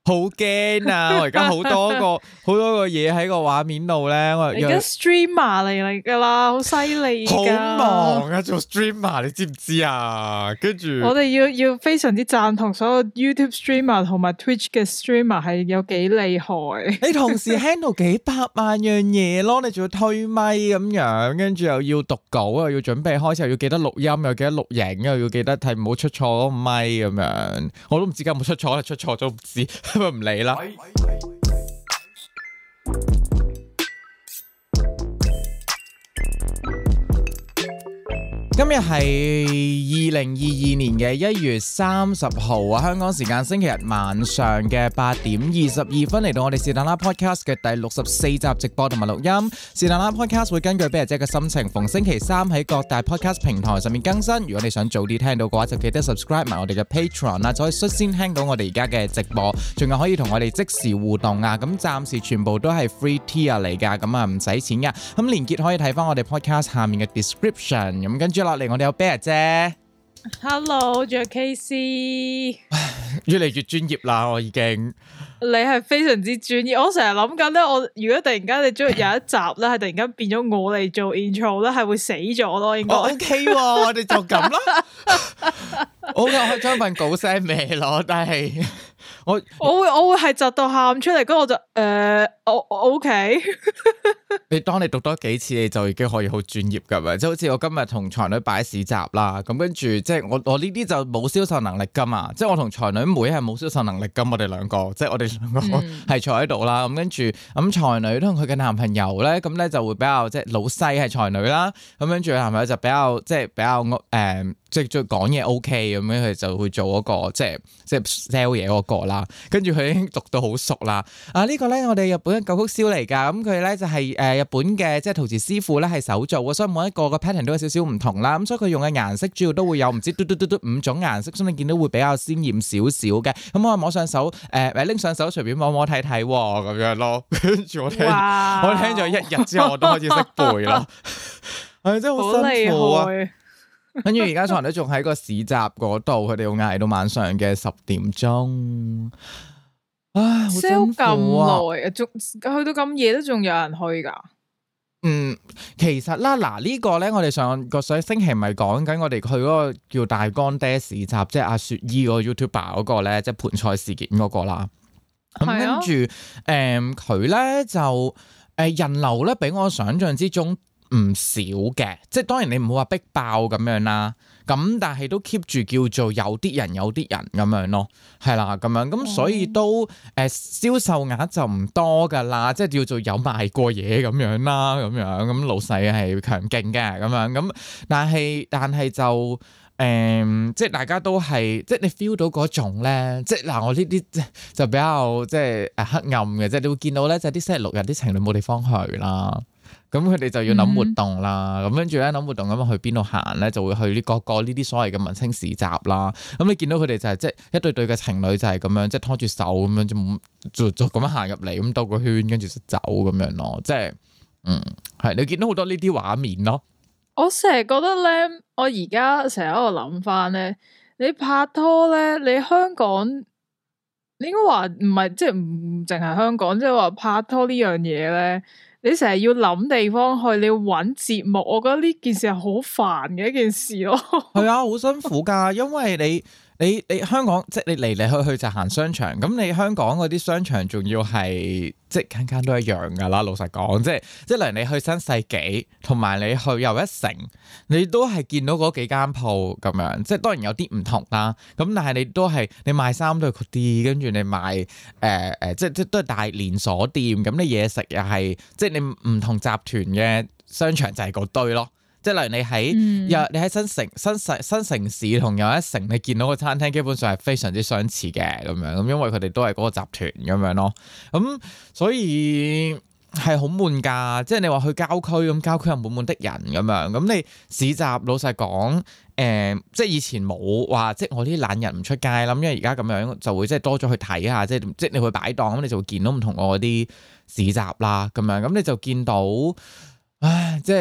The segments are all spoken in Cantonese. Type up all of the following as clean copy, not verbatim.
好驚啊！我而家好多個嘢喺個畫面度咧，我而家 streamer 嚟噶啦，好犀利噶， 好忙啊做 streamer， 你知唔知啊？跟住我哋要非常之贊同所有 YouTube streamer 同埋 Twitch 嘅 streamer 係有幾厲害。你同時 handle 幾百萬樣嘢咯，你仲要推咪咁樣，跟住又要讀稿，又要準備開始，又要記得錄音，又記得錄影，又要記得睇唔好出錯嗰個咪咁樣。我都唔知有冇出錯，出錯咗唔知。唔理啦。今日係2022年嘅1月30號啊，香港時間星期日晚上嘅8點22分嚟到我哋是但啦 Podcast 嘅第64集直播同埋錄音。是但啦 Podcast 會根據啤牙姐嘅心情，逢星期三喺各大 Podcast 平台上面更新。如果你想早啲聽到嘅話，就記得 subscribe 埋我哋嘅 Patreon 啦，就可以率先聽到我哋而家嘅直播，仲有可以同我哋即時互動啊。咁暫時全部都係 free tier 嚟㗎，咁啊唔使錢㗎。咁連結可以睇翻我哋 Podcast 下面嘅 description。咁跟住落嚟，我哋有啤牙姐。 Hello， 仲有 KC。 越嚟越專業啦，我已經。 你係非常之專業，我成日諗緊咧，我如果突然間你將有一集咧，係突然間變咗我嚟做 intro 咧，係會死咗咯，應該。 OK，我哋就咁啦。我可以將份稿 send 俾你咯，但係我會係窒到喊出嚟，跟住我就我 OK。 當你讀多幾次，你就已經可以好專業噶嘛。即係好似我今日同才女擺市集啦，咁跟住即係我呢啲就冇銷售能力噶嘛。即係我同才女妹係冇銷售能力噶，我哋兩個，即係我哋兩個係坐喺度啦。咁跟住咁才女同佢嘅男朋友咧，咁咧就會比較即係老細係才女啦。咁跟住男朋友就比較即係比較即係講嘢 OK 咁樣，佢就會做嗰個即係 sell 嘢嗰個啦。跟住佢已經讀到好熟啦。呢個咧我哋日本嘅舊曲燒嚟㗎。咁佢咧就係日本嘅即係陶瓷師傅咧係手做嘅，所以每一個嘅 pattern 都有少少唔同啦。咁所以佢用嘅顏色主要都會有唔知5種顏色，所以你見到會比較鮮豔少少嘅。咁我摸上手拎上手隨便摸摸睇睇咁樣咯。跟住我聽咗1日之後，我都開始識背啦。係真係好辛苦啊！跟住而家才女仲喺個市集嗰度，佢哋要捱到晚上嘅10點鐘。唉，好辛苦啊！ 仲去到咁夜都仲有人去噶？ 其實啦，呢個咧，我哋上個星期咪講緊，我哋去嗰個叫大干爹市集，即係阿雪姨嗰個 YouTuber 嗰個咧，即係盤菜事件嗰個啦。咁跟住佢咧就人流咧，比我想象之中唔少嘅，即係當然你唔好話逼爆咁樣啦，咁但係都 keep 住叫做有啲人咁樣咯，係啦咁樣，咁所以都銷售額就唔多噶啦，即係叫做有賣過嘢咁樣啦，咁老細係強勁嘅咁樣，咁但係就即係大家都係即係你 feel 到嗰種咧，即係我呢啲就比較即係黑暗嘅，即係你會見到咧，就係啲星期六日啲情侶冇地方去啦。咁佢哋就要諗活動啦，咁跟住咧諗活動咁去邊度行咧，就會去呢個呢啲所謂嘅文青市集啦。咁你見到佢哋就係即係一對對嘅情侶就係咁樣，即係拖住手咁樣就咁樣行入嚟，咁兜個圈跟住就走咁樣咯。即係係你見到好多呢啲畫面咯。我成日覺得咧，我而家成日喺度諗翻咧，你拍拖咧，你香港你應該話唔係即係唔淨係香港，即係話拍拖呢樣嘢咧。你成日要諗地方去，你要揾節目，我覺得呢件事係好煩嘅一件事咯。係啊，好辛苦噶，因為你香港即係你嚟嚟去去就行商場，咁你香港嗰啲商場仲要係即係間間都一樣噶啦。老實講，即係例如你去新世紀，同埋你去又一城，你都係見到嗰幾間鋪咁樣。即係當然有啲唔同啦，咁但係你都係你賣衫都係嗰啲，跟住你賣即都係大連鎖店。咁你嘢食又係即係你唔同集團嘅商場就係嗰堆咯。即係例如你喺新城市同又一城，你見到個餐廳基本上係非常之相似嘅咁樣，咁因為佢哋都係嗰個集團咁樣咯。咁所以係好悶㗎。即係你話去郊區咁，郊區又滿滿的人咁樣。咁你市集老實講，即係以前冇話，即係我啲懶人唔出街啦。因為而家咁樣就會即係多咗去睇下，即係你去擺檔咁，你就會見到唔同嗰啲市集啦咁樣。咁你就見到，唉，即係。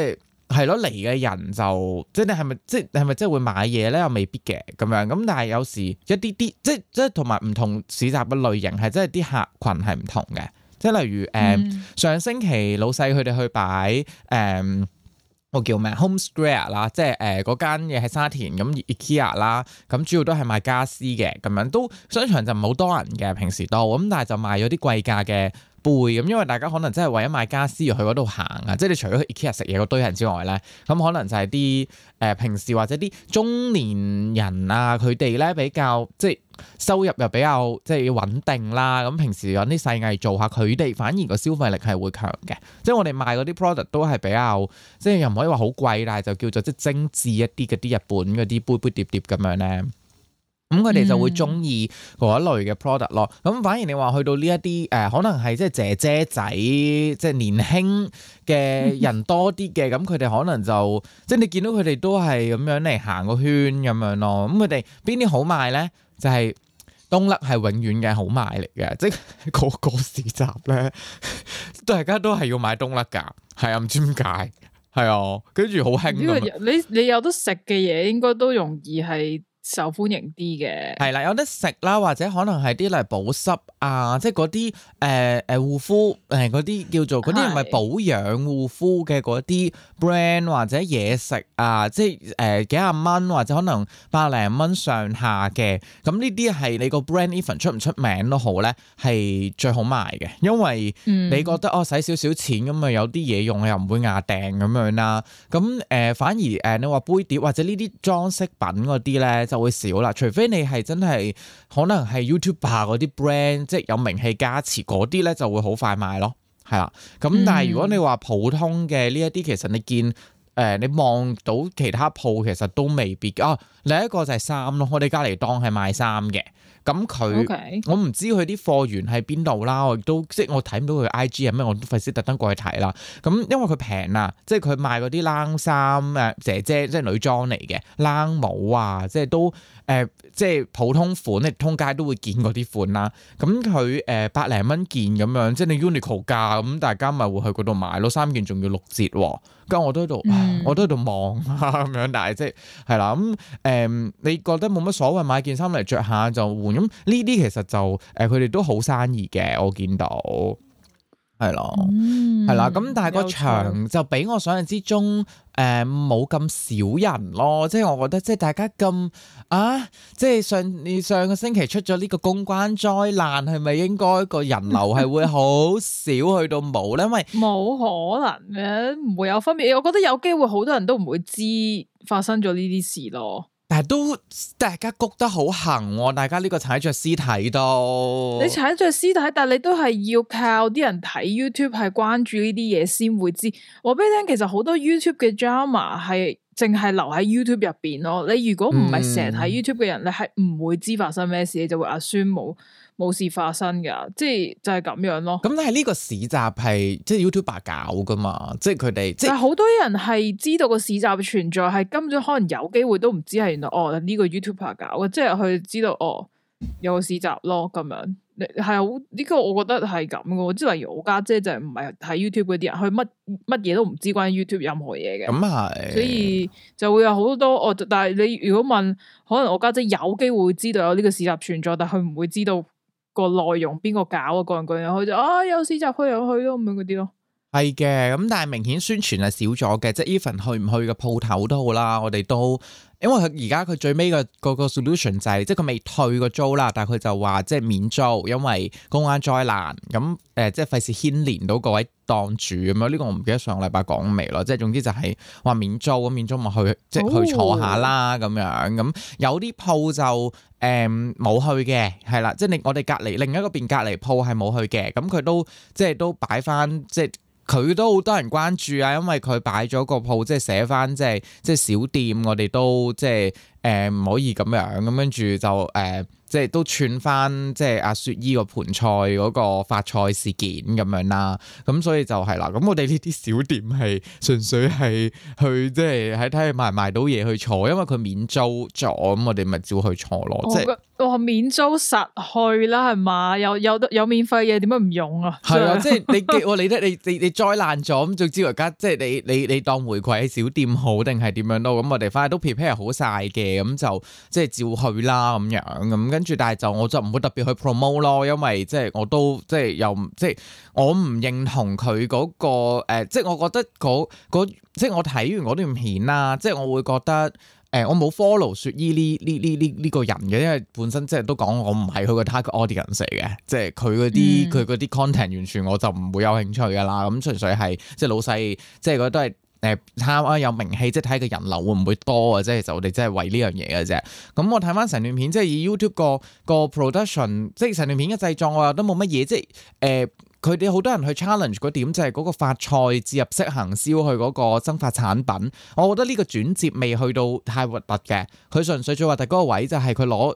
係咯，嚟嘅人就即係你係咪即係咪即係會買嘢咧？又未必嘅咁樣。咁但係有時一啲啲即係同埋唔同市集嘅類型係真係啲客群係唔同嘅。即係例如上星期老細佢哋去擺個叫咩 Home Square 啦，即係嗰間嘢喺沙田咁 IKEA 啦，咁主要都係賣家私嘅咁樣，都商場就唔係好多人嘅平時都咁，但係就賣咗啲貴價嘅杯咁，因為大家可能真係為咗買家私而去嗰度行啊，即係你除咗去 IKEA 食嘢嗰堆人之外咧，咁可能就係啲平時或者啲中年人啊，佢哋咧比較即係收入又比較即係穩定啦，咁平時有啲細藝做下，佢哋反而個消費力係會強嘅。即係我哋賣嗰啲 product 都係比較即係又唔可以話好貴，但係就叫做即係精緻一啲嗰啲日本嗰啲杯杯碟碟咁樣咧。咁佢哋就會中意嗰一類嘅 product 咯。咁反而你話去到呢一啲可能係即係姐姐仔，即係年輕嘅人多啲嘅，咁佢哋可能就即係你見到佢哋都係咁樣嚟行個圈咁樣咯。咁佢哋邊啲好賣咧？就係東甩係永遠嘅好賣嚟嘅，即係個市集咧，大家都係要買東甩㗎。係啊，唔知點解係啊，跟住好興咁。 你有得食嘅嘢，應該都容易係受歡迎啲嘅，係啦，有得食啦，或者可能係啲嚟保濕啊，即係嗰啲護膚嗰啲叫做嗰啲唔係保養護膚嘅嗰啲 brand 或者嘢食啊，即係幾廿蚊或者可能百零蚊上下嘅，咁呢啲係你個 brand even 出唔出名都好咧，係最好賣嘅，因為你覺得使少少錢咁啊，有啲嘢用又唔會牙訂咁樣啦，咁反而你話杯碟或者呢啲裝飾品嗰啲咧就會少啦，除非你係真係可能係 YouTuber 嗰啲 brand，即係有名氣加持嗰啲咧，就會好快賣咯，係啦。咁但係如果你話普通嘅呢一啲，其實你見你望到其他鋪其實都未必啊。另一個就係衫咯，我哋隔離檔係賣衫嘅。咁佢我唔知佢啲貨源喺邊度啦，我亦都即係我睇唔到佢 IG 係咩，我都費事特登過去睇啦。咁因為佢平啊，即係佢賣嗰啲冷衫姐姐即係女裝嚟嘅冷帽啊，即係都即係普通款，你通街都會見嗰啲款啦。咁佢百零蚊件咁樣，即係你 Uniqlo 價咁，大家咪會去嗰度買咯。3件仲要6折喎，跟住我都喺度，我都喺度望咁樣，但係即係啦咁你覺得冇乜所謂買件衫嚟着下就換。咁呢啲其實就佢哋都好生意嘅，我見到係咯，係啦。咁但係個場就比我想象之中冇咁少人咯。即係我覺得即係大家咁即係上個星期出咗呢個公關災難，係咪應該個人流係會好少去到冇咧？因為冇可能嘅，唔會有分別。我覺得有機會好多人都唔會知發生咗呢啲事咯。 但係都大家谷得好行喎，大家呢個踩着屍體都， 你踩着屍體，但係你都係要靠啲人睇 YouTube 係關注呢啲嘢先會知。我俾你聽，其實好多 YouTube 嘅 drama 係淨係留喺 YouTube 入邊咯。你如果唔係成日睇 YouTube 嘅人，你係唔會知發生咩事，你就會 assume冇事發生噶，即係就係咁樣咯。咁但係呢個市集係即係 YouTuber 搞噶嘛，即係佢哋即係好多人係知道個市集存在，係根本可能有機會都唔知係原來呢個 YouTuber 搞嘅，即係佢知道有個市集咯咁樣。係好呢個我覺得係咁嘅，即係例如我家姐就唔係睇 YouTube 嗰啲人，佢乜嘢都唔知關於 YouTube 任何嘢嘅。咁係，所以就會有好多但係你如果問，可能我家姐有機會知道有呢個市集存在，但係佢唔會知道個內容邊個搞啊，個人佢就有市集去又去咯咁樣嗰啲咯。 係嘅，咁但係明顯宣傳係少咗嘅，即係 even 去唔去嘅鋪頭都好啦，我哋都因為佢而家佢最尾個 solution 就係即係佢未退個租啦，但係佢就話即係免租，因為公安災難咁即係費事牽連到各位檔主咁樣。呢個我唔記得上個禮拜講未咯，即係總之就係話免租咁，免租咪去即係去坐下啦咁樣。咁有啲鋪就冇去嘅，係啦，即係我哋隔離另一個邊隔離鋪係冇去嘅，咁佢都即係都擺翻即係。佢都好多人關注啊，因為佢擺咗個鋪，即係寫翻即係小店，我哋都即係唔可以咁樣，咁跟住就即係都串翻即係阿雪姨個盤菜嗰個發菜事件咁樣啦。咁所以就係啦。咁我哋呢啲小店係純粹係去即係喺睇佢賣唔賣到嘢去坐，因為佢免租咗，咁我哋咪照去坐咯。即係我免租實去啦，係嘛？有免費嘢，點解唔用啊？ 係啊，即係你災難咗咁，總之而家即係你當回饋喺小店好定係點樣咯？咁我哋翻去都 prepare 好晒嘅，咁就即係照去啦咁樣咁，跟住但係我就唔會特別去 promote 咯，因為即係我都即係又即係我唔認同佢嗰個即係我覺得即係我睇完嗰段片啦，即係我會覺得。我冇 follow 雪姨呢個人嘅，因為本身即係都講我唔係佢個 target audience 嚟嘅，即係佢嗰啲 content 完全我就唔會有興趣噶啦。咁純粹係即係老細，即係覺得都係貪啊有名氣，即係睇個人流會唔會多啊？即係其實我哋真係為呢樣嘢嘅啫。咁我睇翻成段片，即係以 YouTube 個 production，即係成段片嘅製作，我又都冇乜嘢，即係佢哋好多人去 challenge 嗰點就係嗰個發菜置入式行銷去嗰個增發產品，我覺得呢個轉接未去到太核突嘅，佢純粹最核突嗰個位就係佢攞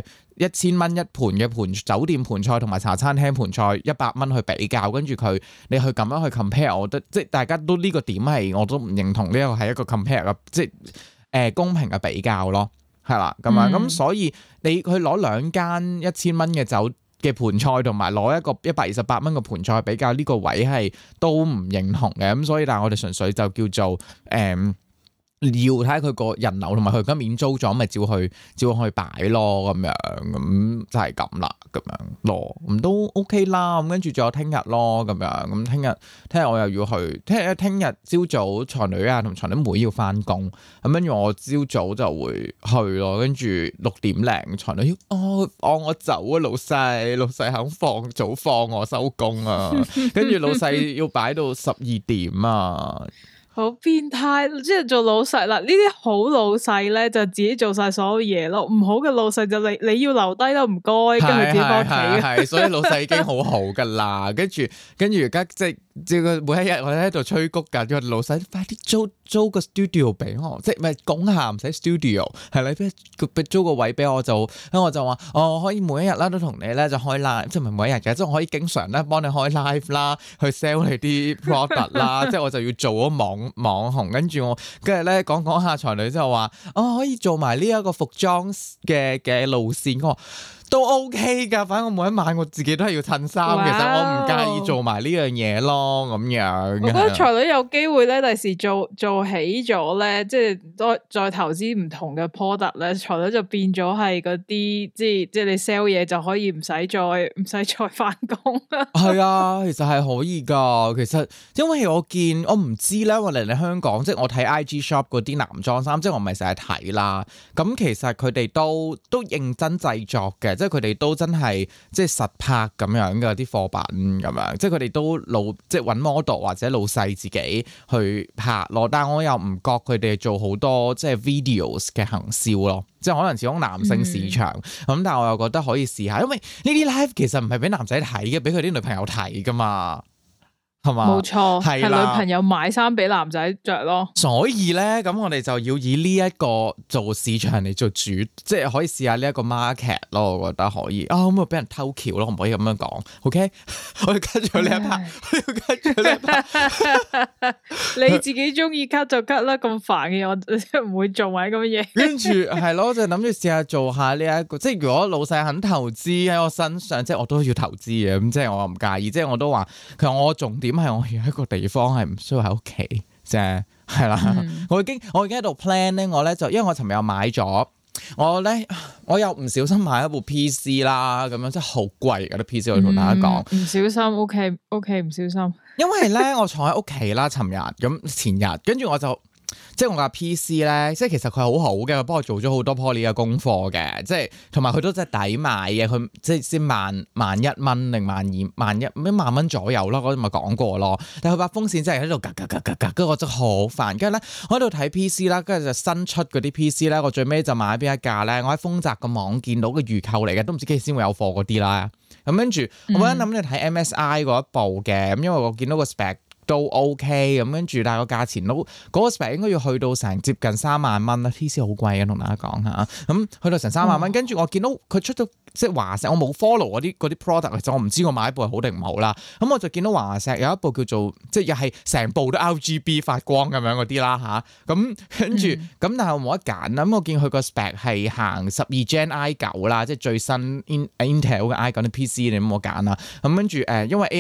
1000蚊一盤嘅酒店盤菜同埋茶餐廳盤菜100蚊去比較，跟住你去咁樣去 compare， 我覺得即係大家都呢個點係我都唔認同呢個係一個 compare 嘅，即係公平嘅比較咯，係啦咁樣咁所以你去攞2間1000蚊嘅酒嘅盤菜同埋攞一個128蚊嘅盤菜比較，呢個位係都唔認同嘅，咁所以但係我哋純粹就叫做要睇下佢個人流同埋佢而家免租咗，咪照去擺咯咁樣，咁就係咁啦，咁樣咯，咁都 OK 啦。咁跟住仲有聽日咯，咁樣咁聽日我又要去，聽日朝早才女啊同才女妹要翻工，咁跟住我朝早就會去咯，跟住6點零才女放我走啊，老細肯早放我收工啊，跟住老細要擺到12點啊。 好變態，即係做老細啦。呢啲好老細咧，就自己做晒所有嘢咯。唔好嘅老細就你要留低都唔該，跟住自己翻屋企。係， 所以老細已經好好噶啦。跟住而家即係每一日我喺度催谷緊，個老細快啲租個 studio 俾我，即係咪講下唔使 studio 係啦，俾租個位俾我就，咁我就話我可以每一日啦都同你咧就開 live，即係唔係每一日嘅，即係我可以經常咧幫你開 live 啦，去 sell 你啲 product 啦，即係我就要做咗網紅，跟住咧講下才女之後話可以做埋呢一個服裝嘅路線，我話都 OK 噶，反正我每一晚我自己都係要襯衫，其實我唔介意做埋呢樣嘢咯，咁樣。我覺得才女有機會咧，第時做起咗咧，即係再投資唔同嘅 product 咧，才女就變咗係嗰啲，即係你 sell 嘢就可以唔使再翻工。 係啊，其實係可以噶，其實因為我唔知咧，我嚟香港，即係我睇 IG shop 嗰啲男裝衫，即係我唔係成日睇啦。咁其實佢哋都認真製作嘅。即係佢哋都真係即係實拍咁樣嘅啲貨品咁樣，即係佢哋都即係揾 model 或者老細自己去拍咯。但係我又唔覺佢哋做好多即係 videos 嘅行銷咯，即係可能始終男性市場咁，但係我又覺得可以試下，因為呢啲 live 其實唔係俾男仔睇嘅，俾佢啲女朋友睇噶嘛。 冇錯，係女朋友買衫俾男仔着咯。 所以咧，咁我哋就要以呢一個做市場嚟做主，即係可以試下呢一個 market 咯。我覺得可以啊，咁啊俾人偷橋咯，唔可以咁樣講。OK， 我要 cut 咗呢一 part，我要 cut 咗呢一 part。 你自己中意 cut 就 cut 啦，咁煩嘅我唔會做埋咁嘅嘢。 跟住係咯，就諗住試下做下呢一個，即係如果老細肯投資喺我身上，即係我都要投資嘅。咁即係我唔介意，即係我都話其實我重點。係我要一個地方係唔需要喺屋企啫，係啦。我已經喺度 plan 咧，我咧就因為我尋日又買咗，我又唔小心買一部 PC 啦，咁樣真係好貴嗰啲 PC，我同大家講。唔小心 OK 唔小心。 因為咧我坐喺屋企啦，尋日咁前日，跟住我就。即係我架 PC 咧，即係其實佢好好嘅，佢幫我做咗好多 Poly 嘅功課嘅，即係同埋佢都真係抵買嘅，佢即係先萬一蚊定萬蚊左右咯，嗰啲咪講過咯。但係佢把風扇真係喺度跟住我真係好煩。跟住咧，我喺度睇 PC 啦，跟住就新出嗰啲 PC 咧，我最尾就買邊一架咧，我喺豐澤個網見到嘅預購嚟嘅，都唔知幾時先會有貨嗰啲啦。咁跟住我嗰陣諗住睇 MSI 嗰一部嘅，咁因為我見到個 spec。都 OK 咁跟住，但係個價錢都嗰個 spec 應該要去到成接近3萬蚊啦。PC 好貴嘅，同大家講下，咁去到成3萬蚊。跟住我見到佢出咗即係華碩，我冇 follow 嗰啲 product， 其實我唔知我買一部係好定唔好啦。咁我就見到華碩有一部叫做即係又係成部都 RGB 發光咁樣嗰啲啦嚇。咁跟住咁，但係我冇得揀啦。咁我見佢個 spec 係行12 Gen i9 啦，即係最新 Intel 嘅 i9 啲 PC，你冇得揀啦。咁跟住因為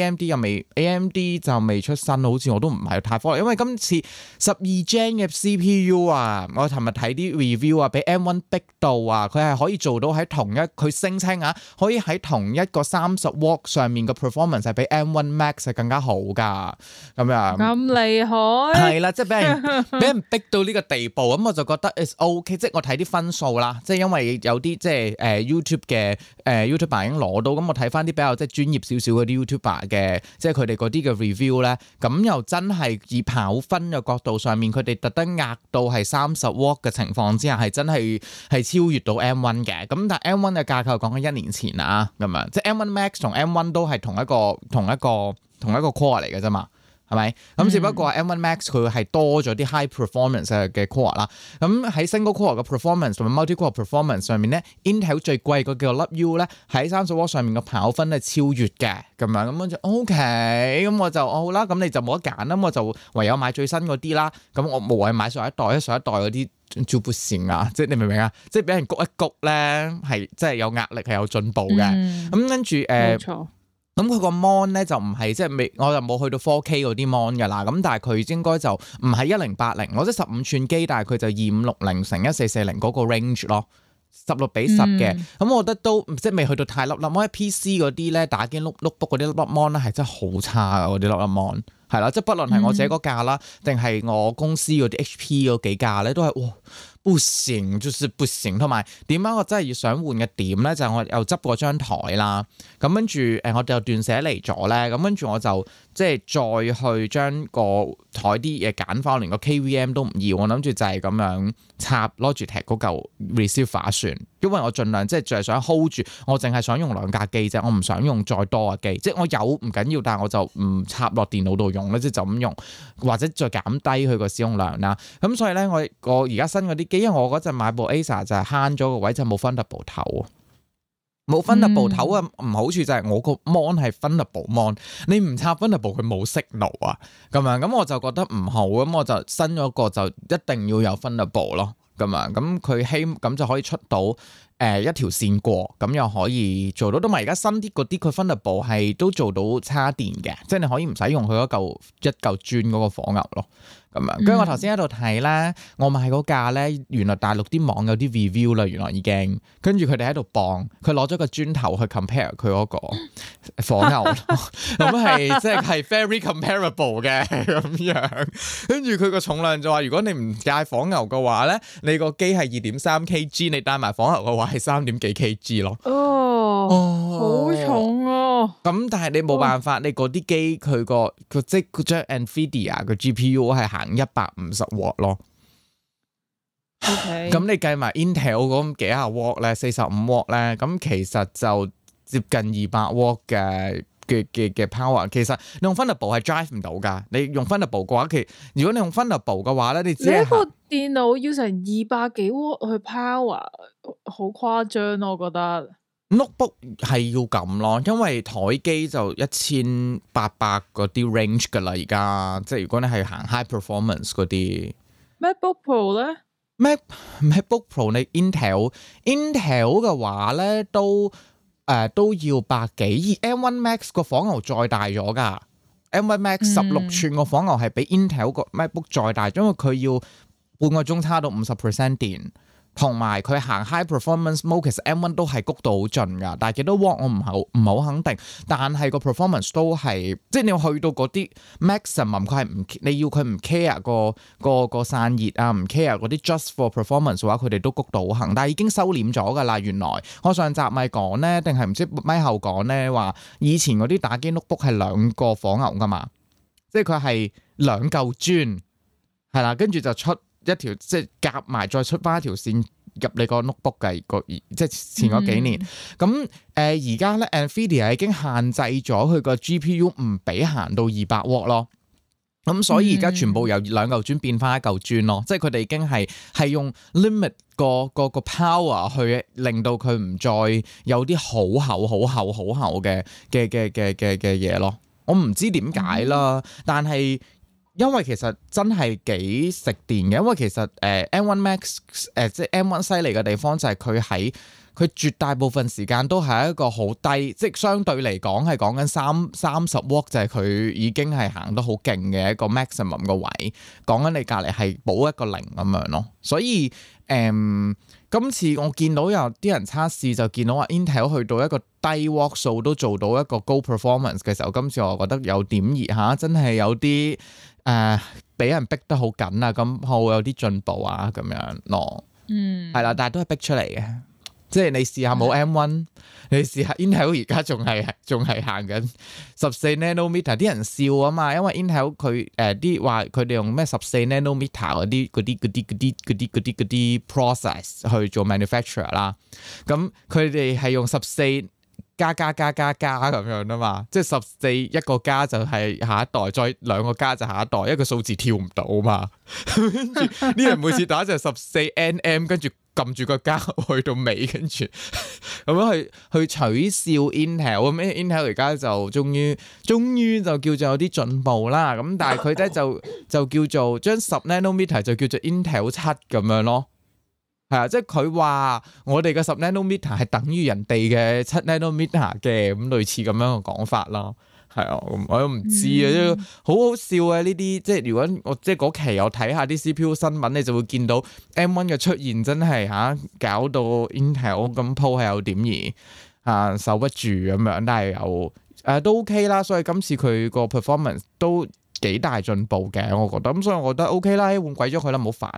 AMD 就未出新，好似我都唔係太 follow，因為今次12 Gen 嘅 CPU 啊，我尋日睇啲 review 啊，俾 M1 逼到啊，佢係可以做到喺佢聲稱啊，可以喺同一個30W上面嘅 performance 係比 M1 Max 係更加好㗎，咁樣咁厲害係啦，即係俾人逼到呢個地步，咁我就覺得 it's OK， 即係我睇啲分數啦，即係因為有啲即係YouTube 嘅YouTuber 已經攞到，咁我睇翻啲比較即係專業少少嗰啲 YouTuber 嘅，即係佢哋嗰啲嘅 review 咧，咁又真係以跑分嘅角度上面，佢哋特登壓到係30W嘅情況之下，係真係超越到 M1 嘅。咁但係 M1 嘅架構講緊1年前啊，咁樣即係 M1 Max 同 M1 都係同一個 core 嚟嘅啫嘛。係咪？咁只不過 M1 Max 佢係多咗啲 high performance 嘅 core 啦。咁喺 single core 嘅 performance 同埋 multi core performance 上面咧 ，Intel 最貴個叫做粒 U 咧，喺30W 上面嘅跑分係超越嘅咁樣。咁我就 OK，咁我就好啦。咁你就冇得揀啦。咁我就唯有買最新嗰啲啦。咁我無謂買上一代嗰啲做不成啊！即係你明唔明啊？即係俾人谷一谷咧，係即係有壓力係有進步嘅。咁跟住冇錯。咁佢個 mon 咧就唔係即係未，我就冇去到 4K 嗰啲 mon 㗎啦。咁但係佢應該就唔係1080，我即係15寸機，但係佢就2560乘1440嗰個 range 咯，16:10嘅。咁我覺得都即係未去到太粒粒。我喺 PC 嗰啲咧打機 notebook 嗰啲粒粒 mon 咧係真係好差㗎，嗰啲粒粒 mon 係啦，即係不論係我自己嗰架啦，定係我公司嗰啲 HP 嗰幾架咧，都係哇不行，就是不行。同埋點解我真係要想換嘅點咧，就係我又執過張台啦，咁跟住我哋又斷捨離咗咧，咁跟住我就即係再去將個台啲嘢揀翻，連個 KVM 都唔要，我諗住就係咁樣插 Logitech 嗰嚿 receiver 算，因為我盡量即係就係想 hold 住，我淨係想用2架機啫，我唔想用再多嘅機，即係我有唔緊要，但係我就唔插落電腦度用咧，即係就咁用，或者再減低佢個使用量啦。咁所以咧，我而家新嗰啲機，因為我嗰陣買部 Acer 就係慳咗個位，就冇 Thunderbolt 頭，冇 Thunderbolt 頭嘅唔好處就係我個 mon 係 Thunderbolt mon， 你唔插 Thunderbolt 佢冇 signal 啊，咁樣咁我就覺得唔好，咁我就新咗個就一定要有 Thunderbolt 咯，咁樣咁佢咁就可以出到一條線過，咁又可以做到。同埋而家新啲嗰啲佢 Thunderbolt 係都做到叉電嘅，即係你可以唔使用佢一嚿磚嗰個火牛咯。咁樣，跟住我頭先喺度睇咧，我買嗰架咧，原來大陸啲網有啲 review 啦，原來已經跟住佢哋喺度磅，佢攞咗個磚頭去 compare 佢嗰個火牛，咁係即係 very comparable 嘅咁樣。跟住佢個重量就話，如果你唔介火牛嘅話咧，你個機係2.3 kg， 你帶埋火牛嘅話係3點幾 kg 咯。好重啊！ 咁但係你冇辦法，你嗰啲機佢個即係張 Nvidia 個 GPU 係行150W 咯。咁你計埋 Intel 嗰幾廿 W 咧，45W 咧，咁其實就接近200W 嘅 power。其實你用 Thunderbolt 係 drive 唔到㗎。你用 Thunderbolt 嘅話，如果你用 Thunderbolt 嘅話咧，你只係一個電腦要成200幾 W 去 power， 好誇張咯，我覺得。 notebook 係要咁咯，因為台機就1800嗰啲 range 噶啦，而家即係如果你係行 high performance 嗰啲 MacBook Pro 咧 ，MacBook Pro 你 Intel 嘅話咧都要百幾，而 M1 Max 個火牛再大咗噶，M1 Max 16寸個火牛係比 Intel 個 MacBook 再大，因為佢要半個鐘叉到50% 電。同埋佢行 high performance mode， 其實 M1 都係谷到好盡㗎，但係幾多 W 我唔係好肯定。但係個 performance 都係，即係你要去到嗰啲 maximum， 佢係唔你要佢唔 care 個散熱啊，唔 care 嗰啲 just for performance 嘅話，佢哋都谷到行。但係已經收斂咗㗎啦。原來我上集咪講咧，定係唔知咪後講咧話，以前嗰啲打機 notebook 係2個火牛㗎嘛，即係佢係2嚿磚係啦，跟住就出一條即係夾埋再出翻一條線入你個 notebook 嘅即係前嗰幾年。咁而家咧 Nvidia 已經限制咗佢個 GPU 唔俾行到200W咯。 咁所以而家全部由2嚿磚變翻1嚿磚咯，即係佢哋已經係用 limit 個 power 去令到佢唔再有啲好厚嘅嘢咯。我唔知點解啦，但係因為其實真係幾食電嘅，因為其實M1 Max 即係 M1 犀利嘅地方就係佢絕大部分時間都係一個好低，即係相對嚟講係講緊30 W 就係佢已經係行得好勁嘅一個 maximum 個位，講緊你隔離係補一個0咁樣咯。所以今次我見到有啲人測試就見到話 Intel 去到一個低 W 數都做到一個高 performance 嘅時候，今次我覺得有點熱嚇，真係有啲俾人逼得好緊啊，咁好有啲進步啊咁樣咯。係啦，但係都係逼出嚟嘅。即係你試下冇 M1，你試下 Intel 而家仲係行緊14 nanometer， 啲人笑啊嘛，因為 Intel 佢啲話佢哋用咩14 nanometer 嗰啲 process 去做 manufacturer 啦，咁佢哋係用14加咁樣啊嘛，即係14一個加就係下一代，再2個加就下一代，一個數字跳唔到嘛，跟住啲人每次打就14 nm， 跟住撳住個加去到尾，跟住咁樣去取笑 Intel， 咁 Intel 而家就終於就叫做有啲進步啦，咁但係佢咧就叫做將10 nanometer 就叫做 Intel 7咁樣咯。係啊，即係佢話我哋嘅10 nanometer 係等於人哋嘅7 nanometer 嘅，咁類似咁樣嘅講法咯。係啊，我都唔知啊，好好笑啊呢啲。即係如果我即係嗰期我睇下啲 CPU 新聞，你就會見到 M1 嘅出現真係搞到 Intel 咁鋪係有點而守不住咁樣，但係又都 OK 啦。所以今次佢個 performance 都幾大進步嘅，我覺得。咁所以我覺得 OK 啦，換鬼咗佢啦，唔好煩。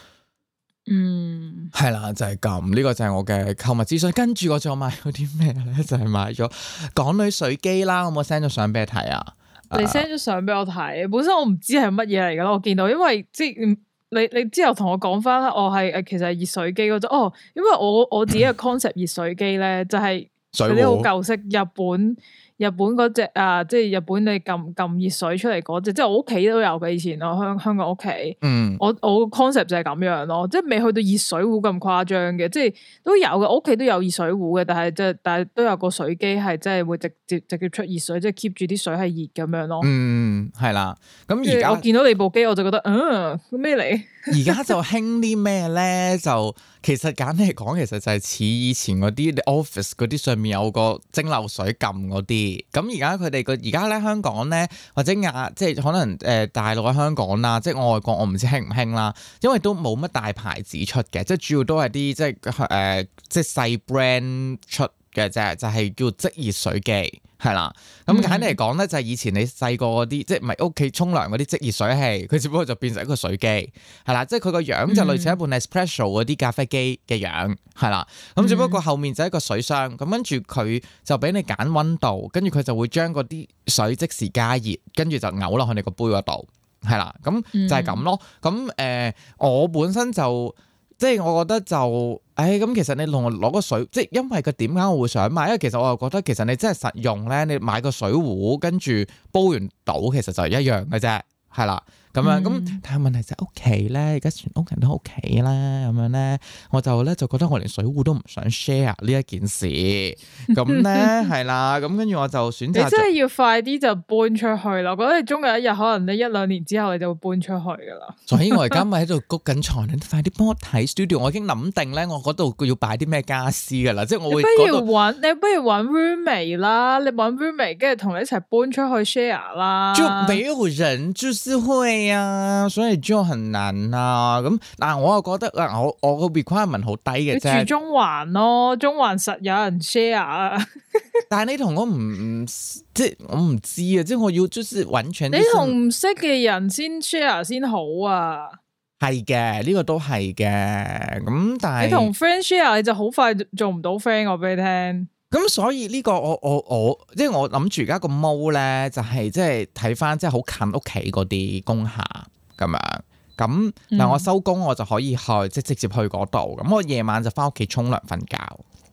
係啦，就係咁，呢個就係我嘅購物資訊。跟住我仲買咗啲咩咧？就係買咗港女水機啦。我冇 send 咗相俾你睇啊？ 你 send 咗相俾我睇，本身我唔知係乜嘢嚟噶啦。我見到，因為即係你之後同我講翻啦，我係其實係熱水機嗰種。哦，因為我自己嘅 concept 熱水機咧，就係嗰啲好舊式日本嗰隻即係日本你撳熱水出嚟嗰隻，即係我屋企都有嘅。以前我香港屋企，我個 concept 就係咁樣咯，即係未去到熱水壺咁誇張嘅，即係都有嘅。我屋企都有熱水壺嘅，但係都有個水機係真係會直接出熱水，即係 keep 住啲水係熱咁樣咯。係啦。咁而家我見到你部機，我就覺得咩嚟？ 而家就興啲咩咧？就其實簡單嚟講，其實就係似以前嗰啲 office 嗰啲上面有個蒸餾水撳嗰啲。咁而家佢哋而家咧香港咧或者即係可能大陸喺香港啦，即係外國我唔知興唔興啦，因為都冇乜大牌子出嘅，即係主要都係啲即係細 brand 出嘅啫，就係叫即熱水機。係啦，咁簡單嚟講咧，就係以前你細個嗰啲，即係唔係屋企沖涼嗰啲即熱水器，佢只不過就變成一個水機，係啦，即係佢個樣就類似一部 Nespresso 嗰啲咖啡機嘅樣，係啦，咁只不過後面就係一個水箱，咁跟住佢就俾你揀溫度，跟住佢就會將嗰啲水即時加熱，跟住就嘔落去你個杯嗰度，係啦，咁就係咁咯，咁我本身就。即係我覺得就，咁其實你同我攞個水，即係因為佢點解我會想買？因為其實我又覺得其實你真係實用咧，你買個水壺跟住煲完倒，其實就一樣嘅啫，係啦。咁樣咁，但係問題就係屋企咧，而家全屋人都屋企啦，咁樣咧，我就覺得我連水壺都唔想 share 呢一件事，咁咧係啦，咁跟住我就選擇。你真係要快啲就搬出去啦！我覺得你終有一日，可能你1-2年之後你就會搬出去噶啦。 所以我而家咪喺度谷緊床，你快啲幫我睇 studio， 我已經諗定咧，我嗰度要擺啲咩家私噶啦，即係我會。你不如揾 roommate 啦，你揾 roommate 跟住同你一齊搬出去 share 啦。 就沒有人就是會啊，所以就很難啊。咁但我又覺得我個 requirement 好低嘅啫。 你住中環咯，中環實有人 share 啊。 但係你同我唔即係我唔知啊，即係我要就是完全。 你同唔識嘅人先 share 先好啊。 係嘅，呢個都係嘅。咁但係你同 friend share 你就好快做唔到 friend， 我俾你聽。 咁所以呢個我即係我諗住而家個毛咧，就係即係睇翻即係好近屋企嗰啲工廈咁樣。咁嗱，我收工我就可以去即係直接去嗰度。咁我夜晚就翻屋企沖涼瞓覺。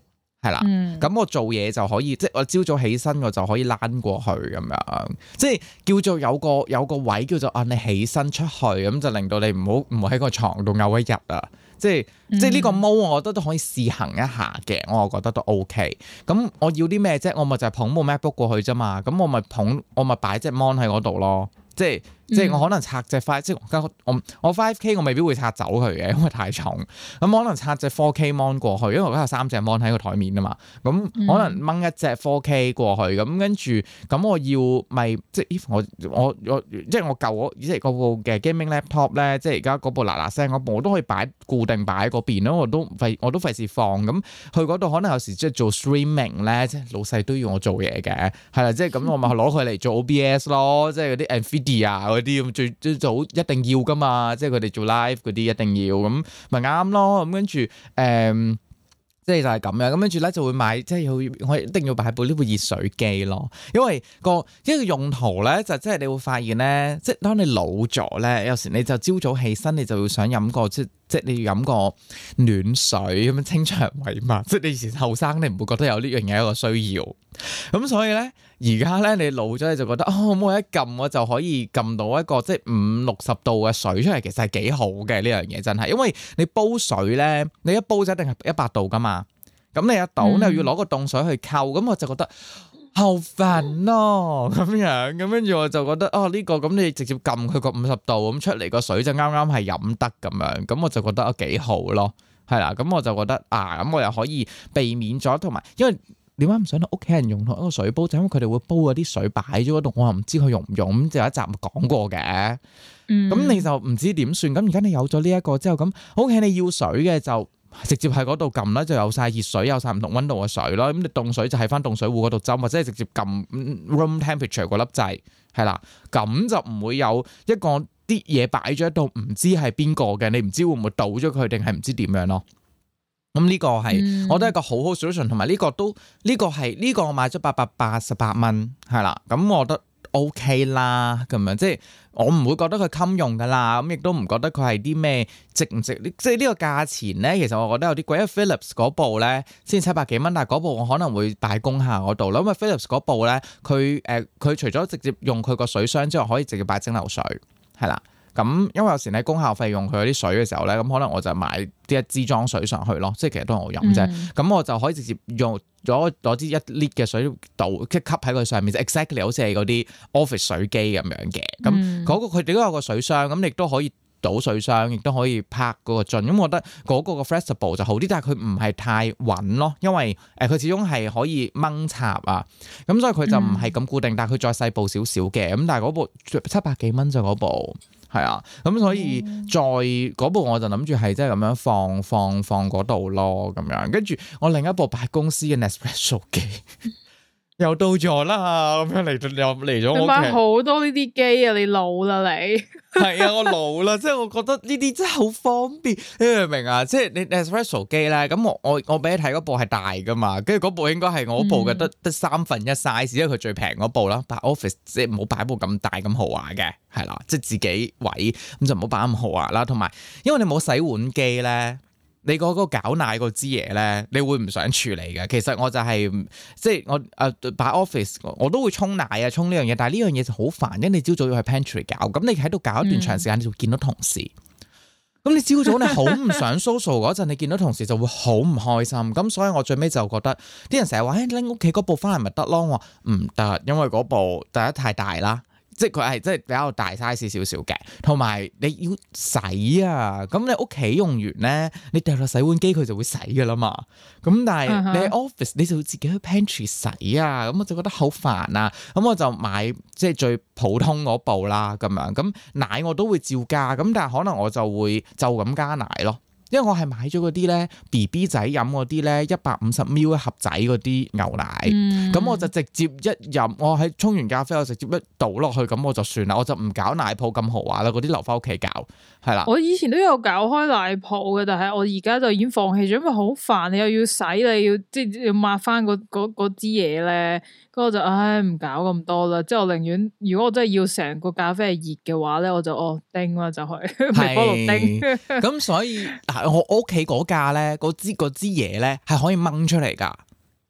係啦，咁我做嘢就可以，即係我朝早起身我就可以躝過去咁樣，即係叫做有個位叫做你起身出去，咁就令到你唔好喺個床度漚一日啊！即係呢個 mode 我覺得都可以試行一下嘅，我覺得都 OK。咁我要啲咩啫？我咪就係捧部 MacBook 過去啫嘛，咁我咪擺隻 mon 喺嗰度咯，即係我可能拆隻即係我 5K 我未必會拆走佢嘅，因為太重。咁可能拆隻 4K mon 過去，因為我而家有3隻 mon 喺個台面啊嘛。咁可能掹一隻 4K 過去，咁跟住咁我要咪即係我即係我舊即係嗰部嘅 gaming laptop 咧，即係而家嗰部嗱聲嗰部我都可以固定擺喺嗰邊咯，我都費事放。咁去嗰度可能有時即係做 streaming 咧，即係老細都要我做嘢嘅，係啦，即係咁我咪攞佢嚟做 OBS 咯，即係嗰啲 Nvidia 啲咁最早一定要噶嘛，即係佢哋做 live 嗰啲一定要，咁咪啱咯。咁跟住即係就係咁樣，咁跟住咧就會買，即係我一定要擺部呢部熱水機咯，因為一個用途咧就即係你會發現咧，即係當你老咗咧，有時你就朝早起身你就會想飲個即係你要飲個暖水咁樣清腸胃嘛，即係你以前後生你唔會覺得有呢樣嘢一個需要，咁所以咧而家咧你老咗你就覺得我一撳我就可以撳到一個即係50-60度嘅水出嚟，其實係幾好嘅呢樣嘢真係，因為你煲水咧你一煲就一定係100度噶嘛，咁你一倒你又要攞個凍水去溝，咁我就覺得好煩咯咁樣，咁跟住我就覺得呢個咁你直接撳佢個50度咁出嚟個水就啱啱係飲得咁樣，咁我就覺得幾好咯，係啦，咁我就覺得咁我又可以避免咗，同埋因為點解唔想屋企人用同一個水煲，就因為佢哋會煲嗰啲水擺咗嗰度，我又唔知佢用唔用，咁就有一集講過嘅，咁你就唔知點算，咁而家你有咗呢一個之後，咁屋企你要水嘅就直接喺嗰度撳啦，就有晒熱水，有晒唔同溫度嘅水咯。咁你凍水就喺翻凍水壺嗰度斟，或者係直接撳 room temperature 嗰粒掣，係啦，咁就唔會有一個啲嘢擺咗喺度，唔知係邊個嘅，你唔知會唔會倒咗佢，定係唔知點樣咯。咁呢個係我覺得一個好好 solution，同埋呢個我買咗888蚊，係啦，咁我覺得 OK 啦，咁樣即係我唔會覺得佢襟用噶啦，咁亦都唔覺得佢係啲咩值唔值，即係呢個價錢咧，其實我覺得有啲貴，因為 Philips 嗰部咧先700幾蚊，但係嗰部我可能會擺工廈嗰度啦，因為 Philips 嗰部咧佢除咗直接用佢個水箱之外，可以直接擺蒸餾水，係啦。咁因為有時喺功效費用佢嗰啲水嘅時候咧，咁可能我就買啲一支裝水上去咯，即係其實都係我飲啫。咁我就可以直接用攞支1 lit 嘅水倒，即係吸喺佢上面，就 exactly 好似係嗰啲 office 水機咁樣嘅。咁嗰個佢哋都有個水箱，咁你亦都可以倒水箱，亦都可以拍嗰個樽。咁我覺得嗰個 flexible 就好啲，但係佢唔係太穩咯，因為佢始終係可以掹插啊。咁所以佢就唔係咁固定，但係佢再細部少少嘅。咁但係嗰部700幾蚊就嗰部。係啊，咁所以再嗰部我就諗住係即係咁樣放嗰度咯，咁樣跟住我另一部擺公司嘅 Nespresso 機又到咗啦，咁樣嚟咗我屋企。你買好多呢啲機啊！你老啦你。 係啊，我老啦，即係我覺得呢啲真係好方便，你明唔明啊？即係你 Nespresso 機咧，咁我俾你睇嗰部係大噶嘛，跟住嗰部應該係我部嘅得1/3 size，因為佢最平嗰部啦，擺 office 即係唔好擺部咁大咁豪華嘅，係啦，即係自己位咁就唔好擺咁豪華啦。同埋因為你冇洗碗機咧，你嗰個攪奶嗰支嘢咧，你會唔想處理嘅。其實我就係即係我擺 office 我都會沖奶啊，沖呢樣嘢，但係呢樣嘢就好煩，因為你朝早要去 pantry 搞，咁你喺度搞一段長時間，你就會見到同事。咁你朝早你好唔想 social 嗰陣，你見到同事就會好唔開心。咁所以我最尾就覺得啲人成日話拎屋企嗰部翻嚟咪得咯，我話唔得，因為嗰部第一太大啦。即係佢係即係比較大 size 少少嘅，同埋你要洗啊，咁你屋企用完咧，你掉落洗碗機佢就會洗噶啦嘛。咁但係你喺 office 你就要自己去 pantry 洗啊，咁我就覺得好煩啊。咁我就買即係最普通嗰部啦，咁樣咁奶我都會照加，咁但係可能我就會就咁加奶咯。因為我係買咗嗰啲咧 BB 仔飲嗰啲咧150ml 一盒仔嗰啲牛奶，咁我就直接一飲，我喺沖完咖啡我直接一倒落去，咁我就算啦，我就唔搞奶泡咁豪華啦，嗰啲留翻屋企搞，係啦。 我以前都有搞開奶泡嘅，但係我而家就已經放棄咗，因為好煩，你又要洗，你要即係要抹翻嗰支嘢咧，咁我就唔搞咁多啦。即係我寧願，如果我真係要成個咖啡係熱嘅話咧，我就叮啦，就去微波爐叮。 咁所以我屋企嗰架咧，嗰支嘢咧係可以掹出嚟噶，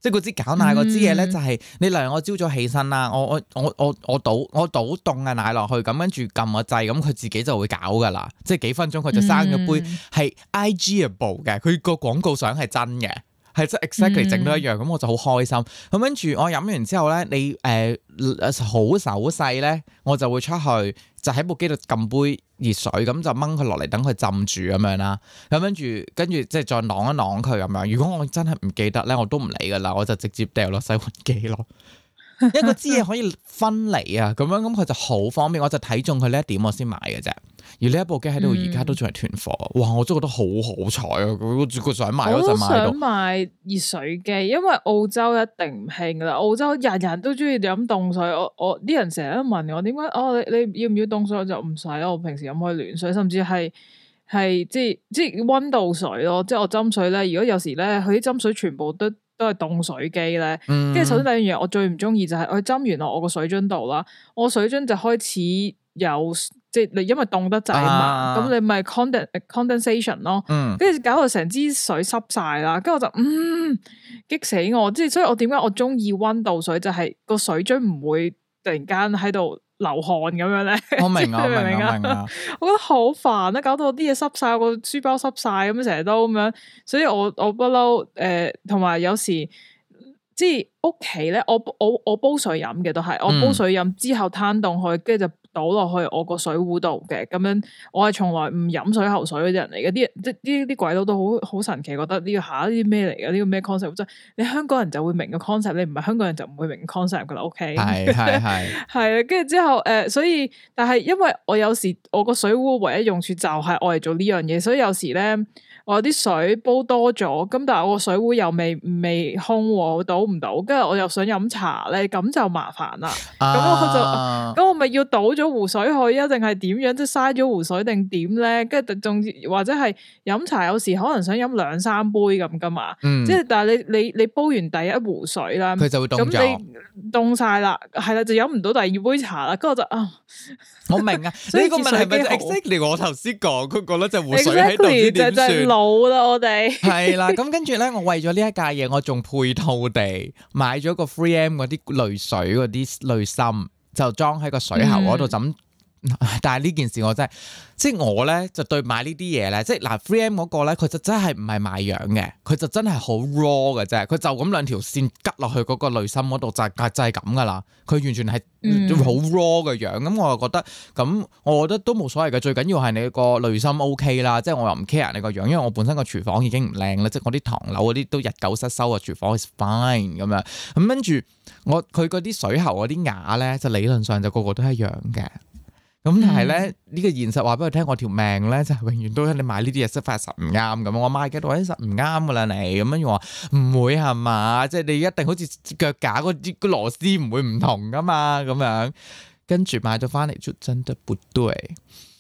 即係嗰支搞奶嗰支嘢咧，就係你例如我朝早起身啦，我倒凍嘅奶落去，咁跟住撳個掣，咁佢自己就會搞噶啦，即係幾分鐘佢就生咗杯係 IG-able 嘅，佢個廣告相係真嘅。係即係 exactly 整到一樣，咁我就好開心。咁跟住我飲完之後咧，你好手勢咧，我就會出去就喺部機度撳杯熱水，咁就掹佢落嚟等佢浸住咁樣啦。咁跟住即係再啷一啷佢咁樣。如果我真係唔記得咧，我都唔理噶啦，我就直接掉落洗碗機咯。因為嗰支嘢可以分離啊，咁佢就好方便。我就睇中佢呢一點，我先買嘅啫。而呢一部機喺度而家都仲係團貨，哇！我真係覺得好好彩啊！佢想買嗰陣買到。我都想買熱水機，因為澳洲一定唔興噶啦。澳洲人人都中意飲凍水，我啲人成日都問我點解你要唔要凍水？我就唔使，我平時飲開暖水，甚至係即係溫度水咯。即係我斟水咧，如果有時咧佢啲斟水全部都係凍水機咧，跟住首先第一樣嘢我最唔中意就係我斟完落我個水樽度啦，我水樽就開始有即係你因為凍得滯嘛，咁你咪 condensation 咯，跟住搞到成支水濕晒啦，跟住我就激死我，即係所以我點解我中意溫度水就係個水樽唔會突然間喺度流汗咁樣咧。我明啊，我覺得好煩啊，搞到我啲嘢濕晒，個書包濕晒咁成日都咁樣，所以我不嬲同埋有時即係屋企咧，我煲水飲嘅都係，我煲水飲之後攤凍佢，跟住就倒落去我個水壺度嘅，咁樣我係從來唔飲水喉水嗰啲人嚟嘅，啲鬼佬都好神奇，覺得呢個下啲咩嚟嘅，呢個咩 concept， 即係你香港人就會明個 concept， 你唔係香港人就唔會明 concept 噶啦，OK？ 係係啊，跟住之後所以但係因為我有時我個水壺唯一用處就係我嚟做呢樣嘢，所以有時咧我有啲水煲多咗，咁但係我個水壺又未空，倒唔到，跟住我又想飲茶咧，咁就麻煩啦。咁我咪要倒咗壺水去啊？定係點樣？即係嘥咗壺水定點咧？跟住仲或者係飲茶，有時可能想飲2-3杯咁噶嘛。即係但係你煲完第一壺水啦，佢就會凍咗，咁你凍晒啦，係啦，就飲唔到第二杯茶啦。跟住我就我明啊，呢個問題係咪 exactly 我頭先講佢覺得就壺水喺度唔知點算？老啦我哋係啦，咁跟住咧，我為咗呢一架嘢，我仲配套地買咗個 3M 嗰啲濾水嗰啲濾芯，就裝喺個水喉嗰度浸。但係呢件事我真係，即係我咧就對買呢啲嘢咧，即係嗱 3M 嗰個咧，佢就真係唔係賣樣嘅，佢就真係好 raw 嘅啫，佢就咁兩條線吉落去嗰個濾芯嗰度就係咁噶啦，佢完全係好 raw 嘅樣，咁我又覺得，咁我覺得都冇所謂嘅，最緊要係你個濾芯 OK 啦，即係我又唔 care 你個樣，因為我本身個廚房已經唔靚啦，即係我啲唐樓嗰啲都日久失修嘅廚房 is fine 咁樣，咁跟住佢嗰啲水喉嗰啲牙咧，就理論上就個個都一樣嘅。咁但係咧呢個現實話俾佢聽，我條命咧就係永遠都你買呢啲嘢識發實唔啱咁。我買嘅都話實唔啱噶啦你，咁樣話唔會係嘛？即係你一定好似腳架嗰啲個螺絲唔會唔同噶嘛咁樣。跟住買咗翻嚟就真的不對，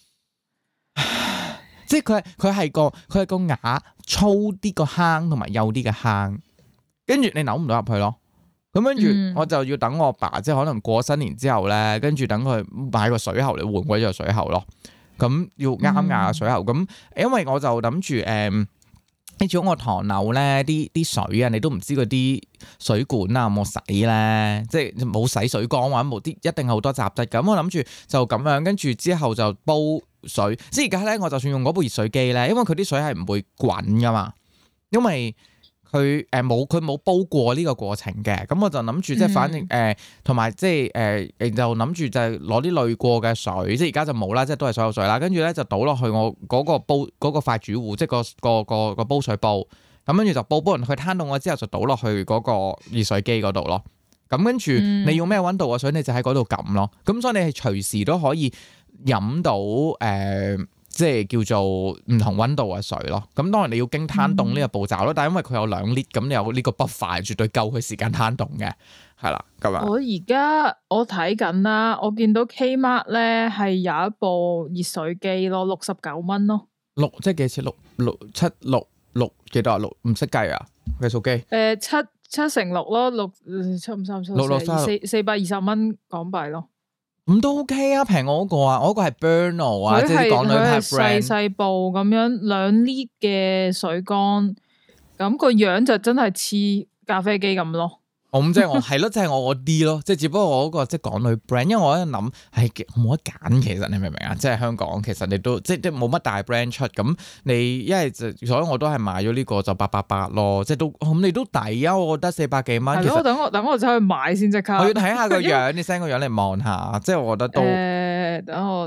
即係佢係個牙粗啲個坑同埋幼啲嘅坑，跟住你扭唔到入去咯。咁跟住我就要等我爸，即係可能過新年之後咧，跟住等佢買個水喉嚟換鬼咗個水喉咯。咁要啱牙嘅水喉。咁因為我就諗住你似我唐樓咧啲水啊，你都唔知嗰啲水管啊有冇洗咧，即係冇洗水缸或者冇啲一定係好多雜質。咁我諗住就咁樣，跟住之後就煲水。即係而家咧，我就算用嗰部熱水機咧，因為佢啲水係唔會滾噶嘛，因為佢冇煲過呢個過程嘅，咁我就諗住即係反正同埋即係就諗住就係攞啲濾過嘅水，即係而家就冇啦，即係都係所有水啦。跟住咧就倒落去我嗰個煲嗰個快煮壺，即係個煲水煲。咁跟住就煲完佢攤凍咗之後，就倒落去嗰個熱水機嗰度咯。咁跟住你要咩溫度嘅水，你就喺嗰度撳咯。咁所以你係隨時都可以飲到即係叫做唔同溫度嘅水咯，咁當然你要經攤凍呢個步驟咯，但係因為佢有2 lit，咁你有呢個buffer，絕對夠佢時間攤凍嘅，係啦咁樣。我睇緊啦，我見到 Kmart 咧係有一部熱水機咯，69蚊咯。即係幾錢？6幾多啊？唔識計啊？計數機。7乘6咯，6,753,420蚊港幣咯。咁都 OK 啊，平我嗰個啊，我嗰個係 Bernal 啊，即係港女牌 brand，細部咁樣2 lit 嘅水缸，咁個樣就真係似咖啡機咁咯。 咁即係我係咯，即係我嗰啲咯，即係只不過我嗰個即係港女 brand，因為我喺度諗係冇得揀，其實你明唔明啊？即係香港其實你都即係冇乜大 brand 出，咁你一係就所以我都係買咗呢個就888咯，即係都咁你都抵啊！我覺得400幾蚊。係咯， 等我走去買先即刻。 我要睇下個樣，你 send 個樣嚟望下，即係我覺得都等我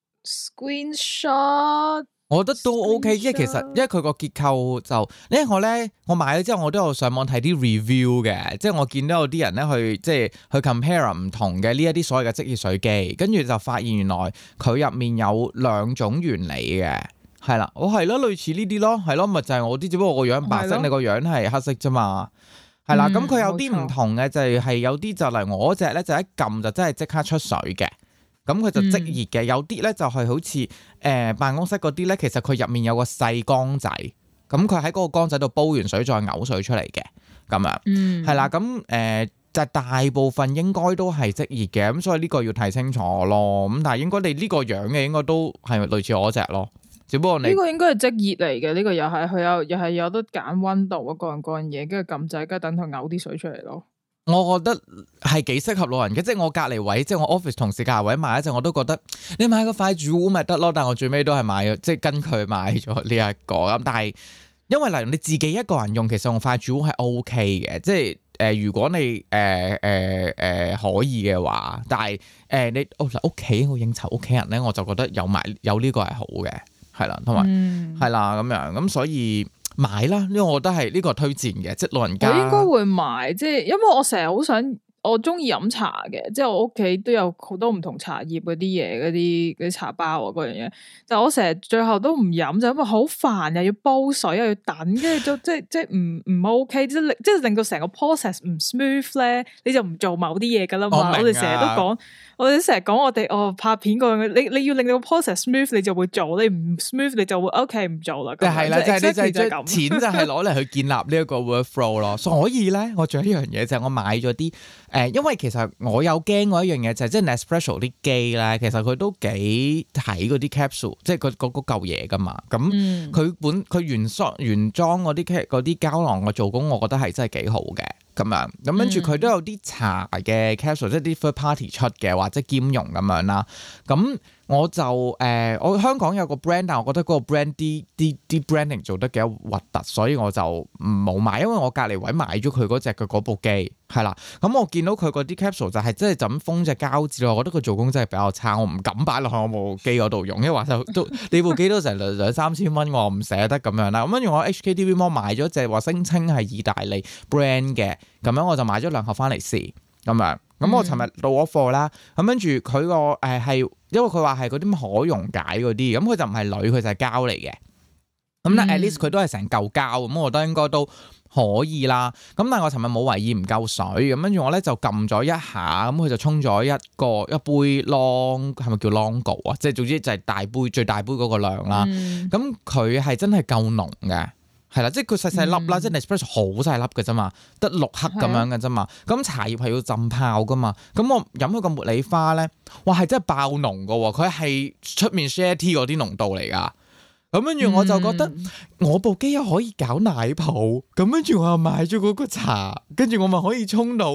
screenshot。 我覺得都 OK， 因為其實因為佢個結構就，因為我買咗之後，我都有上網睇啲 review 嘅，即係我見到有啲人咧去即係去 compare 唔同嘅呢一啲所謂嘅即熱水機，跟住就發現原來佢入面有兩種原理嘅，係啦，我係咯類似呢啲咯，係咯，咪就係我啲，只不過我個樣白色，你個樣係黑色啫嘛，係啦，咁佢有啲唔同嘅就係有啲就嚟我嗰隻咧就一撳就真係即刻出水嘅。咁佢就即熱嘅，有啲咧就係好似辦公室嗰啲咧，其實佢入面有個細缸仔，咁佢喺嗰個缸仔度煲完水再嘔水出嚟嘅，咁樣，係啦，咁就大部分應該都係即熱嘅，咁所以呢個要睇清楚咯。咁但係應該你呢個樣嘅應該都係類似我隻咯，只不過你呢個應該係即熱嚟嘅，呢個又係佢又係有得揀溫度啊，各樣嘢，跟住撳掣，跟住等佢嘔啲水出嚟咯。 我覺得係幾適合老人嘅，即係我隔離位，即係我 office 同事隔離位買一陣，我都覺得你買個快煮壺咪得咯。但係我最尾都係買咗，即係跟佢買咗呢一個咁。但係因為例如你自己一個人用，其實用快煮壺係 OK 嘅，即係如果你可以嘅話，但係你屋企我應酬屋企人咧，我就覺得有呢個係好嘅，係啦，同埋係啦咁樣咁，所以。買啦，因為我覺得係呢個推薦嘅，即係老人家。我應該會買，即係因為我成日好想，我中意飲茶嘅，即係我屋企都有好多唔同茶葉嗰啲嘢，嗰啲茶包啊嗰樣嘢。但係我成日最後都唔飲，就因為好煩，又要煲水，又要等，跟住就即係唔 OK，即係令到成個 process 唔 smooth 咧，你就唔做某啲嘢噶啦嘛。我哋成日都講。我哋成日講我哋拍片嗰樣，你要令到個 process smooth，你就會做；你唔 smooth，你就會 OK 唔做啦。 係啦，就係你就係咁， 錢就係攞嚟去建立呢一個 workflow 咯。所以咧，我仲有一樣嘢就係我買咗啲因為其實我有驚過一樣嘢就係即係 Nespresso 啲機咧，其實佢都幾睇嗰啲 capsule，即係嗰嚿嘢噶嘛。咁佢原裝嗰啲膠囊嘅做工，我覺得係真係幾好嘅。咁樣，咁跟住佢都有啲茶嘅 capsule，即係啲 third party 出嘅或者兼容咁樣啦。咁我就我香港有個 brand， 但係我覺得嗰個 brand 啲 branding 做得幾核突，所以我就冇買。因為我隔離位買咗佢嗰隻嘅嗰部機，係啦。咁我見到佢嗰啲 capsule 就係真係就咁封隻膠紙咯。我覺得佢做工真係比較差，我唔敢擺落去我部機嗰度用，因為話都你部機都成2,000-3,000蚊，我唔捨得咁樣啦。咁跟住我 HKTV Mall 買咗隻話聲稱係意大利 brand 嘅，咁樣我就買咗2盒翻嚟試咁樣。咁我尋日到咗貨啦，咁跟住佢個係，因為佢話係嗰啲可溶解嗰啲，咁佢就唔係鋁，佢就係膠嚟嘅。咁但 at least 佢都係成嚿膠，咁我覺得應該都可以啦。咁但係我尋日冇懷疑唔夠水，咁跟住我咧就撳咗一下，咁佢就沖咗一杯 long， 係咪叫 longo 啊？即係總之就係大杯最大杯嗰個量啦。咁佢係真係夠濃嘅。係啦，即係佢細細粒啦，即係 Nespresso 好細粒嘅啫嘛，得6克咁樣嘅啫嘛。咁茶葉係要浸泡噶嘛。咁我飲佢個茉莉花咧，哇係真係爆濃噶喎！佢係出面 share tea 嗰啲濃度嚟噶。咁跟住我就覺得我部機又可以搞奶泡，咁跟住我又買咗嗰個茶，跟住我咪可以沖到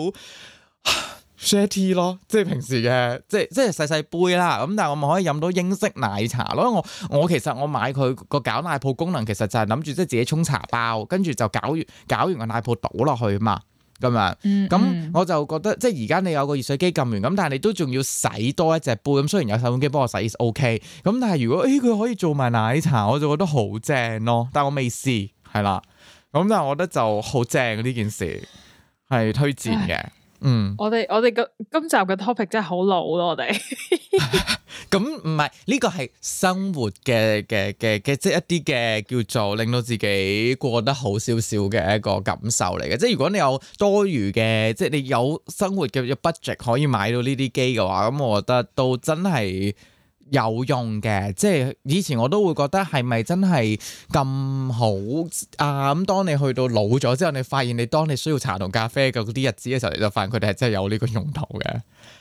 share tea 咯，即係平時嘅，即係細細杯啦。咁但係我咪可以飲到英式奶茶咯。我其實我買佢個攪奶泡功能，其實就係諗住即係自己沖茶包，跟住就攪完個奶泡倒落去嘛，咁樣。咁我就覺得即係而家你有個熱水機撳完，咁但係你都仲要洗多一隻杯。咁雖然有洗碗機幫我洗 OK，咁但係如果佢可以做埋奶茶，我就覺得好正咯。但係我未試，係啦。咁但係我覺得就好正呢件事，係推薦嘅。我哋今集嘅 topic 真係好老咯，我哋咁唔係呢個係生活嘅即係一啲嘅叫做令到自己過得好少少嘅一個感受嚟嘅。即係如果你有多餘嘅，即係你有生活嘅 budget 可以買到呢啲機嘅話，咁我覺得都真係有用嘅。即係以前我都會覺得係咪真係咁好啊？咁當你去到老咗之後，你發現當你需要茶同咖啡嘅嗰啲日子嘅時候，你就發現佢哋係真係有呢個用途嘅。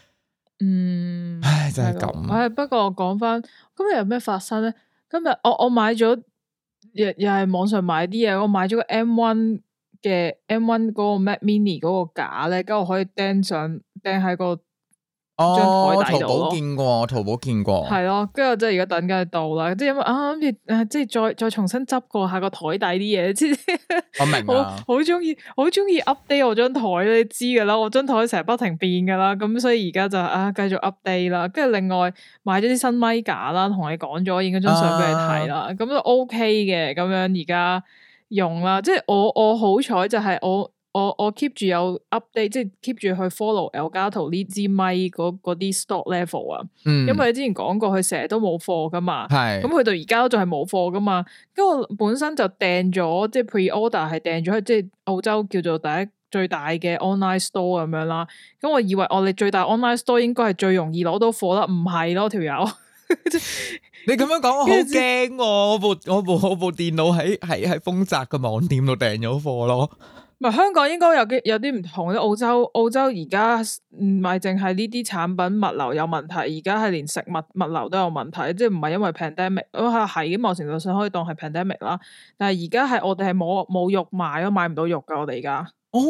唉，真係咁。 不過我講翻今日有咩發生咧？今日我買咗又係網上買啲嘢，我買咗個 M1 嘅 M1 嗰個 Mac Mini 嗰個架咧，跟住我可以釘喺個張台底度咯。 淘寶見過， 係咯，跟住我即係而家等緊佢到啦，即係因為諗住即係再重新執過下個台底啲嘢，即係我明啊， 好中意 update 我張台，你知噶啦，我張台成日不停變噶啦，咁所以而家就繼續 update 啦，跟住另外買咗啲新咪架啦，同你講咗，影咗張相俾你睇啦，咁就 OK 嘅，咁樣而家用啦，即係我好彩就係我 keep 住有 update，即係 keep 住去 follow Elgato 呢支咪嗰啲 stock level 啊，因為你之前講過佢成日都冇貨噶嘛，咁佢到而家都仲係冇貨噶嘛，跟住我本身就訂咗，即係 pre-order 係訂咗去即係澳洲叫做最大嘅 online store 咁樣啦，咁我以為我哋最大 online store 應該係最容易攞到貨啦，唔係咯條友。 你咁樣講我好驚喎，我部電腦喺豐澤嘅網店度訂咗貨咯。 唔係香港應該有啲唔同咧，澳洲而家唔係淨係呢啲產品物流有問題，而家係連食物流都有問題，即係唔係因為 pandemic， 係某程度上可以當係 pandemic 啦。但係而家係我哋係冇肉賣咯，買唔到肉噶我哋而家。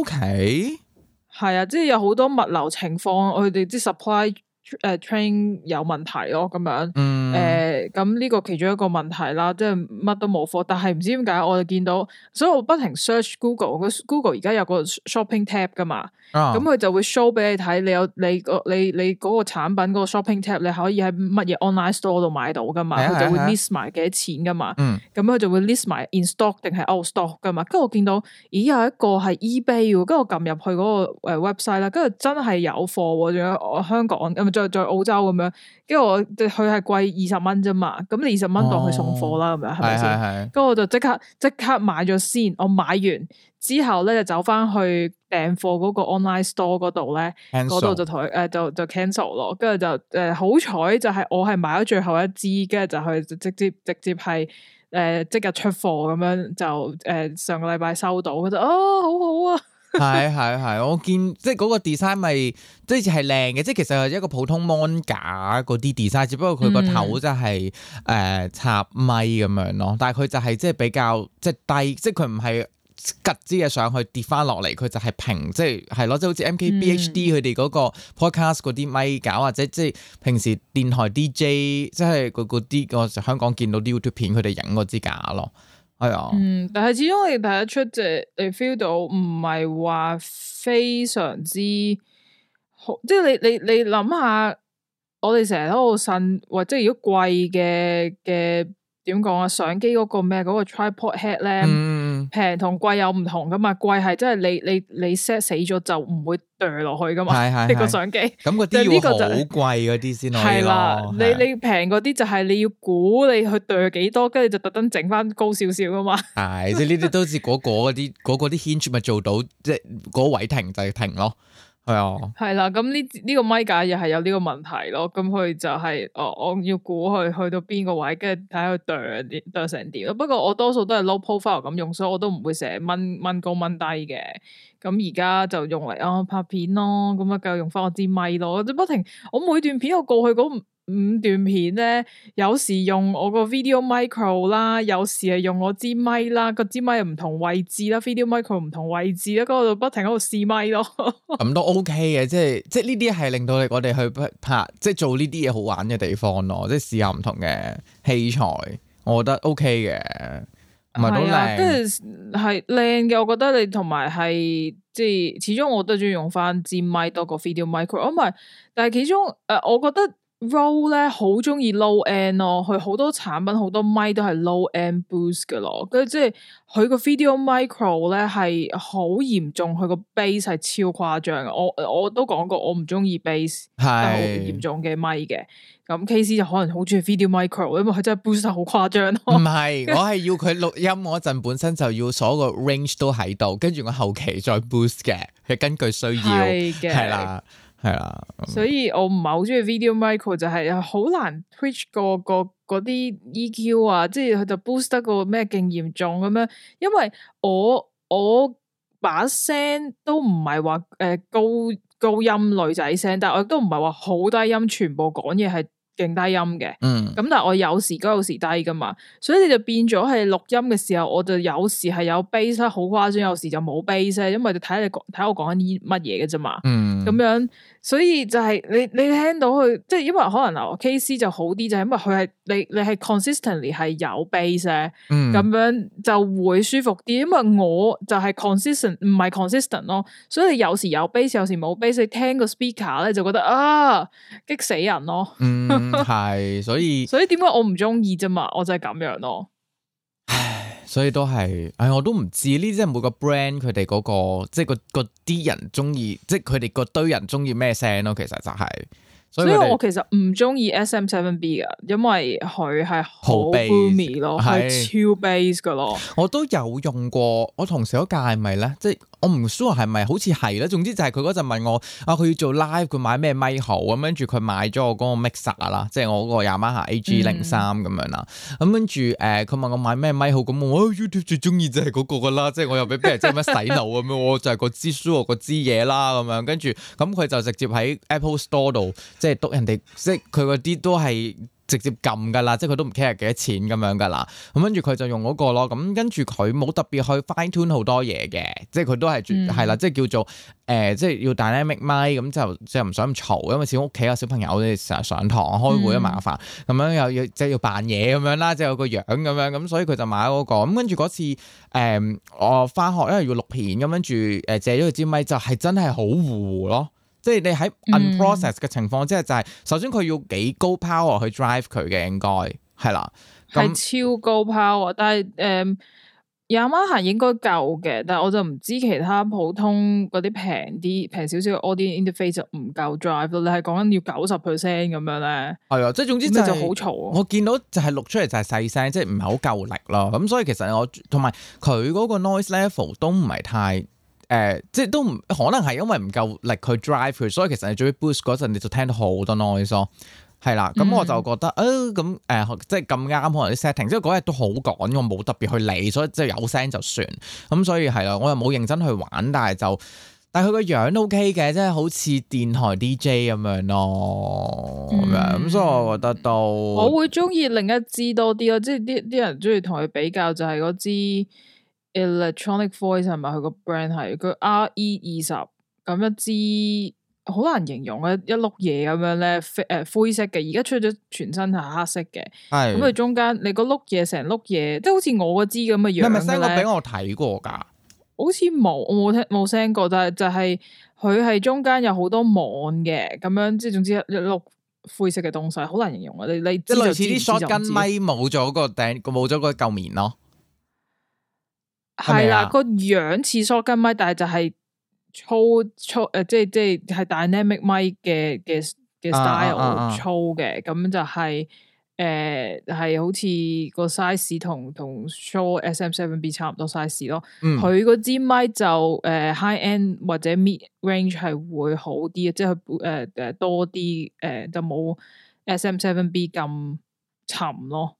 OK， 係啊，即係有好多物流情況，佢哋啲 supply train 有問題咯，咁樣。咁呢個其中一個問題啦，即係乜都冇貨，但係唔知點解我哋見到，所以我不停 search Google 而家有個 shopping tab 噶嘛，咁佢就會 show 俾你睇，你嗰個產品嗰個 shopping tab 你可以喺乜嘢 online store 度買到噶嘛，佢就會 list 埋幾多錢噶嘛，咁佢就會 list 埋 in stock 定係 out stock 噶嘛，跟住我見到咦有一個係 eBay， 跟住我撳入去嗰個website 啦，跟住真係有貨，仲有香港再澳洲咁樣，跟住佢係貴20蚊啫嘛，咁你20蚊當佢送貨啦，咁樣係咪先？跟住我就即刻買咗先，我買完之後咧就走翻去訂貨嗰個 online store 嗰度咧，嗰度就同佢就 cancel 咯，跟住就好彩就係我係買咗最後一支，跟住就去直接係即日出貨咁樣就上個禮拜收到，我就好好啊！ 係，我見即係嗰個 design 咪即係靚嘅，即係其實係一個普通 mon 架嗰啲 design，只不過佢個頭就係插咪咁樣咯，但係佢就係即係比較即係低，即係佢唔係吉之嘅上去跌翻落嚟，佢就係平，即係咯，即係好似 MKBHD 佢哋嗰個 podcast 嗰啲咪架，或者即係平時電台 DJ 即係嗰啲我香港見到啲 YouTube 片佢哋影嗰支架咯。係啊， 但係始終你睇得出，即係你 feel 到唔係話非常之好，即係你諗下，我哋成日喺度呻，或者如果貴嘅點講啊，相機嗰個咩嗰個 tripod head 咧，平同貴有唔同噶嘛，貴係真係你 set 死咗就唔會掉落去噶嘛，呢個相機， 咁嗰啲要好貴嗰啲先可以咯。係啦， 你平嗰啲就係你要估你去掉幾多，跟住就特登整翻高少少噶嘛。係， 即係呢啲都似嗰啲 hinge 咪做到，即係嗰位停就係停咯。係啊，係啦，咁呢個咪架又係有呢個問題咯，咁佢就係我要估佢去到邊個位，跟住睇下佢剁成點咯。不過我多數都係 low profile 咁用，所以我都唔會成日掹高掹低嘅。咁而家就用嚟拍片咯，咁啊繼續用翻我支咪咯，即不停我每段片我過去嗰5段片咧，有時用我個 video micro 啦，有時係用我支咪啦，個支咪又唔同位置啦 video micro 唔同位置啦，嗰度不停喺度試咪咯。咁都 OK 嘅，即係呢啲係令到我哋去拍，即係做呢啲嘢好玩嘅地方咯，即係試下唔同嘅器材，我覺得 OK 嘅，唔係都靚，跟住係靚嘅，我覺得你同埋係即係始終我都中意用翻支咪多過 video micro，唔係，但係其中我覺得。Rode 咧好中意 low end 咯，佢好多產品好多咪都係 low end boost 嘅咯，跟住即係佢個 video micro 咧係好嚴重，佢個 bass 係超誇張嘅。我都講過我唔中意 bass 係好嚴重嘅咪嘅，咁 KC 就可能好中意 video micro，因為佢真係 boost 得好誇張咯。唔係，我係要佢錄音嗰陣本身就要所有個 range 都喺度，跟住我後期再 boost 嘅，係根據需要係啦。係啦，所以我唔係好中意 video micro，就係好難 pitch 嗰啲 EQ 啊，即係佢就 boost 得個咩勁嚴重咁樣，因為我把聲都唔係話高音女仔聲，但係我亦都唔係話好低音，全部講嘢係勁低音嘅， 咁但係我有時高有時低噶嘛，所以你就變咗係錄音嘅時候，我就有時係有 bass 啦，好誇張，有時就冇 bass，因為就睇我講緊啲乜嘢嘅啫嘛，咁樣，所以就係你聽到佢，即係因為可能KC 就好啲，就係因為佢係你係 consistently 係有 bass，咁樣就會舒服啲，因為我就係 consistent 唔係 consistent 咯，所以你有時有 bass，有時冇 bass，你聽個 speaker 咧就覺得激死人咯。 係，所以點解我唔中意啫嘛？我就係咁樣咯。 唉，所以都係，我都唔知呢啲，即係每個 brand 佢哋嗰個，即係嗰啲人中意，即係佢哋嗰堆人中意咩聲咯。其實就係，所以我其實唔中意 SM7B 噶，因為佢係好 boomy 咯，係超 bass 噶咯。 我都有用過，我同事嗰屆係咪咧？即係我唔 sure 係咪，好似係咧。總之就係佢嗰陣問我佢要做 live，佢買咩咪好咁，跟住佢買咗我嗰個 mixer 啦，即係我嗰個 Yamaha AG03咁樣啦。咁跟住佢問我買咩咪好，咁我 YouTube 最中意就係嗰個噶啦，即係我又俾人即係乜洗腦咁樣，我就係個支 show 個支嘢啦咁樣。跟住咁佢就直接喺 Apple Store 度，即係督人哋，即係佢嗰啲都係直接撳噶啦，即係佢都唔 care 幾多錢咁樣噶啦。咁跟住佢就用嗰個咯。咁跟住佢冇特別去 fine tune 好多嘢嘅，即係佢都係係啦，即係叫做即係要 dynamic mic 咁就即係唔想咁嘈，因為始終屋企有小朋友，你成日上堂開會都麻煩，咁樣又要即係要扮嘢咁樣啦，即係有個樣咁樣，咁所以佢就買嗰個。咁跟住嗰次我翻學因為要錄片，咁跟住借咗佢支咪就係真係好糊咯。即係你喺 unprocess 嘅情況之下，就係首先佢要幾高 power 去 drive 佢嘅，應該係啦， 係超高 power，但係Yamaha 應該夠嘅，但係我就唔知其他普通嗰啲平少少嘅 audio interface 就唔夠 drive 咯。你係講緊要90% 咁樣咧？係啊， 即係總之就好嘈。 我見到就係錄出嚟就係細聲，即係唔係好夠力咯。咁所以其實我同埋佢嗰個 noise level 都唔係太。即係都唔可能係因為唔夠力去 drive 佢，所以其實你最 boost 嗰陣你就聽到好多 noise 咯，係啦。咁我就覺得咁即係咁啱可能啲 setting，即係嗰日都好趕，我冇特別去理，所以即係有聲就算。咁所以係啦，我又冇認真去玩，但係佢個樣都 OK 嘅，即係好似電台 DJ 咁樣咯，咁所以我覺得都我會中意另一支多啲咯，即係啲人中意同佢比較就係嗰支。Electronic Voice 係咪佢個 brand 係佢 RE20咁一支好難形容嘅一碌嘢咁樣咧，灰色嘅，而家出咗全身係黑色嘅，咁佢中間你個碌嘢成碌嘢，即係好似我嗰支咁嘅樣。係咪 send 過俾我睇過㗎？好似冇，我冇 send 過，但係就係佢係中間有好多網嘅，咁樣即係總之一碌灰色嘅東西，好難形容啊！你即係類似啲 shotgun 咪冇咗個頂，冇咗個嚿面咯。係啦，個樣似 shotgun 咪，但係就係粗即係 dynamic 咪嘅 style 粗嘅，咁就係係好似個 size 同 Shure SM7B 差唔多 size 咯。佢嗰支咪就high end 或者 mid range 係會好啲，即係佢多啲就冇 SM7B 咁沉咯。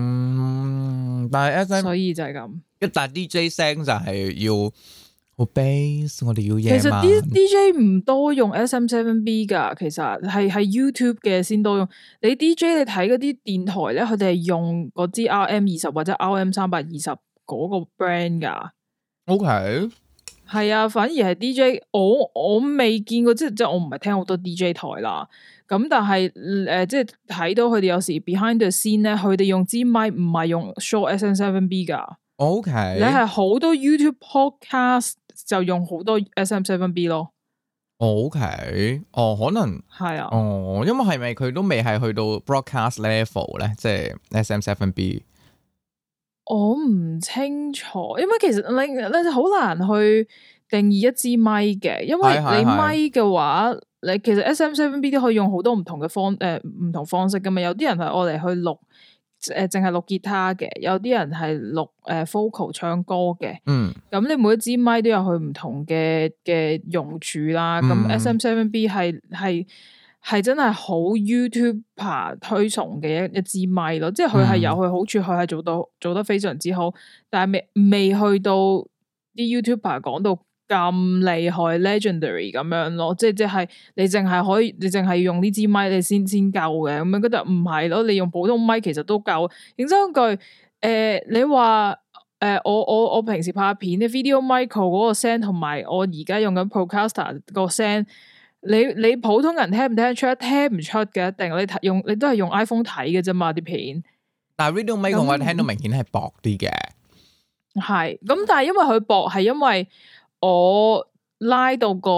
但係所以就係咁。 但 DJ 聲就係要好 bass， 我哋要嘢嘛。 其實啲 DJ 唔多用 SM7B 噶，其實係 YouTube 嘅先多用。你 DJ 你睇嗰啲電台咧，佢哋係用嗰支 RM20或者 RM320嗰個 brand 噶。 OK， 係啊，反而係 DJ，我未見過，即係我唔係聽好多 DJ 台啦。咁但係即係睇到佢哋有時 behind the scene 咧，佢哋用支咪唔係用 Shure SM7B 噶。 OK， 你係好多 YouTube podcast 就用好多 SM7B 咯。OK， 可能係啊。 因為係咪佢都未係去到 broadcast level 咧？即係 SM7B。 我唔清楚，因為其實你好難去定義一支咪嘅，因為你咪嘅話，你其實 SM7B 都可以用好多唔同嘅唔同方式噶嘛。有啲人係愛嚟去錄。淨係錄吉他嘅，有啲人係錄vocal 唱歌嘅。咁你每一支咪都有佢唔同嘅用處啦。咁 SM7B 係真係好 YouTuber 推崇嘅一支咪咯，即係佢係有佢好處，佢係做得非常之好，但係未去到啲 YouTuber 講到咁厲害 legendary 咁樣咯，即係你淨係可以，你淨係用呢支咪你先夠嘅，咁樣覺得唔係咯，你用普通咪其實都夠。認真句，你話我平時拍片啲 video micro 嗰個聲，同埋我而家用緊 Procaster 個聲，你普通人聽唔聽得出？聽唔出嘅，一定你都係用 iPhone 睇嘅啫嘛啲片。但係 video micro 我聽到明顯係薄啲嘅， 係咁，但係因為佢薄，係因為我拉到個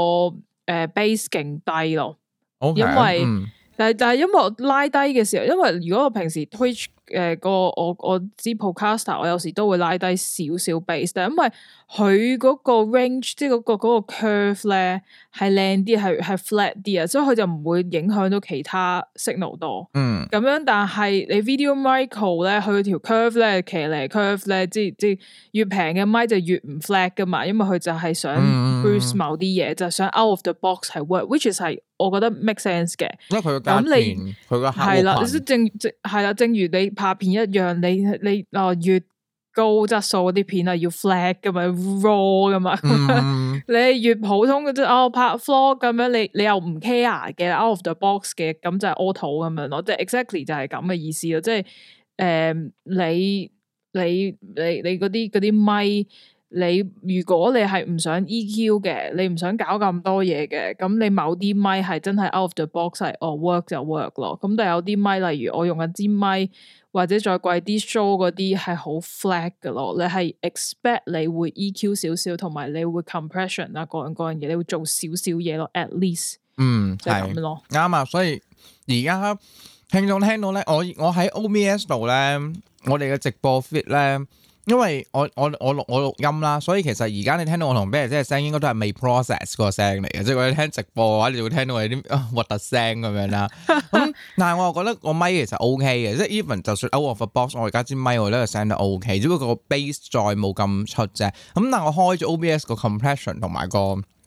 base 勁低咯，okay，因為但係因為我拉低嘅時候，因為如果我平時 Twitch 我知 Procaster 我有時都會拉低少少 base，但係因為佢嗰個 range 即係嗰個 curve 咧係靚啲，係 flat 啲啊，所以佢就唔會影響到其他 signal 多。咁樣，但係你 video micro 咧，佢條 curve 咧，騎呢 curve 咧，即係越平嘅咪就越唔 flat 噶嘛，因為佢就係想 boost 某啲嘢，就係想 out of the box 係 work，which is 係我覺得 make sense 嘅。因為佢個價錢，佢個係啦，正如你拍片一樣，你越高質素嗰啲片係要 flat 噶嘛 ，raw 噶嘛，你越普通嘅啫，拍 vlog 咁樣，你又唔 care 嘅 out of the box 嘅，咁就係 auto 咁樣咯，即係 exactly 就係咁嘅意思咯，即係你嗰啲咪。你如果你係唔想 EQ 嘅，你唔想搞咁多嘢嘅，咁你某啲咪係真係 out of the box 係work 就 work 咯。咁但係有啲咪，例如我用緊支咪，或者再貴啲 show 嗰啲係好 flat 㗎咯。你係 expect 你會 EQ 少少，同埋你會 compression 啊，嗰樣嘢，你會做少少嘢咯 ，at least。就係咁咯。啱啊，所以而家聽眾聽到咧，我喺 OBS 度咧，我哋嘅直播 fit 咧。因為我錄音啦，所以其實而家你聽到我同 Bear 姐嘅聲應該都係未 process 個聲嚟嘅，即係如果你聽直播嘅話，你就會聽到有啲核突聲咁樣啦。咁但係我又覺得個咪其實 OK 嘅，即係 even 就算 out of the box，我而家支咪我覺得個聲都 OK，只不過個 bass 再冇咁出啫。咁但係我開咗 OBS 個 compression 同埋個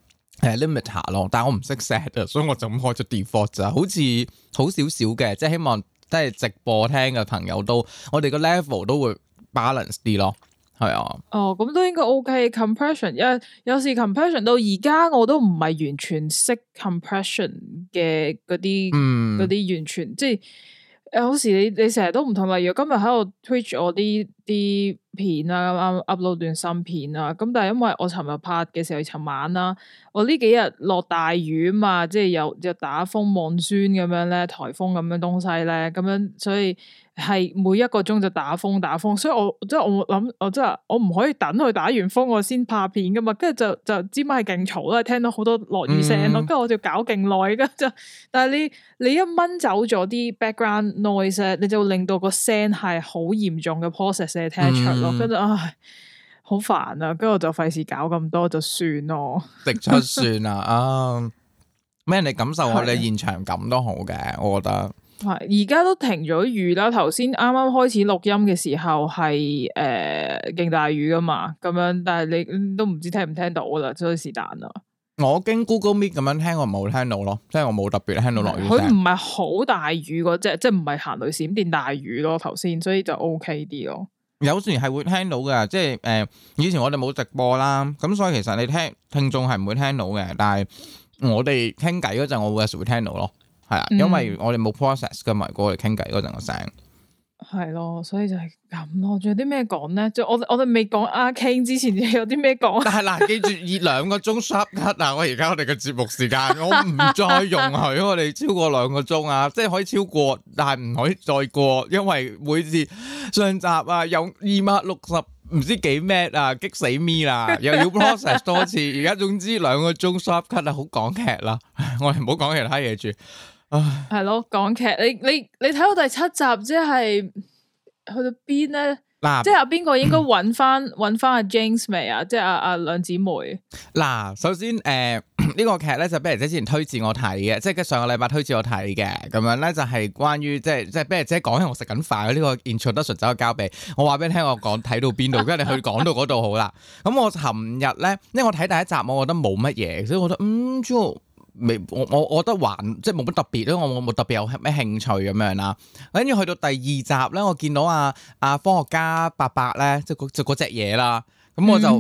limiter 咯，但係我唔識 set 啊，所以我就咁開咗 default 咋，好似好少少嘅，即係希望即係直播聽嘅朋友都，我哋個 level 都會balance 啲咯，係啊。 咁都應該 OK。compression 有時 compression 到而家我都唔係完全識 compression 嘅嗰啲完全即係有時你成日都唔同。例如今日喺度 Twitch 我啲片啊，啱 upload 段新片啊，咁但係因為我尋日拍嘅時候，尋晚啦，我呢幾日落大雨啊嘛，即係又打風 monsoon 咁樣咧，颱風咁樣東西咧，咁樣所以係每一個鐘就打風，所以我諗我唔可以等佢打完風我先拍片噶嘛，跟住就知咪係勁嘈啦，聽到好多落雨聲咯，跟住我就搞勁耐，跟住但係你一掹走咗啲 background noise 你就令到個聲係好嚴重嘅 process 你聽得出咯，跟住唉好煩啊，跟住我就費事搞咁多就算咯， 直出算啦咩人哋感受我哋現場感都好嘅，我覺得。 係而家都停咗雨啦，頭先啱啱開始錄音嘅時候係勁大雨噶嘛，咁樣但係你都唔知聽唔聽到噶啦，所以是但啦。 我經 Google Meet 咁樣聽，我冇聽到咯，即係我冇特別聽到落雨聲。 佢唔係好大雨嗰隻，即係唔係行雷閃電大雨咯，頭先，所以就 OK 啲咯。 有時係會聽到嘅，即係以前我哋冇直播啦，咁所以其實你聽眾係唔會聽到嘅，但係我哋傾偈嗰陣，我會有時會聽到咯。係啊，因為我哋冇 process 噶嘛，過嚟傾偈嗰陣個聲。 係咯，所以就係咁咯。仲有啲咩講咧？我哋未講阿 King 之前，有啲咩講？但係嗱，記住以2個鐘 sharp cut 啊！我而家我哋嘅節目時間，我唔再容許我哋超過2個鐘啊！即係可以超過，但係唔可以再過，因為每次上集啊有260唔知幾 M 啊，激死 me 啦！又要 process 多次，而家總之2個鐘 sharp cut 啊，好講劇啦！我哋唔好講其他嘢住。係咯，港劇你睇到第7集，即係去到邊咧？嗱，即係邊個應該揾翻阿 James 未啊？即係阿兩姊妹。 嗱，首先呢個劇咧就Bear姐之前推薦我睇嘅，即係上個禮拜推薦我睇嘅，咁樣咧就係關於即係Bear姐講起我食緊飯呢個 introduction 就交俾我話俾你聽，我講睇到邊度，跟住你去講到嗰度好啦。咁我尋日咧，因為我睇第1集，我覺得冇乜嘢，所以我覺得我覺得還即係冇乜特別，因為我冇特別有咩興趣咁樣啦。跟住去到第2集咧，我見到科學家伯伯咧，即係嗰隻嘢啦。咁我就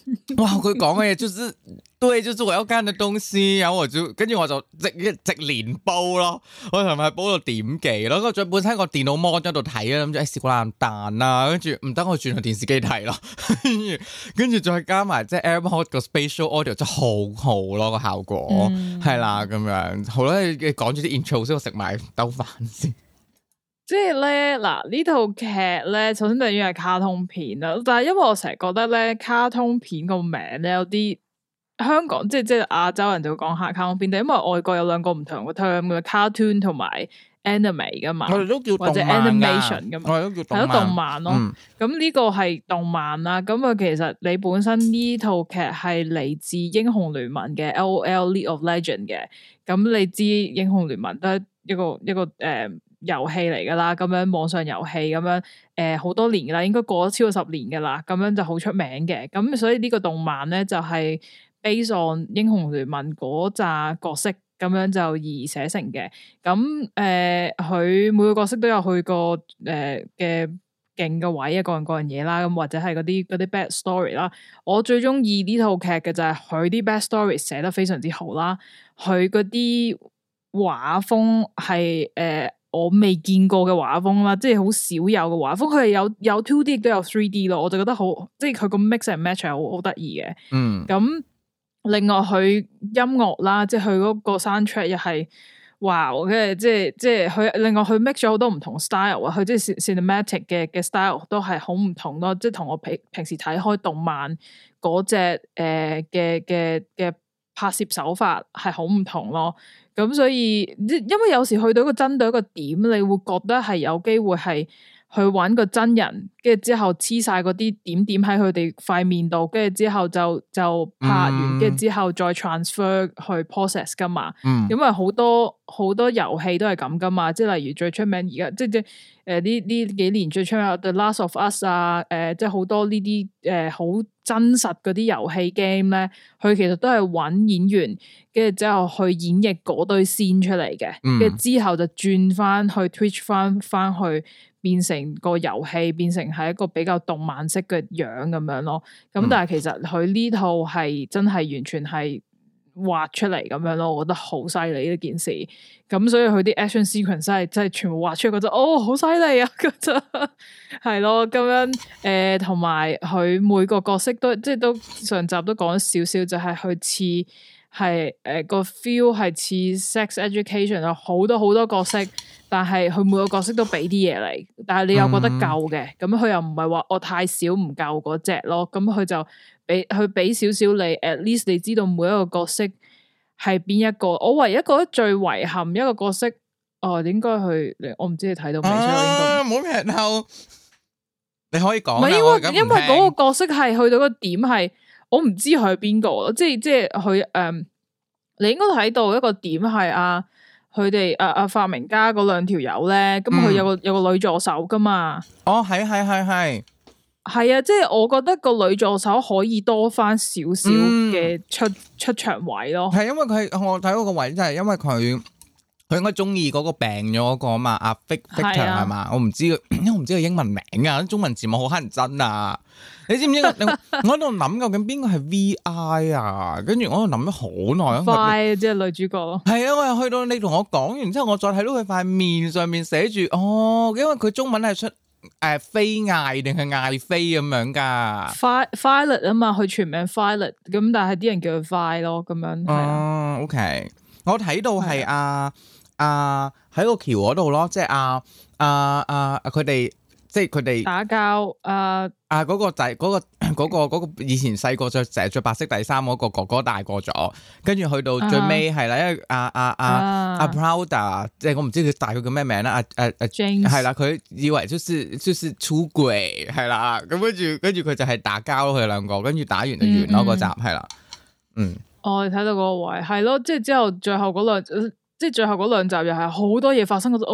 哇！佢講嘅嘢就是對，就是我要幹嘅東西，然後我就跟住我就直連煲咯，我同埋煲到點幾咯，我再本身個電腦 mon 喺度睇啦，諗住試過爛蛋啦，跟住唔得我轉去電視機睇咯，跟住再加埋即係 AirPod 個 Spatial Audio 真係好好咯個效果，係啦咁樣，好啦，你講住啲 intro 先，我食埋兜飯先。 即係咧，嗱呢套劇咧，首先就要係卡通片啦。但係因為我成日覺得咧，卡通片個名咧有啲香港即係亞洲人就會講下卡通片，但因為外國有兩個唔同嘅 term 嘅 cartoon 同埋 anime 噶嘛， 我哋都叫或者 animation 噶嘛， 我哋都叫係咯動漫咯。咁呢個係動漫啦。咁啊，其實你本身呢套劇係嚟自英雄聯盟嘅 LOL League of Legends 嘅。咁你知英雄聯盟都係一個遊戲嚟噶啦，咁樣網上遊戲咁樣，好多年噶啦，應該過咗超過10年噶啦，咁樣就好出名嘅。咁所以呢個動漫咧就係 based on 英雄聯盟嗰扎角色咁樣就而寫成嘅。咁佢每個角色都有佢個嘅勁嘅位啊，各樣嘢啦，咁或者係嗰啲 back story 啦。我最中意呢套劇嘅就係佢啲 back story 寫得非常之好啦，佢嗰啲畫風係我未見過嘅畫風啦，即係好少有嘅畫風，佢係有 2D 亦都有 3D 咯，我就覺得好，即係佢個 mix and match 係好得意嘅。咁另外佢音樂啦，即係佢嗰個 soundtrack 又係哇，跟住即係佢另外佢 mix 咗好多唔同 style 啊，佢即係 cinematic 嘅 style 都係好唔同咯，即係同我平時睇開動漫嗰隻嘅拍攝手法係好唔同咯。咁所以，因為有時去到一個針對一個點，你會覺得係有機會係去揾個真人，跟住之後黐晒嗰啲點點喺佢哋塊面度，跟住之後就拍完，跟住之後再 transfer 去 process 噶嘛。因為好多遊戲都係咁噶嘛，即係例如最出名而家即呢幾年最出名 The Last of Us 啊，即係好多呢啲好真實嗰啲遊戲 game 咧，佢其實都係揾演員，跟住之後去演繹嗰堆 scene 出嚟嘅，跟住之後就轉翻去 Twitch 翻去變成個遊戲，變成係一個比較動漫式嘅樣咁樣咯。咁但係其實佢呢套係真係完全係畫出嚟咁樣咯，我覺得好犀利呢件事。咁所以佢啲 action sequence 真係全部畫出嚟，覺得哦好犀利啊，覺得係咯咁樣。同埋佢每個角色都即係都上集都講咗少少，就係佢似係個 feel 係似 sex education 有好多角色，但係佢每個角色都俾啲嘢嚟，但係你又覺得夠嘅，咁佢又唔係話我太少唔夠嗰隻咯，咁佢就俾少少你 ，at least 你知道每一個角色係邊一個。我唯一覺得最遺憾一個角色，應該去，我唔知你睇到未？唔好劇透，你可以講。 唔係因為嗰個角色係去到個點係，我唔知佢係邊個，即係佢你應該睇到一個點係佢哋發明家嗰兩條友咧，咁佢有個女助手噶嘛？ 哦，係啊，即係我覺得個女助手可以多翻少少嘅出場位咯。 係因為我睇嗰個位就係因為佢應該中意嗰個病咗嗰個啊嘛，阿 Victor 係嘛？我唔知，因為我唔知佢英文名啊，中文字幕好乞人憎啊！你知唔知我喺度諗究竟邊個係 VI 啊？跟住我喺度諗咗好耐。 快即係女主角咯。係啊，我又去到你同我講完之後，我再睇到佢塊面上面寫住因為佢中文係出飛艾定係艾飛咁樣噶。 Violet 啊嘛，佢全名 Violet，咁但係啲人叫佢 Vi 咯，咁樣係啊。 OK，我睇到係喺個橋嗰度咯，即係佢哋。即係佢哋打交嗰個就係嗰個以前細個成日着白色底衫嗰個哥哥大個咗，跟住去到最尾係啦，因為阿 Prouder 即係我唔知佢大概叫咩名啦，James 係啦，佢以為就是出軌係啦，咁跟住佢就係打交佢哋兩個，跟住打完就完咯，嗰集係啦， 我睇到嗰個位係咯，即係之後最後嗰兩集又係好多嘢發生，你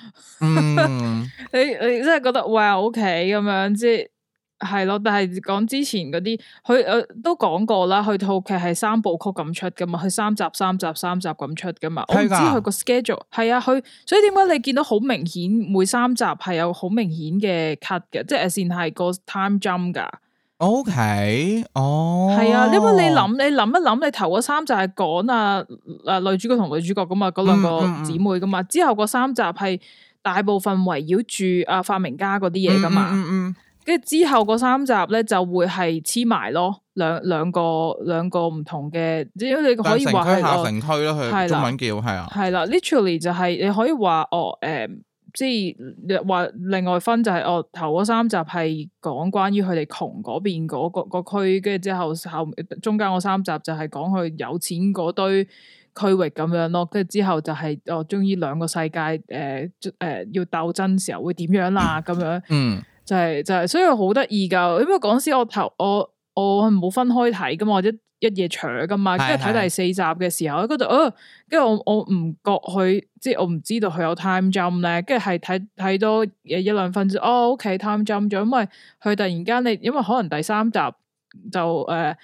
真係覺得哇 OK 咁樣，即係咯。但係講之前嗰啲，佢都講過啦，佢套劇係3部曲咁出噶嘛，佢3集咁出噶嘛。我唔知佢個 schedule 係啊，佢所以點解你見到好明顯每3集係有好明顯嘅 cut 嘅，即係先係個 time jump 噶。 OK， 哦， 係啊，因為你諗一諗，你頭嗰三集係講女主角同女主角噶嘛，嗰兩個姊妹噶嘛，之後嗰三集係大部分圍繞住發明家嗰啲嘢噶嘛，跟住之後嗰三集咧就會係黐埋咯，兩個唔同嘅，即係你可以話係下城區咯，佢中文叫係啊，係啦 ，literally 就係你可以話即係話另外分就係頭嗰三集係講關於佢哋窮嗰邊嗰個區，跟住之後中間嗰三集就係講佢有錢嗰堆區域咁樣咯，跟住之後就係終於兩個世界要鬥爭時候會點樣啦咁樣，就係所以好得意噶，因為嗰時我係冇分開睇噶嘛，或者一夜長噶嘛，跟住睇第四集嘅時候，嗰度跟住我唔覺佢，即係我唔知道佢有 time jump 咧，跟住係睇多一兩分鐘，OK time jump 咗，因為佢突然間因為可能第三集就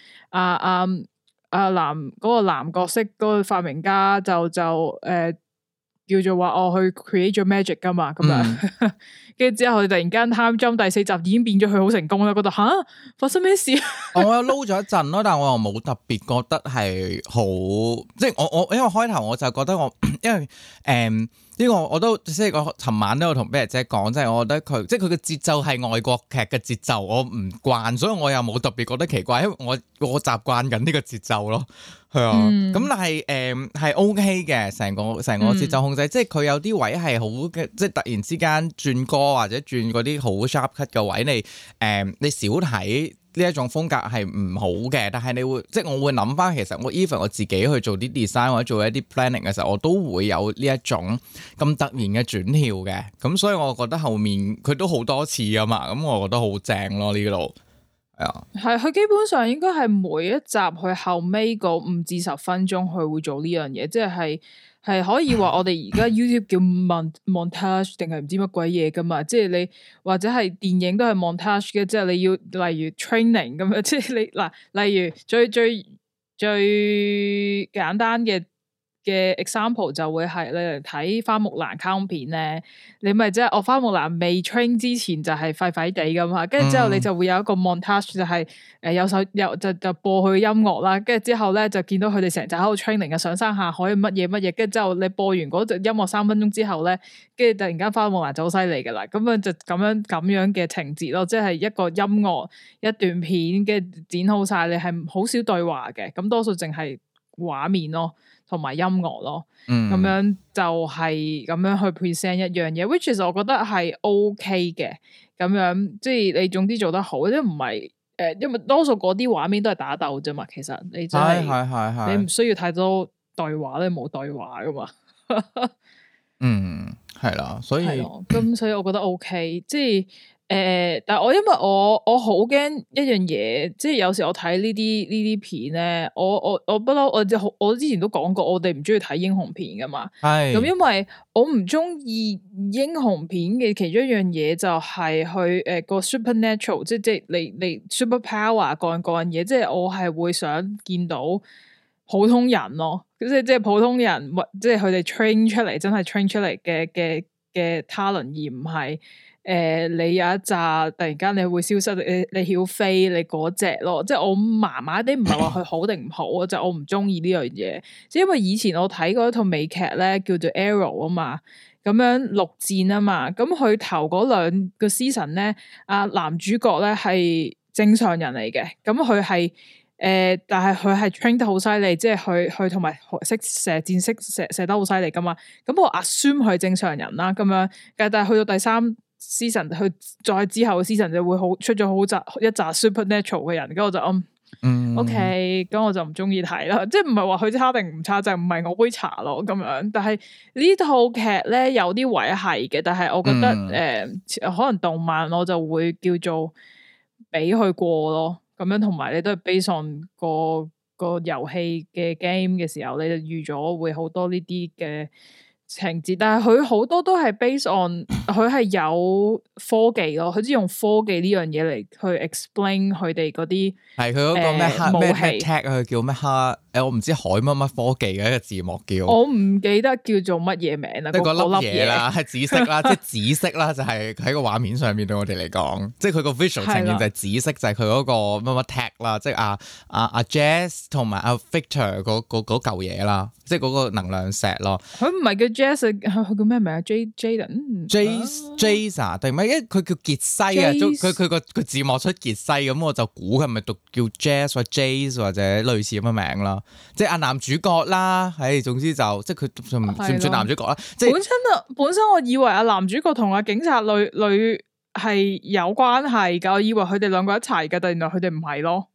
男嗰個男角色嗰個發明家就叫做話去 create 咗 magic 噶嘛，咁樣，跟住之後突然間 time jump 第四集已經變咗佢好成功啦，覺得吓發生咩事？我有撈咗一陣咯，但係我又冇特別覺得係好，即係我因為開頭我就覺得因為呢個我都即係我尋晚都有同 Bear 姐講，即係我覺得佢即係佢嘅節奏係外國劇嘅節奏，我唔慣，所以我又冇特別覺得奇怪，因為我習慣緊呢個節奏咯，係啊，咁但係係 OK 嘅，成個節奏控制，即係佢有啲位係好嘅，即係突然之間轉歌或者轉嗰啲好 sharp cut 嘅位，你少睇。呢一種風格係唔好嘅，但係你會即係我會諗翻，其實我 even 我自己去做啲 design 或者做一啲 planning 嘅時候，我都會有呢一種咁突然嘅轉跳嘅，咁所以我覺得後面佢都好多次啊嘛，咁我覺得好正咯呢度係啊，係佢基本上應該係每一集佢後尾個5至10分鐘佢會做呢樣嘢，即係可以話我哋而家 YouTube 叫 montage 定係唔知乜鬼嘢噶嘛，即係你或者係電影都係 montage 嘅，即係你要例如 training 咁樣，即係你嗱，例如最簡單嘅 example 就會係你嚟睇花木蘭卡通片咧，你咪即係花木蘭未 train 之前就係廢廢地噶嘛，跟住之後你就會有一個 montage 就係有就播佢音樂啦，跟住之後咧就見到佢哋成集喺度 training 嘅上山下海乜嘢，跟住之後你播完嗰隻音樂3分鐘之後咧，跟住突然間花木蘭就好犀利噶啦，咁樣就咁樣嘅情節咯，即係一個音樂一段片嘅剪好晒，你係好少對話嘅，咁多數淨係畫面咯。同埋音樂咯，咁樣就係咁樣去 present 一樣嘢，which 其實我覺得係 OK 嘅，咁樣即係你總之做得好，即係唔係因為多數嗰啲畫面都係打鬥啫嘛，其實你真係你唔需要太多對話咧，冇對話噶嘛， 係啦，所以咁所以我覺得 OK，即係。但係因為我好驚一樣嘢，即係有時我睇呢啲片咧，我不嬲，我之前都講過，我哋唔中意睇英雄片噶嘛。係咁，因為我唔中意英雄片嘅其中一樣嘢就係去個 supernatural，即係你 super power 各樣嘢，即係我係會想見到普通人咯，即係普通人，即係佢哋 train 出嚟，真係 train 出嚟嘅 talent，而唔係。你有一紮突然間你會消失，你曉飛你嗰隻咯，即係我麻麻地，唔係話佢好定唔好啊，就我唔中意呢樣嘢。即係因為以前我睇過一套美劇咧，叫做 Arrow 啊嘛，咁樣陸戰啊嘛，咁佢頭嗰2個 season 咧，男主角咧係正常人嚟嘅，咁佢係但係佢係 train 得好犀利，即係佢同埋識射箭，識射得好犀利噶嘛，咁我 assume 佢係正常人啦，咁樣，但係去到第3 season 去再之後嘅 season 就會出咗一紮 supernatural 嘅人，跟住我就OK，咁我就唔中意睇啦，即係唔係話佢差定唔差，就唔係我杯茶咯咁樣。但係呢套劇咧有啲位係嘅，但係我覺得可能動漫我就會叫做俾佢過咯，咁樣，同埋你都係 base on 個遊戲嘅 game 嘅時候，你就預咗會好多呢啲嘅情節，但係佢好多都係 base on 佢係有科技咯，佢只用科技呢樣嘢嚟去 explain 佢哋嗰啲係佢嗰個咩武器 tech 佢叫咩我唔知海乜乜科技嘅一個字幕叫， 我唔記得叫做乜嘢名啦。 即係嗰粒嘢啦，係紫色啦，即係紫色啦，就係喺個畫面上面對我哋嚟講，即係佢個 visual 呈現就係紫色，就係佢嗰個乜乜 tech 啦，即係阿 Jazz 同埋阿 Victor 嗰嚿嘢啦，即係嗰個能量石咯。佢唔係叫 Jazz， 佢叫咩名啊 ？Jason 定咩？因為佢叫傑西啊，佢個字幕出傑西，咁我就估佢係咪讀叫 Jazz 或 Jays 或者類似咁嘅名啦。即係阿男主角啦，總之就即係佢算唔算男主角啦？即係本身我以為阿男主角同阿警察女係有關係噶，我以為佢哋兩個一齊噶，但原來佢哋唔係咯。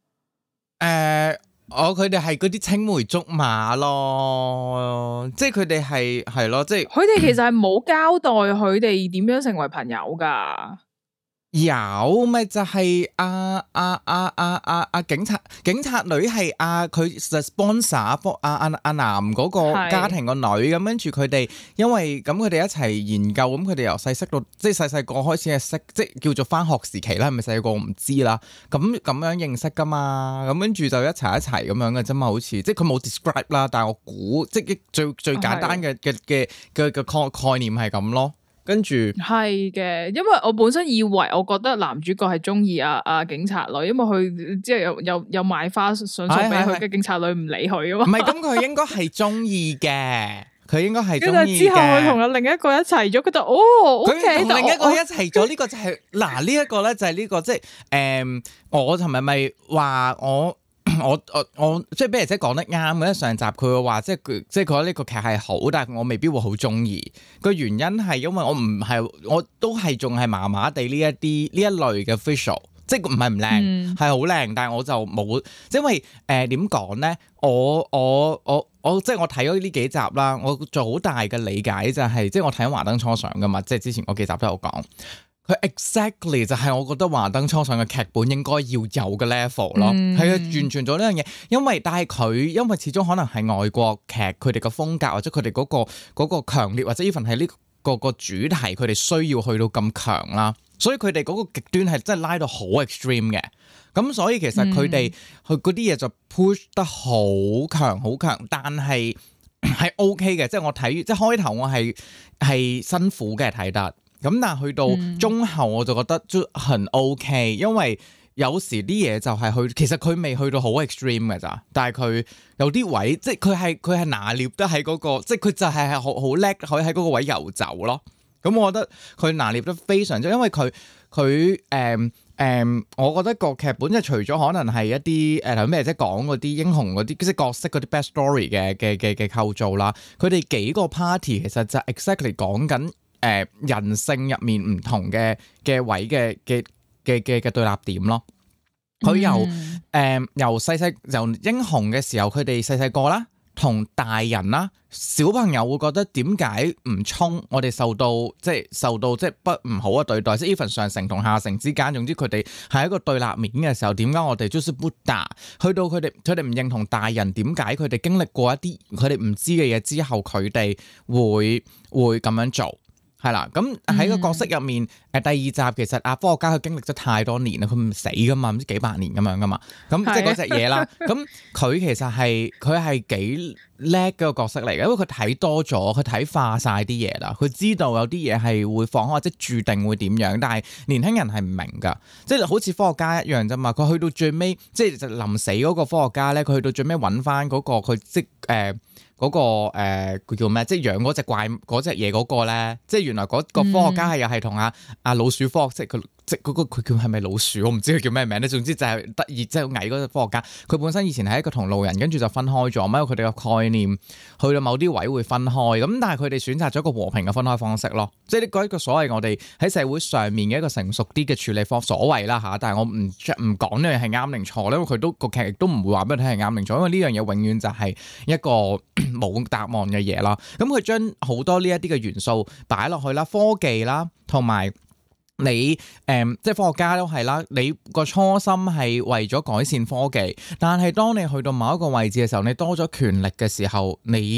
佢哋係嗰啲青梅竹馬咯，即係佢哋係咯，即係佢哋其實係冇交代佢哋點樣成為朋友噶。 有咪就係警察女係佢 sponsor 阿男嗰個家庭個女咁，跟住佢哋因為咁佢哋一齊研究，咁佢哋由細識到即係細個開始係識，即係叫做返學時期啦，係咪細個我唔知啦，咁樣認識噶嘛，咁跟住就一齊咁樣嘅啫嘛，好似即係佢冇 describe 啦，但係我估即係最簡單嘅概念係咁咯。跟住係嘅，因為我本身以為我覺得男主角係中意阿警察女，因為佢即係有買花想送俾佢嘅警察女唔理佢啊嘛。唔係，咁佢應該係中意嘅，佢應該係中意嘅。之後佢同另一個一齊咗，佢就佢同另一個一齊咗，呢個就係嗱呢一個咧就係呢個即係我尋日咪話我即係俾人姐講得啱嘅，上集佢會話即係佢覺得呢個劇係好，但係我未必會好中意。個原因係因為我都係仲係麻麻地呢一類嘅 visual， 即係唔係唔靚，係好靚，但係我就冇，因為點講咧？我即係我睇咗呢幾集啦，我做好大嘅理解就係，即係我睇緊華燈初上噶嘛，即係之前嗰幾集都有講。佢 exactly 就係我覺得華燈初上嘅劇本應該要有嘅 level 咯，係完全做呢樣嘢。因為始終可能係外國劇，佢哋嘅風格或者佢哋嗰個強烈，或者 even 係呢個主題，佢哋需要去到咁強啦。所以佢哋嗰個極端係真係拉到好 extreme 嘅。咁所以其實佢哋佢嗰啲嘢就 push 得好強，但係OK 嘅。即係我睇即係開頭我係辛苦嘅睇得。咁但係去到中後我就覺得都很 OK，因為有時啲嘢就係其實佢未去到好 extreme 嘅咋，但係佢有啲位即係佢係拿捏得喺嗰個，即係佢就係好叻可以喺嗰個位遊走咯。咁我覺得佢拿捏得非常之，因為佢我覺得個劇本即係除咗可能係一啲頭咩即係講嗰啲英雄嗰啲即係角色嗰啲 backstory 嘅構造啦，佢哋幾個 party 其實就 exactly 講緊。人性入面唔同嘅位嘅對立點咯，佢由英雄嘅時候，佢哋細個啦，同大人啦，小朋友會覺得點解唔衝？我哋受到即係不唔好嘅對待，即係 even 上層同下層之間，總之佢哋係一個對立面嘅時候，點解我哋就是不打？去到佢哋唔認同大人，點解佢哋經歷過一啲佢哋唔知嘅嘢之後，佢哋會咁樣做？係啦，咁喺個角色入面，第二集其實科學家佢經歷咗太多年啦，佢唔死噶嘛，唔知幾百年咁樣噶嘛，咁即係嗰隻嘢啦。咁佢其實係幾叻嘅個角色嚟嘅，因為佢睇多咗，佢睇化晒啲嘢啦，佢知道有啲嘢係會放開，或者注定會點樣，但係年輕人係唔明噶，即係好似科學家一樣啫嘛。佢去到最尾，即係臨死嗰個科學家咧，佢去到最尾揾翻嗰個佢嗰個佢叫咩？即係養嗰隻怪嗰隻嘢嗰個咧，即係原來嗰個科學家係又係同阿老鼠科學，即係佢叫係咪老鼠？我唔知佢叫咩名咧。總之就係得意即係矮嗰個科學家，佢本身以前係一個同路人，跟住就分開咗，因為佢哋嘅概念去到某啲位會分開。咁但係佢哋選擇咗一個和平嘅分開方式咯，即係呢個一個所謂我哋喺社會上面嘅一個成熟啲嘅處理方所謂啦嚇。但係我唔講呢樣係啱定錯，因為佢都個劇亦都唔會話俾你聽係啱定錯，因為呢樣嘢永遠就係一個冇答案嘅嘢啦。咁佢將好多呢一啲嘅元素擺落去啦，科技啦，同埋你即係科學家都係啦，你個初心係為咗改善科技，但係當你去到某一個位置嘅時候，你多咗權力嘅時候，你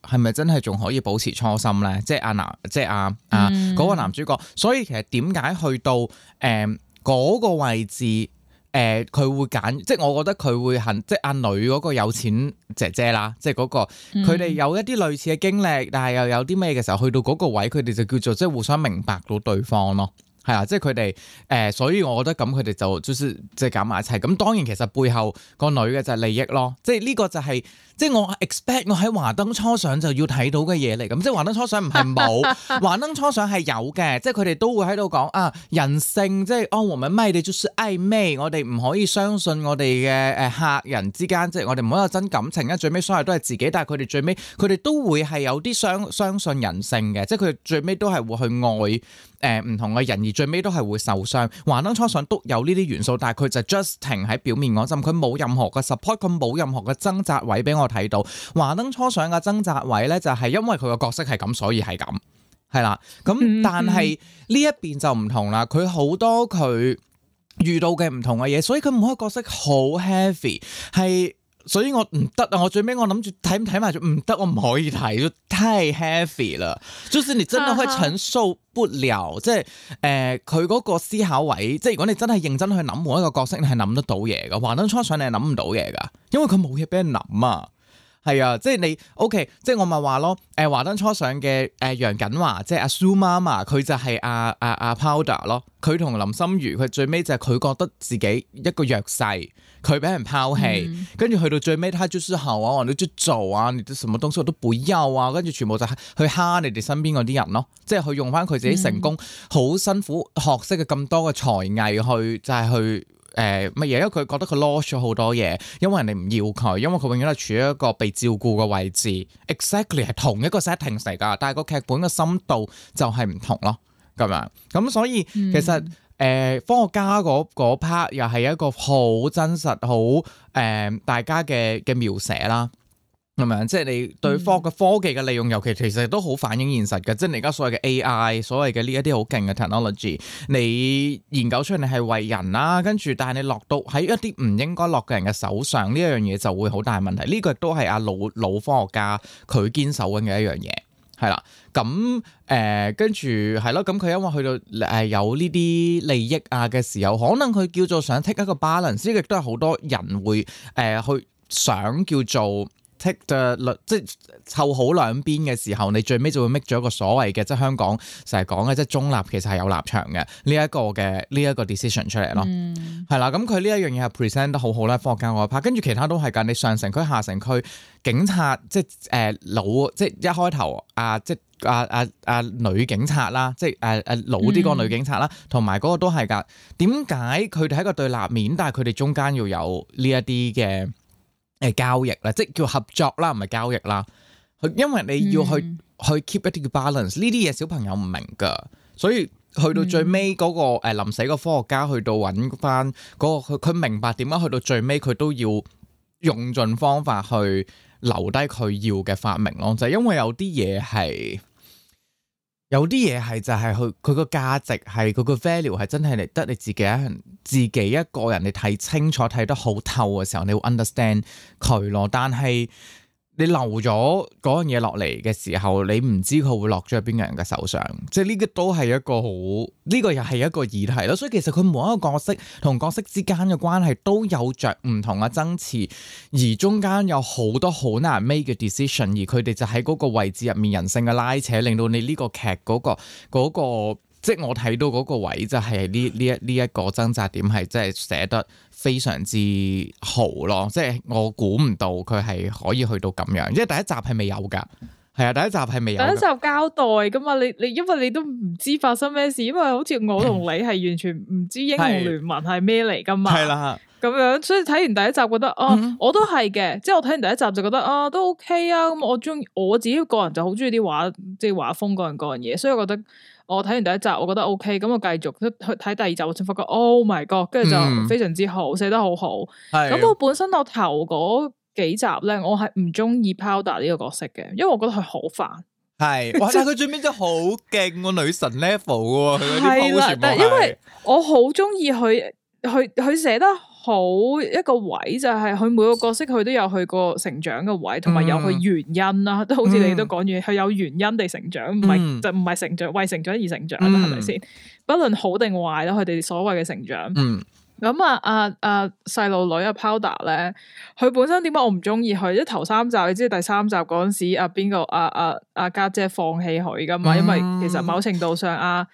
係咪真係仲可以保持初心咧？即係嗰個男主角，所以其實點解去到嗰個位置？佢會揀，即係我覺得佢會即係阿女嗰個有錢姐姐啦，即係嗰個佢哋有一啲類似嘅經歷，但係又有啲咩嘅時候，去到嗰個位，佢哋就叫做即係互相明白到對方咯。係啊，即係佢哋所以我覺得咁佢哋就是即係揀埋一齊。咁當然其實背後個女嘅就係利益咯，即係呢個就係即係我 expect 我喺華燈初上就要睇到嘅嘢嚟。咁即係華燈初上唔係冇，華燈初上係有嘅，即係佢哋都會喺度講啊人性，即係我們賣的就是曖昧，我哋唔可以相信我哋嘅客人之間，即係我哋唔可以有真感情啊。最尾所有都係自己，但係佢哋最尾佢哋都會係有啲相信人性嘅，即係佢哋最尾都係會去愛唔同嘅人，而最尾都係會受傷。華燈初上都有呢啲元素，但係佢就 just 停喺表面嗰陣，佢冇任何嘅 support，佢冇任何嘅掙扎位俾我睇到。華燈初上嘅掙扎位咧，就係因為佢個角色係咁，所以係咁，係啦。咁但係呢一邊就唔同啦，佢好多佢遇到嘅唔同嘅嘢，所以佢每一個角色好 heavy 係。所以我唔得啊！我最尾我諗住睇埋咗，唔得，我唔可以睇，就太 heavy 啦。就是你真係會承受不了，即係佢嗰個思考位，即係如果你真係認真去諗每一個角色，你係諗得到嘢噶。華燈初上你係諗唔到嘢噶，因為佢冇嘢俾人諗啊。係啊，即係你 OK，即係我咪話咯，華燈初上嘅楊謹華，即係阿蘇媽媽，佢就係阿 Powder 咯。佢同林心如，佢最尾就係佢覺得自己一個弱勢，佢俾人拋棄，跟住去到最尾，他就是好啊，我哋都做啊，你啲什麼東西我都不要啊，跟住全部就係去蝦你哋身邊嗰啲人咯，即係去用翻佢自己成功好辛苦學識嘅咁多嘅才藝去，就係去。乜嘢？因為佢覺得佢 lost 咗好多嘢，因為人哋唔要佢，因為佢永遠係處於一個被照顧嘅位置。Exactly 係同一個 setting 嚟㗎，但係個劇本嘅深度就係唔同咯，咁樣。咁所以其實科學家嗰 part 又係一個好真實、好大家嘅描寫啦。係咪？即係你對科技嘅利用，尤其其實都好反映現實嘅。即係你而家所謂嘅 AI，所謂嘅呢一啲好勁嘅 technology，你研究出嚟你係為人啦，跟住但係你落到喺一啲唔應該落嘅人嘅手上，呢一樣嘢就會好大問題。呢個亦都係阿老科學家佢堅守緊嘅一樣嘢，係啦。咁跟住係咯，咁佢因為去到有呢啲利益啊嘅時候，可能佢叫做想 take 一個 balance，呢個亦都係好多人會去想叫做。即係湊好兩邊嘅時候，你最尾就會 make 咗一個所謂嘅，即係香港成日講嘅，即係中立其實係有立場嘅呢一個 decision 出嚟咯，係啦。咁佢呢一樣嘢係 present 得好好啦，科學家嗰 part，跟住其他都係㗎。你上城區、下城區警察，即係即係一開頭即係女警察啦，即係老啲個女警察啦，同埋嗰個都係㗎。點解佢哋喺個對立面，但係佢哋中間要有呢一啲嘅？交易啦，即係叫合作啦，唔係交易啦。因為你要去 keep 一啲嘅 balance，呢啲嘢小朋友唔明噶，所以去到最尾嗰個臨死個科學家去到揾翻嗰個佢明白點解去到最尾佢都要用盡方法去留低佢要嘅發明咯，就係因為有啲嘢係。有啲嘢係就係佢個價值係佢個 value 係真係嚟得你自己一個人你睇清楚睇得好透嘅時候，你會 understand 佢咯。但係你留咗嗰樣嘢落嚟嘅時候，你唔知佢會落咗喺邊個人嘅手上。即係呢個都係一個好，呢個又係一個議題咯。所以其實佢每一個角色同角色之間嘅關係都有着唔同嘅爭持，而中間有好多好難 make 嘅 decision，而佢哋就喺嗰個位置入面人性嘅拉扯，令到你呢個劇嗰個即係我睇到嗰個位就係呢一個掙扎點係真係寫得非常之好咯，即係我估唔到佢係可以去到咁樣，因為第一集係未有㗎，係啊，第一集係未有。第一集交代㗎嘛，你因為你都唔知發生咩事，因為好似我同你係完全唔知英雄聯盟係咩嚟㗎嘛，係啦，咁樣，所以睇完第一集覺得我都係嘅，即係我睇完第一集就覺得都 OK 啊，咁我自己個人就好中意啲畫，即係畫風嗰樣嘢，所以我覺得。我睇完第一集，我覺得 OK，咁我繼續去睇第二集，我先發覺 Oh my God， 跟住就非常之好，寫得好好。咁我本身我頭嗰幾集咧，我係唔中意 Powder 呢個角色嘅，因為我覺得佢好煩。係，哇！但係佢最尾真係好勁喎，女神 level 喎，佢嗰啲 pose 全部係。但係因為我好中意佢寫得好一個位，就係佢每個角色佢都有佢個成長嘅位，同埋有佢原因啦。都好似你都講完，佢有原因地成長，唔係就唔係成長為成長而成長啦，係咪先？不論好定壞啦，佢哋所謂嘅成長。咁細路女Powder 咧，佢本身點解我唔中意佢？即係頭3集，你知第3集嗰陣時，邊個家姐放棄佢噶嘛？因為其實某程度上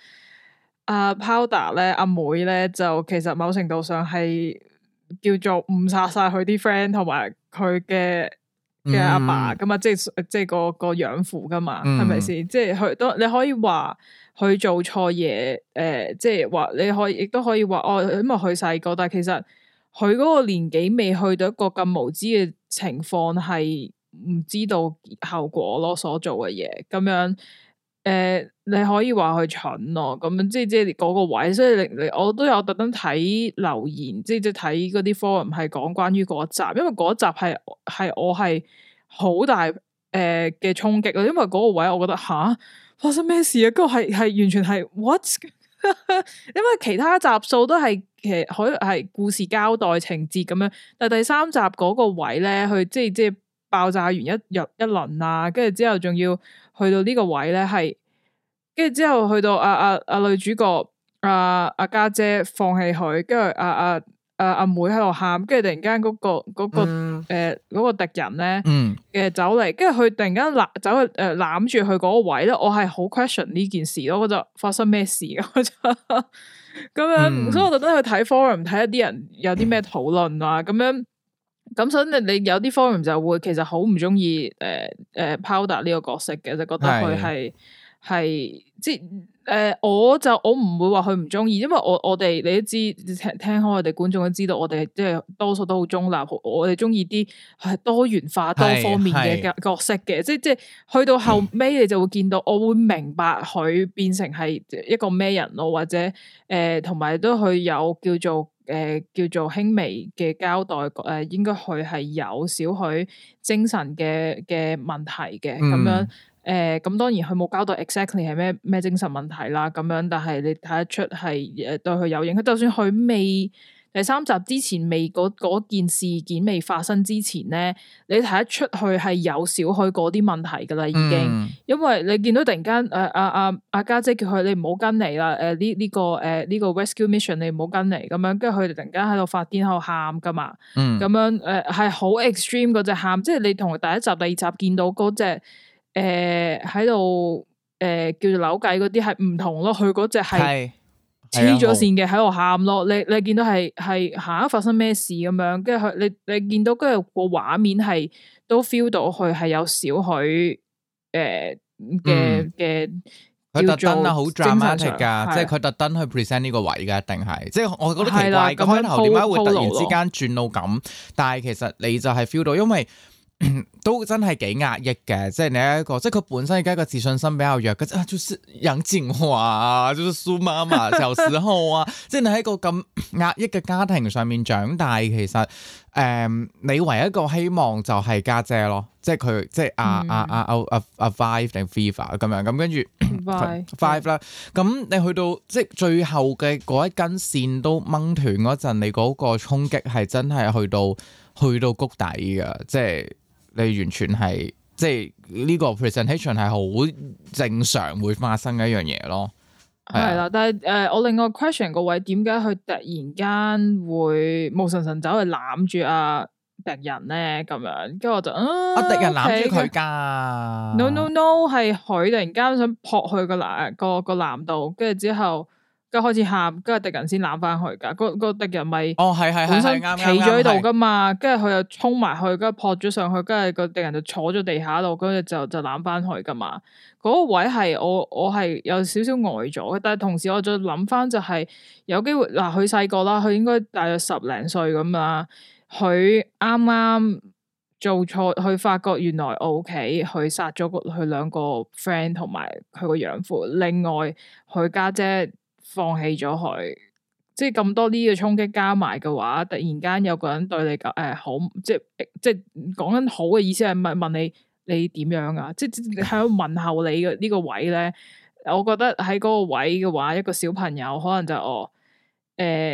Powder 咧，阿妹咧就其實某程度上係叫做誤殺晒佢啲 friend 同埋佢嘅阿爸噶嘛，即係個養父噶嘛，係咪先？即係佢都你可以話佢做錯嘢，即係話你可以亦都可以話哦，因為佢細個，但係其實佢嗰個年紀未去到一個咁無知嘅情況，係唔知道後果咯，所做嘅嘢咁樣。你可以話佢蠢咯，咁樣即係嗰個位，所以你我都有特登睇留言，即係睇嗰啲 forum 係講關於嗰集，因為嗰集係我係好大嘅衝擊咯，因為嗰個位我覺得發生咩事啊？嗰個係完全係 what？ 因為其他集數都係其實可以係故事交代情節咁樣，但係第3集嗰個位咧，佢即係爆炸完一輪啊，跟住之後仲要去到呢個位咧，係跟住之後去到女主角家姐放棄佢，跟住阿妹喺度喊，跟住突然間嗰個敵人咧走嚟，跟住佢突然間走去攬住佢嗰個位咧，我係好 question 呢件事咯，我就發生咩事啊？我就咁樣，所以我特登去睇 forum 睇一啲人有啲咩討論啊，咁樣。咁所以你有啲 forum 就會其實好唔中意Powder 呢個角色嘅，就覺得佢係即我唔會話佢唔中意，因為我哋你都知聽開我哋觀眾都知道，我哋即係多數都好中立，我哋中意啲係多元化多方面嘅角色嘅，即係去到後尾你就會見到，我會明白佢變成係一個咩人咯，或者同埋都佢有叫做輕微嘅交代，應該佢係有少許精神嘅問題嘅咁樣，咁當然佢冇交代 exactly 係咩精神問題啦，咁樣，但係你睇得出係對佢有影響，就算佢未第3集之前未嗰件事件未發生之前咧，你睇得出佢係有少許嗰啲問題噶啦，已經，因為你見到突然間阿家姐叫佢你唔好跟嚟啦，呢個 rescue mission 你唔好跟嚟咁樣，跟住佢哋突然間喺度發癲喺度喊噶嘛，咁樣係好 extreme 嗰隻喊，即係你同第1集第2集見到嗰隻喺度叫做扭計嗰啲係唔同咯，佢嗰隻係。黐咗線嘅喺度喊咯，你見到係發生咩事咁樣，跟住佢你見到跟住個畫面係都 feel 到佢係有少許嘅佢特登好 dramatic 噶，即係佢特登去 present 呢個位噶，一定係，即係我覺得奇怪，開頭點解會突然之間轉到咁？但係其實你就係 feel 到，因為。都真係幾壓抑嘅，即係你一個，即係佢本身而家個自信心比較弱嘅，就是楊謹華啊，就是蘇媽媽小時候啊，即係你喺個咁壓抑嘅家庭上面長大，其實你唯一一個希望就係家姐咯，即係佢即係阿 Five 定 Viva 咁樣，咁跟住 Five 啦，咁你去到即係最後嘅嗰一根線都掹斷嗰陣，你嗰個衝擊係真係去到谷底嘅，即係。你完全係即係呢個 presentation 係好正常會發生嘅一樣嘢咯， 係啦。但係我另外 question 個位，點解佢突然間會無神神走去攬住阿敵人咧？咁樣，跟住我就阿敵人攬住佢㗎。 No，係佢突然間想撲去個男度，跟住之後。跟住開始喊，跟住敵人先攬翻去噶，個敵人咪本身企咗喺度噶嘛，跟住佢又衝埋去，跟住撲咗上去，跟住個敵人就坐咗地下度，跟住就攬翻去噶嘛。嗰個位係我係有少少呆咗嘅，但係同時我再諗翻就係有機會嗱，佢細個啦，佢應該大約10零歲咁啦，佢啱啱做錯，佢發覺原來我屋企佢殺咗佢2個 friend 同埋佢個養父，另外佢家姐。放棄咗佢，即係咁多呢個衝擊加埋嘅話，突然間有個人對你好，即係講緊好嘅意思係問你點樣啊？即係喺度問候你嘅呢個位咧，我覺得喺嗰個位嘅話，一個小朋友可能就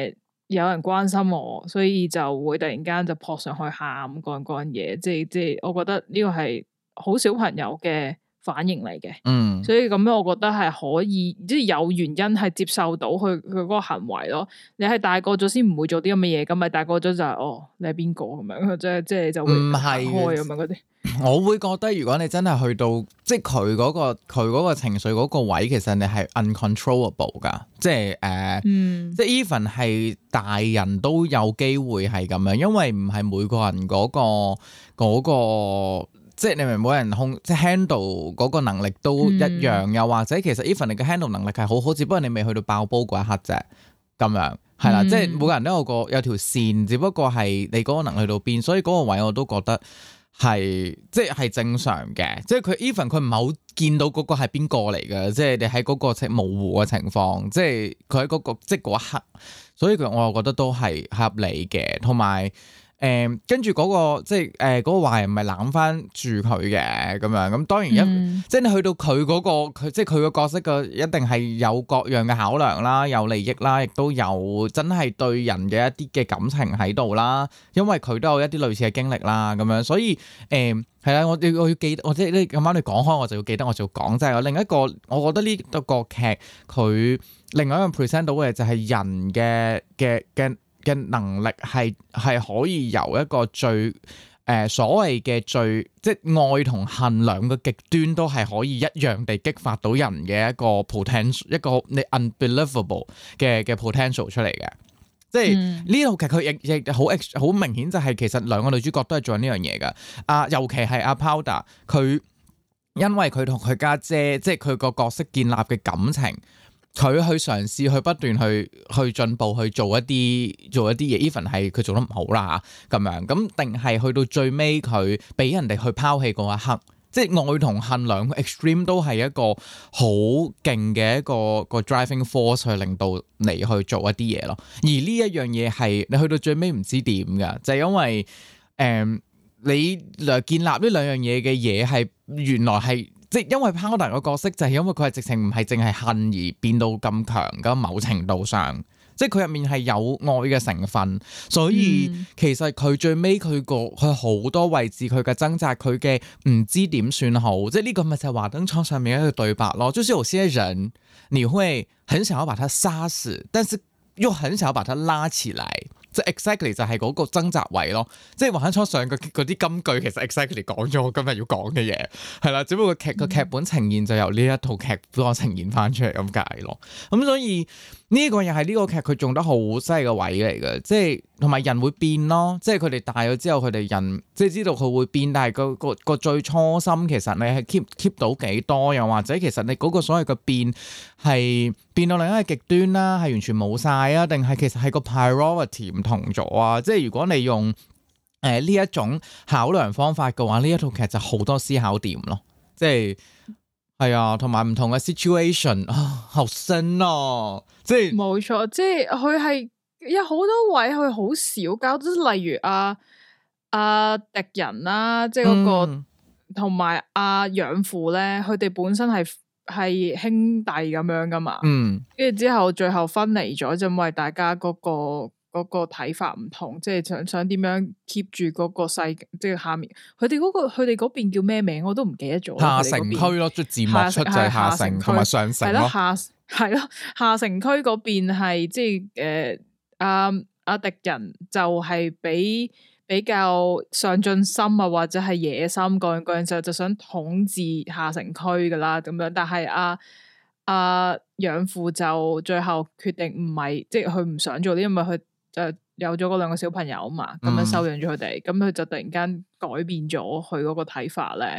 有人關心我，所以就會突然間就撲上去喊嗰樣嘢，即係我覺得呢個係好小朋友嘅反應嚟嘅，所以咁樣我覺得係可以，即係有原因係接受到佢嗰個行為咯。你係大個咗先唔會做啲咁嘅嘢，咁咪大個咗就係你係邊個咁樣，即係就會行開咁樣嗰啲。 我會覺得如果你真係去到即係佢嗰個情緒嗰個位，其實你係 uncontrollable 噶，即係即係 even 係大人都有機會係咁樣，因為唔係每個人嗰個即係你明，每人即係 handle 嗰個能力都一樣，又或者其實 even 你嘅 handle 能力係好好，只不過你未去到爆煲嗰一刻啫，咁樣係啦，即係每個人都有條線，只不過係你嗰個能力去到邊，所以嗰個位我都覺得係即係正常嘅，即係佢 even 佢唔係好見到嗰個係邊個嚟嘅，即係你喺嗰個模糊嘅情況，即係佢喺嗰個即係嗰一刻，所以我又覺得都係合理嘅，同埋。跟住嗰個即係嗰個壞人咪攬翻住佢嘅咁樣，咁當然即係你去到佢嗰個即係佢個角色嘅一定係有各樣嘅考量啦，有利益啦，亦都有真係對人嘅一啲嘅感情喺度啦，因為佢都有一啲類似嘅經歷啦，咁樣所以係啦，我要記得，我即係你咁啱你講開，我就要記得，我就要講，就係另一個，我覺得呢個劇佢另外一個 present 到嘅就係人嘅能力係可以由一個最所謂嘅最即係愛同恨兩個極端都係可以一樣地激發到人嘅一個 potential， 一個你 unbelievable 嘅 potential 出嚟嘅。即係呢套劇佢亦好明顯就係其實兩個女主角都係做緊呢樣嘢㗎。尤其係阿 Powder 佢因為佢同佢家姐即係佢個角色建立嘅感情。佢去嘗試去不斷去進步去做一啲嘢 even 係佢做得唔好啦咁樣，咁定係去到最尾佢俾人哋去拋棄嗰一刻，即係愛同恨兩個 extreme 都係一個好勁嘅一個 driving force 去令到你去做一啲嘢咯。而呢一樣嘢係你去到最尾唔知點㗎，就係因為你建立呢兩樣嘢嘅嘢係原來係。即係因為 Powder 個角色就係因為佢係直情唔係淨係恨而變到咁強㗎，某程度上，即係佢入面係有愛嘅成分，所以其實佢最尾佢好多位置佢嘅掙扎，佢嘅唔知點算好，即係呢個咪就係華燈初上面一個對白咯。就是有些人你會很想要把他殺死，但是又很想要把他拉起來。即係 exactly 就係嗰個掙扎位咯，即係華燈初上嗰啲金句其實 exactly 講咗我今日要講嘅嘢，係啦，只不過個劇本呈現就由呢一套劇幫我呈現翻出嚟咁解咯。咁所以呢個又係呢個劇佢做得好犀利嘅位嚟嘅，即係同埋人會變咯，即係佢哋大咗之後佢哋人即係知道佢會變，但係個最初心其實你係 keep 到幾多，又或者其實你嗰個所謂嘅變係變到另一個極端啦，係完全冇晒啊，定係其實係個 priority 唔同咗啊？即係如果你用呢一種考量方法嘅話，呢一套劇就好多思考點咯，即係啊，同埋唔同嘅 situation 好深啊，即係冇錯，即係佢係有好多位佢好少交，即係例如敵人啦，即係嗰個同埋養父咧，佢哋本身係兄弟咁樣噶嘛，跟住之後最後分離咗，就因為大家嗰個睇法唔同，即係想點樣 keep 住嗰個世，即係下面佢哋嗰邊叫咩名我都唔記得咗。下城區咯，即字幕出就係下城同埋上城咯。係咯，下城區嗰邊係即係阿敵人就係比較上進心啊，或者係野心嗰樣就想統治下城區噶啦咁樣，但係養父就最後決定唔係，即係佢唔想做啲，因為佢就有咗嗰兩個小朋友嘛，咁樣收養咗佢哋，咁佢就突然間改變咗佢嗰個睇法咧，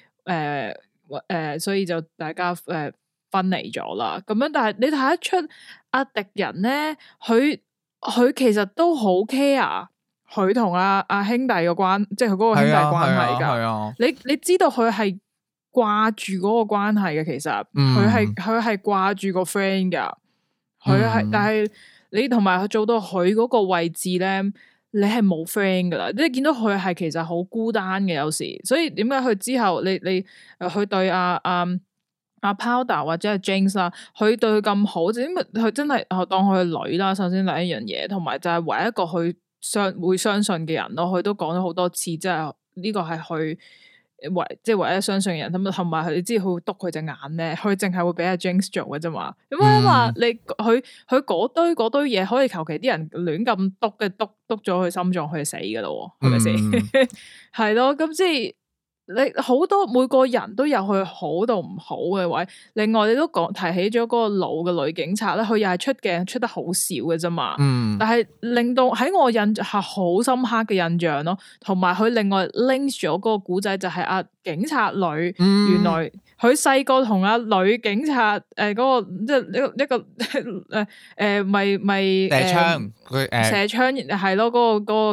所以就大家分離咗啦，咁樣，但係你睇得出敵人咧，佢其實都好 care 佢同阿兄弟嘅關，即係佢嗰個兄弟關係噶，你知道佢係掛住嗰個關係嘅，其實佢係掛住個 friend 噶，佢係，但係你同埋佢做到佢嗰個位置咧，你係冇 friend 噶啦，你見到佢係其實好孤單嘅有時，所以點解佢之後你佢對阿阿 Powder 或者係 Jinx 啦，佢對佢咁好，就因為佢真係當佢係女啦。首先第一樣嘢，同埋就係唯一一個佢會相信嘅人咯。佢都講咗好多次，即係呢個係佢唯一相信嘅人。咁同埋你知佢會督佢隻眼咧，佢淨係會俾阿 Jinx 做嘅啫嘛。咁啊嘛，你佢嗰堆嘢可以求其啲人亂咁督咗佢心臟，佢就死噶咯，係咪先？係咯，咁即係。你好多每個人都有佢好到唔好嘅位，另外你都提起咗嗰個老嘅女警察咧，佢又係出鏡出得好少嘅啫嘛，但係令到喺我印象係好深刻嘅印象咯，同埋佢另外 link 咗嗰個古仔就係阿警察女，原來佢細個同阿女警察嗰個即係一個射槍係咯，嗰個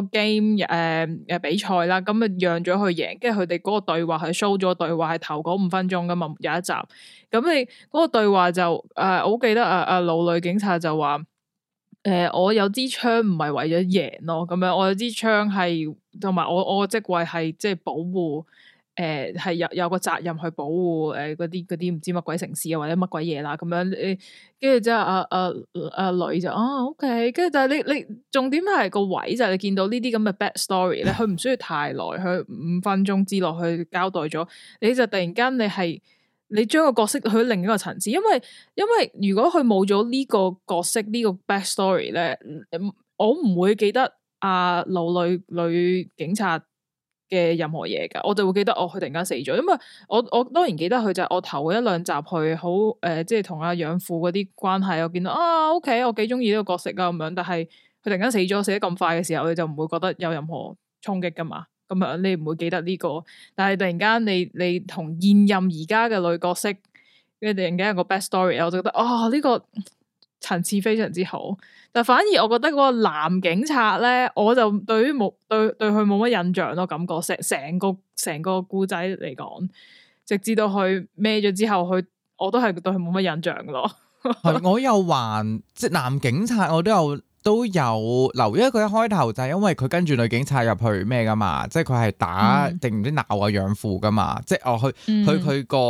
game 比賽啦，咁啊讓咗佢贏，跟住佢哋嗰個對話係 show 咗對話係頭嗰5分鐘噶嘛，有一集，咁你嗰個對話就我好記得阿老女警察就話我有支槍唔係為咗贏咯，咁樣我有支槍係同埋我個職位係即係保護。係有個責任去保護嗰啲唔知乜鬼城市啊或者乜鬼嘢啦咁樣，跟住之後阿女就OK，跟住但係你重點係個位就係你見到呢啲咁嘅 back story 咧，佢唔需要太耐，佢5分鐘之內去交代咗，你就突然間你將個角色去另一個層次，因為如果佢冇咗呢個角色呢個 back story 咧，我唔會記得阿老女警察嘅任何嘢噶，我就會記得佢突然間死咗，因為我當然記得佢就係我頭1、2集去好即係同阿養父嗰啲關係，我見到OK，我幾中意呢個角色啊咁樣，但係佢突然間死咗，死得咁快嘅時候，你就唔會覺得有任何衝擊噶嘛，咁樣你唔會記得呢個，但係突然間你同現任而家嘅女角色，跟住突然間有個 back story，我就覺得呢個層次非常之好。但反而我覺得嗰個男警察咧，我就對佢冇乜印象咯，感覺成個故仔嚟講，直至到佢孭咗之後，我都係對佢冇乜印象咯。 係我又話即係男警察，我都有留意，因為佢一開頭就係因為佢跟住女警察入去咩噶嘛，即係佢係打定唔知鬧啊養父噶嘛，即係去佢個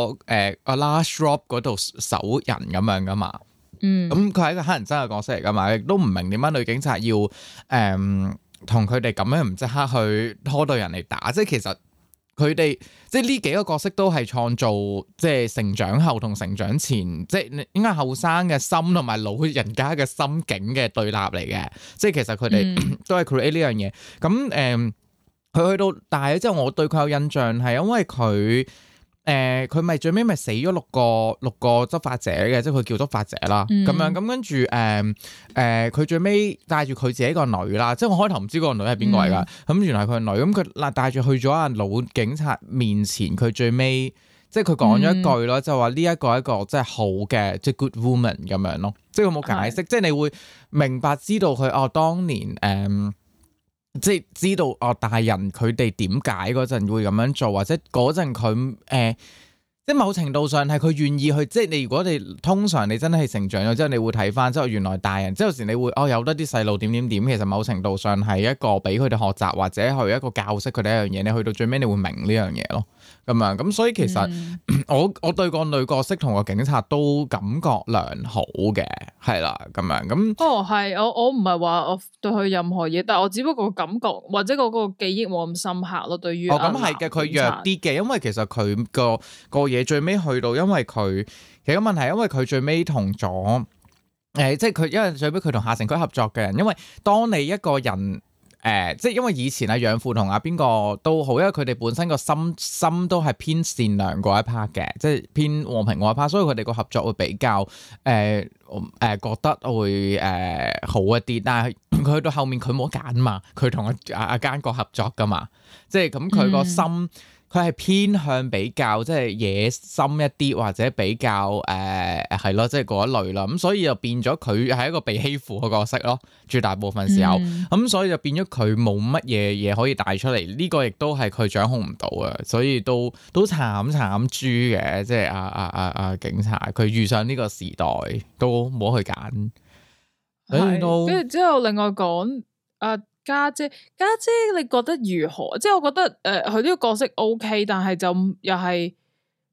last shop 嗰度守人咁樣噶嘛。咁佢係一個乞人憎嘅角色嚟噶嘛，亦都唔明點解女警察要同佢哋咁樣唔即刻去拖到人嚟打，即係其實佢哋即係呢幾個角色都係創造即係成長後同成長前，即係應該後生嘅心同埋老人家嘅心境嘅對立嚟嘅，即係其實佢哋都係 create 呢樣嘢。咁佢去到大咗之後，我對佢有印象係因為佢咪最尾咪死咗六個執法者嘅，即係佢叫執法者啦，咁樣咁跟住佢最尾帶住佢自己個女啦，即係我開頭唔知個女係邊個嚟㗎，咁原來佢個女，咁佢帶住去咗阿老警察面前，佢最尾即係佢講咗一句咯，就話呢一個即係好嘅，即係 good woman 咁樣咯，即係佢冇解釋，即係你會明白知道佢當年即係知道大人佢哋點解嗰陣會咁樣做，或者嗰陣佢即係某程度上係佢願意去，即係你如果你通常你真係成長咗之後，你會睇翻之後原來大人，即係有時你會有得啲細路點，其實某程度上係一個俾佢哋學習或者係一個教識佢哋一樣嘢，你去到最尾你會明呢樣嘢咯，咁樣咁所以其實我對個女角色同個警察都感覺良好嘅，係啦咁樣咁。 係我唔係話我對佢任何嘢，但係我只不過感覺或者嗰個記憶冇咁深刻咯。對於咁係嘅，佢弱啲嘅，因為其實佢個嘢最尾去到，因為佢其實個問題，因為佢最尾同咗即係佢因為最尾佢同下城區合作嘅人，因為當你一個人即係因為以前阿養父同阿邊個都好，因為佢哋本身個心都係偏善良嗰一 part 嘅，即係偏和平嗰一 part，所以佢哋個合作會比較覺得會好一啲。但係佢去到後面佢冇得揀嘛，佢同阿奸角合作噶嘛，即係咁佢個心。佢係偏向比較即係野心一啲，或者比較係咯，即係嗰一類啦。咁所以就變咗佢係一個被欺負嘅角色咯，絕大部分時候。咁所以就變咗佢冇乜嘢可以帶出嚟。呢個亦都係佢掌控唔到嘅，所以都慘豬嘅。即係阿警察，佢遇上呢個時代都冇去揀。跟住之後另外講家姐，你覺得如何？即係我覺得佢呢個角色 OK，但係就又係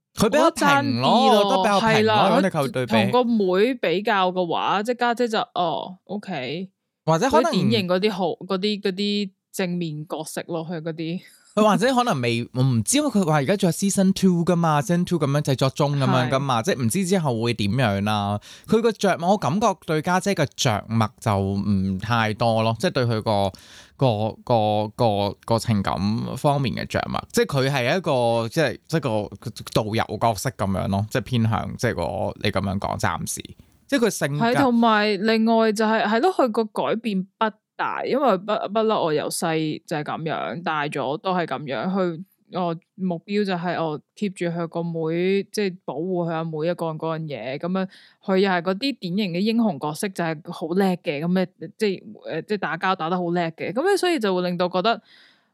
佢比較平咯，都比較平咯。咁你佢對比同個妹比較嘅話，即係家姐就OK， 或者可能典型嗰啲好嗰啲正面角色咯，佢嗰啲。 佢或者可能未，我唔知，因為佢話而家仲有 season 2噶嘛，season 2咁樣製作中咁樣噶嘛，即係唔知之後會點樣啦。佢個着墨，我感覺對家姐嘅着墨就唔太多咯，即係對佢個情感方面嘅着墨，即係佢係一個即係個導遊角色咁樣咯，即係偏向即係你咁樣講，暫時即係佢性格。係同埋另外就係咯，佢個改變不大，因為不嬲，我由細就係咁樣，大咗都係咁樣。佢我目標就係我 keep 住佢個妹，即係保護佢阿妹一個人嗰樣嘢。咁樣佢又係嗰啲典型嘅英雄角色，就係好叻嘅。咁咧即係打交打得好叻嘅。咁咧所以就會令到覺得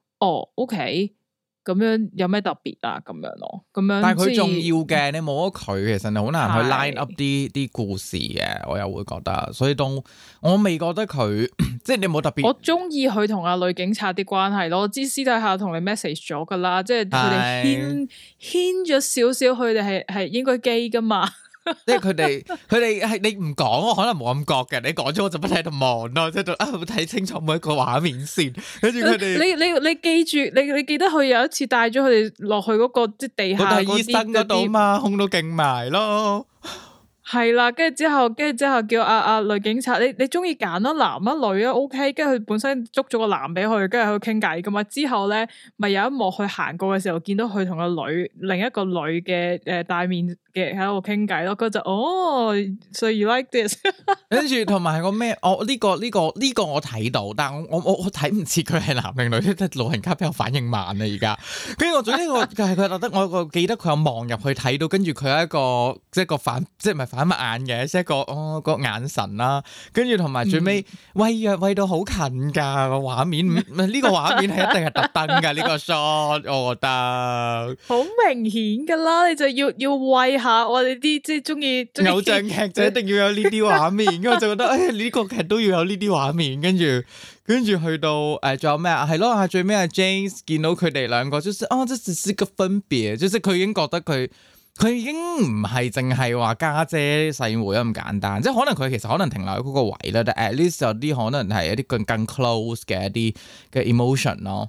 OK。咁樣有咩特別啊？咁樣咯，咁樣。但係佢重要嘅，你冇咗佢，其實你好難去 line up 啲故事嘅。我又會覺得，所以我未覺得佢即係你冇特別。 我中意佢同阿女警察啲關係咯。我知私底下同你 message 咗噶啦，即係佢哋牽咗少少，佢哋係應該基噶嘛。 即係佢哋係你唔講，我可能冇咁覺嘅。你講咗我就不停喺度望咯，即係睇清楚每一個畫面先。跟住佢哋， 你記住，你記得佢有一次帶咗佢哋落去嗰個即係地下嗰啲醫生嗰度嘛，控到勁埋咯。 係啦，跟住之後叫阿女警察，你中意揀咯，男啊女啊 OK，跟住佢本身捉咗個男俾佢，跟住喺度傾偈噶嘛。之後咧，咪有一幕佢行過嘅時候，見到佢同個另一個女嘅戴面嘅喺度傾偈咯。佢就so you like this？ 跟住同埋個咩？呢個我睇到，但係我睇唔切佢係男定女，即係老人家比較反應慢啊而家。跟住我總之我係佢覺得我記得佢有望入去睇到，跟住佢有一個即係個反即係唔係反乜眼嘅，即係個眼神啦。跟住同埋最尾餵到好近㗎個畫面，呢個畫面係一定係特登㗎呢個 shot，我覺得好明顯㗎啦，你就要餵下我哋啲即係中意偶像劇就一定要有呢啲畫面。咁我就覺得呢個劇都要有呢啲畫面。跟住去到仲有咩啊？係咯，最尾阿 James 見到佢哋兩個，就是這只是個分別，就是佢已經覺得佢已經唔係淨係話家姐細妹咁簡單，即係可能佢其實可能停留喺嗰個位啦，但 at least 有啲可能係一啲更 close 嘅一啲嘅 emotion 咯。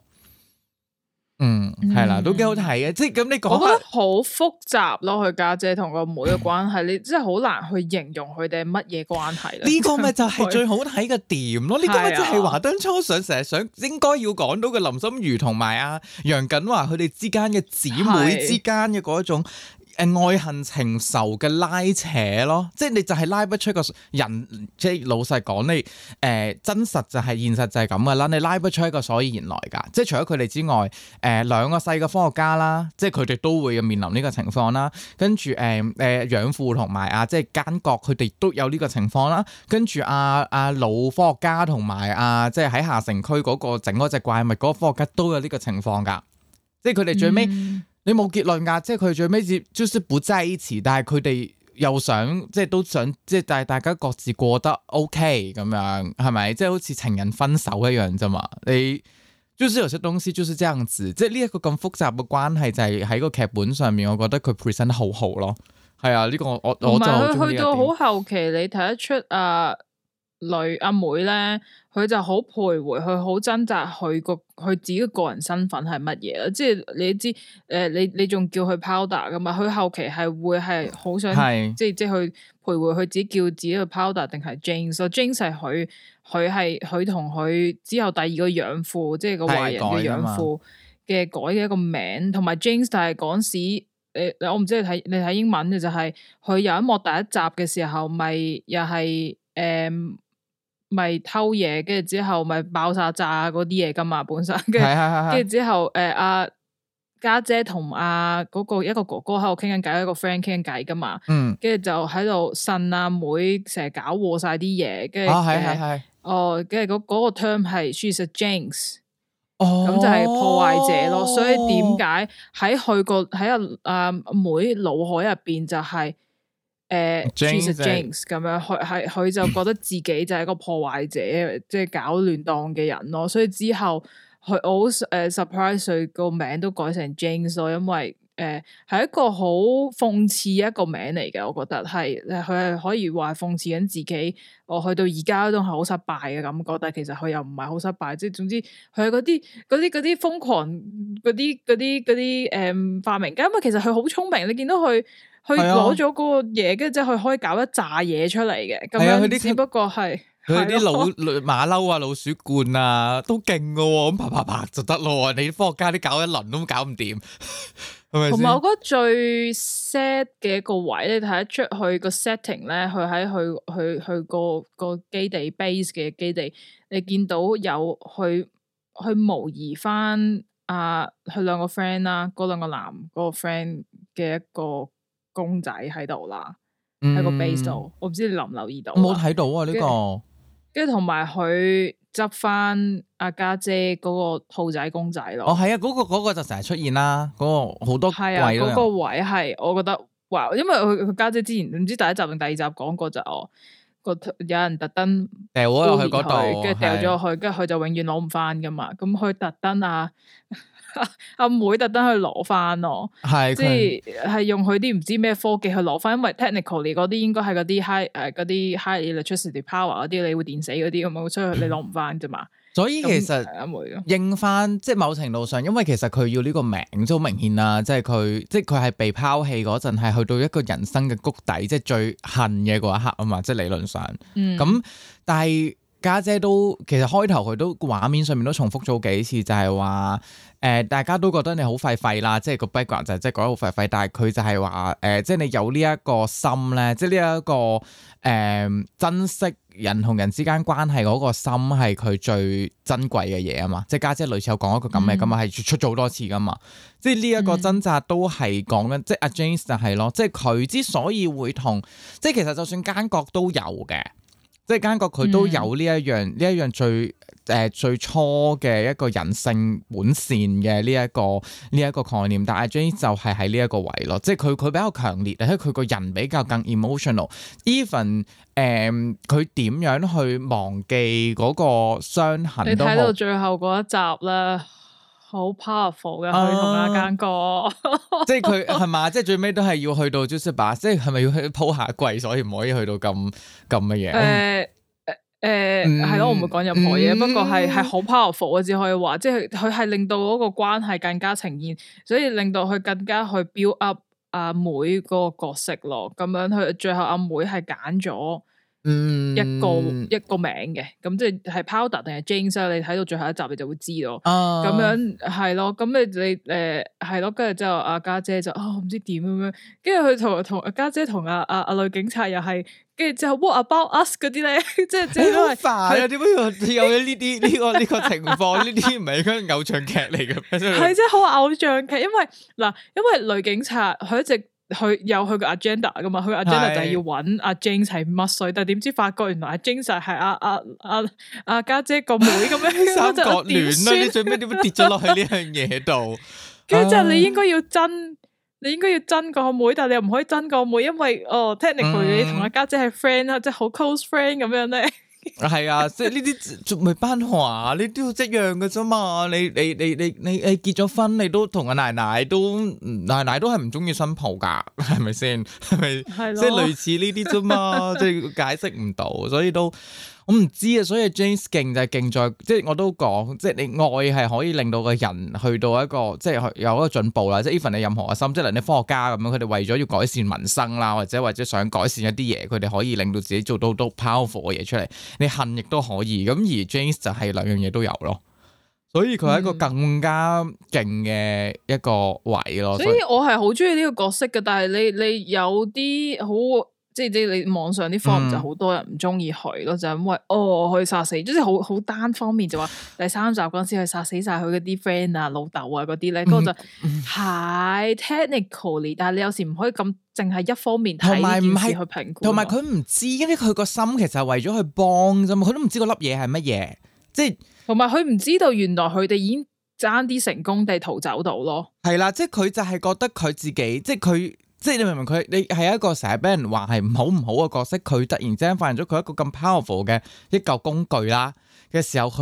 係啦，都幾好睇嘅。即係咁，你講我覺得好複雜咯，佢家姐同個妹嘅關係，你真係好難去形容佢哋係乜嘢關係咧。 呢個咪就係最好睇嘅點咯。呢個咪就係華燈初上成日想應該要講到嘅林心如同埋阿楊謹華佢哋之間嘅姊妹之間嘅嗰種。愛恨情仇嘅拉扯咯，即係你就係拉不出個人，即係老實講你真實就係現實就係咁噶啦，你拉不出一個所以然來㗎。即係除咗佢哋之外，兩個細嘅科學家啦，即係佢哋都會面臨呢個情況啦。跟住養父同埋即係奸角，佢哋都有呢個情況啦。跟住老科學家同埋即係喺下城區嗰個整嗰隻怪物嗰個科學家都有呢個情況㗎。即係佢哋最尾。你冇結論㗎，即係佢最尾就是不在一起，但係佢哋又想即係都想即係但係大家各自過得 OK 咁樣，係咪？即係好似情人分手一樣啫嘛。你就是有些東西就是這樣子，即係呢一個咁複雜嘅關係就係喺個劇本上面，我覺得佢 present 得好好咯。係啊，呢個我就好中意。 去到好後期，你睇得出阿妹咧，佢就好徘徊，佢好掙扎，佢自己個人身份係乜嘢啦？即係你知，你仲叫佢 powder 噶嘛？佢後期係會係好想，即係去徘徊，佢自己叫自己去 powder 定係 James？James 係佢同佢之後第二個養父，即係個壞人嘅養父嘅改嘅一個名，同埋 James 就係嗰時，我唔知你睇英文嘅就係佢有一幕第一集嘅時候，咪又係咪偷嘢，跟住之後咪爆炸嗰啲嘢噶嘛，本身跟住之後阿家姐同嗰個一個哥哥喺度傾緊偈，一個 friend 傾緊偈噶嘛，跟住就喺度呻阿妹成日搞禍晒啲嘢，跟住跟住嗰個 term 係 she's a jinx，咁就係破壞者咯，所以點解喺阿妹腦海入邊就係she's a jinx 咁樣，佢就覺得自己就係一個破壞者，即係搞亂檔嘅人咯。所以之後佢好surprise 佢個名都改成 James 咯，因為係一個好諷刺一個名嚟嘅，我覺得係佢係可以話係諷刺緊自己，我去到而家都係好失敗嘅感覺，但係其實佢又唔係好失敗，即係總之佢係嗰啲瘋狂嗰啲發明家，因為其實佢好聰明，你見到佢攞咗嗰個嘢，跟住之後佢可以搞一紮嘢出嚟嘅，咁樣只不過係。 佢啲馬騮啊、老鼠罐啊都勁噶喎，咁啪就得咯。你科學家啲搞一輪都搞唔掂，係咪先？同埋我覺得最 sad 嘅一個位，你睇得出佢個 setting 咧，佢喺佢個基地 base 嘅基地，你見到有去模擬翻佢兩個 friend 啦，嗰兩個男嗰個 friend 嘅一個公仔喺度啦，喺個 base 度。我唔知你留唔留意到？ 我冇睇到啊呢個。 跟住同埋佢執翻阿家姐嗰個兔仔公仔咯。 哦，係啊，嗰個就成日出現啦，嗰個好多係啊，嗰個位係我覺得哇，因為佢家姐之前唔知第一集定第二集講過就有人特登掉咗落去嗰度， 跟住掉咗落去，跟住佢就永遠攞唔翻噶嘛。咁佢特登阿妹特登去攞翻咯，即係用佢啲唔知咩科技去攞翻，因為 technically 嗰啲應該係嗰啲 high electricity power 嗰啲，你會電死嗰啲咁樣，所以你攞唔翻啫嘛。 所以其實應翻即係某程度上，因為其實佢要呢個名都好明顯啦，即係佢係被拋棄嗰陣，係去到一個人生嘅谷底，即係最恨嘅嗰一刻啊嘛，即係理論上。咁但係家姐都其實開頭佢都畫面上面都重複咗幾次，就係話大家都覺得你好廢啦，即係個 background 就係即係覺得好廢，但係佢就係話即係你有呢一個心咧，即係呢一個珍惜人同人之間關係嗰個心係佢最珍貴嘅嘢啊嘛，即係家姐類似有講一個咁嘅咁啊，係出咗好多次噶嘛，即係呢一個掙扎都係講緊，即係阿 James 就係咯，即係佢之所以會同，即係其實就算奸角都有嘅。即係奸角佢都有呢一樣最初嘅一個人性本善嘅呢一個概念，但係 James 就係喺呢一個位咯，即係佢比較強烈，而且佢個人比較更 emotional。even 佢點樣去忘記嗰個傷痕？你睇到最後嗰一集啦，好 powerful 嘅佢同阿奸角， 即係佢係嘛？即係最尾都係要去到 Joseph， 即係咪要去鋪下櫃，所以唔可以去到咁嘅嘢？ 係咯，我唔會講任何嘢，不過係好 powerful，我只可以話，即係佢係令到嗰個關係更加呈現，所以令到佢更加去 build up 阿妹嗰個角色咯。咁樣佢最後阿妹係揀咗一個名嘅，咁即係 Powder 定係 James， 你睇到最後一集你就會知咯。咁樣係咯，咁你係咯，跟住之後阿家姐就唔知點咁樣，跟住佢同阿家姐同阿女警察又係。跟住之後 What about us 嗰啲咧，即係好煩啊！點解有呢啲呢個情況？呢啲唔係嗰個偶像劇嚟嘅咩？ 係即係好偶像劇，因為女警察佢一直有佢個 agenda 噶嘛，佢個 agenda 就係要揾阿 James 係乜水，但係點知發覺原來阿 James 係阿家姐個妹咁樣， 三角戀啦！你最尾點樣跌咗落去呢樣嘢度？ 跟住之後你應該要憎個妹，但係你又唔可以憎個妹，因為technically 你同阿家姐係 friend 啦，即係好 close friend 咁樣咧。 係啊，即係呢啲仲未班話，你都要一樣嘅啫嘛。你結咗婚，你都同阿奶奶都係唔中意新抱噶，係咪先？係咪？係咯。即係類似呢啲啫嘛，即係解釋唔到，所以都。我唔知啊，所以 James 勁就係勁在，即係我都講，即係你愛係可以令到個人去到一個，即係有一個進步啦。即係 even 你任何嘅心，即係你科學家咁樣，佢哋為咗要改善民生啦，或者想改善一啲嘢，佢哋可以令到自己做到都 powerful 嘅嘢出嚟。你恨亦都可以，咁而 James 就係兩樣嘢都有咯。所以佢係一個更加勁嘅一個位咯。 所以我係好中意呢個角色嘅，但係你有啲好。即係你網上啲 form 就好多人唔中意佢咯，就因為佢殺死，即係好單方面就話第三集嗰陣時佢殺死晒佢嗰啲 friend 啊、老豆啊嗰啲咧，嗰個就係 technically， 但係你有時唔可以咁淨係一方面睇呢件事去評估。同埋佢唔知，因為佢個心其實係為咗去幫啫嘛，佢都唔知嗰粒嘢係乜嘢，即係同埋佢唔知道原來佢哋已經爭啲成功地逃走到咯。係啦，即係佢就係覺得佢自己，即係佢。即係你明唔明佢？你係一個成日俾人話係唔好嘅角色，佢突然之間發現咗佢一個咁 powerful 嘅一嚿工具啦嘅時候，佢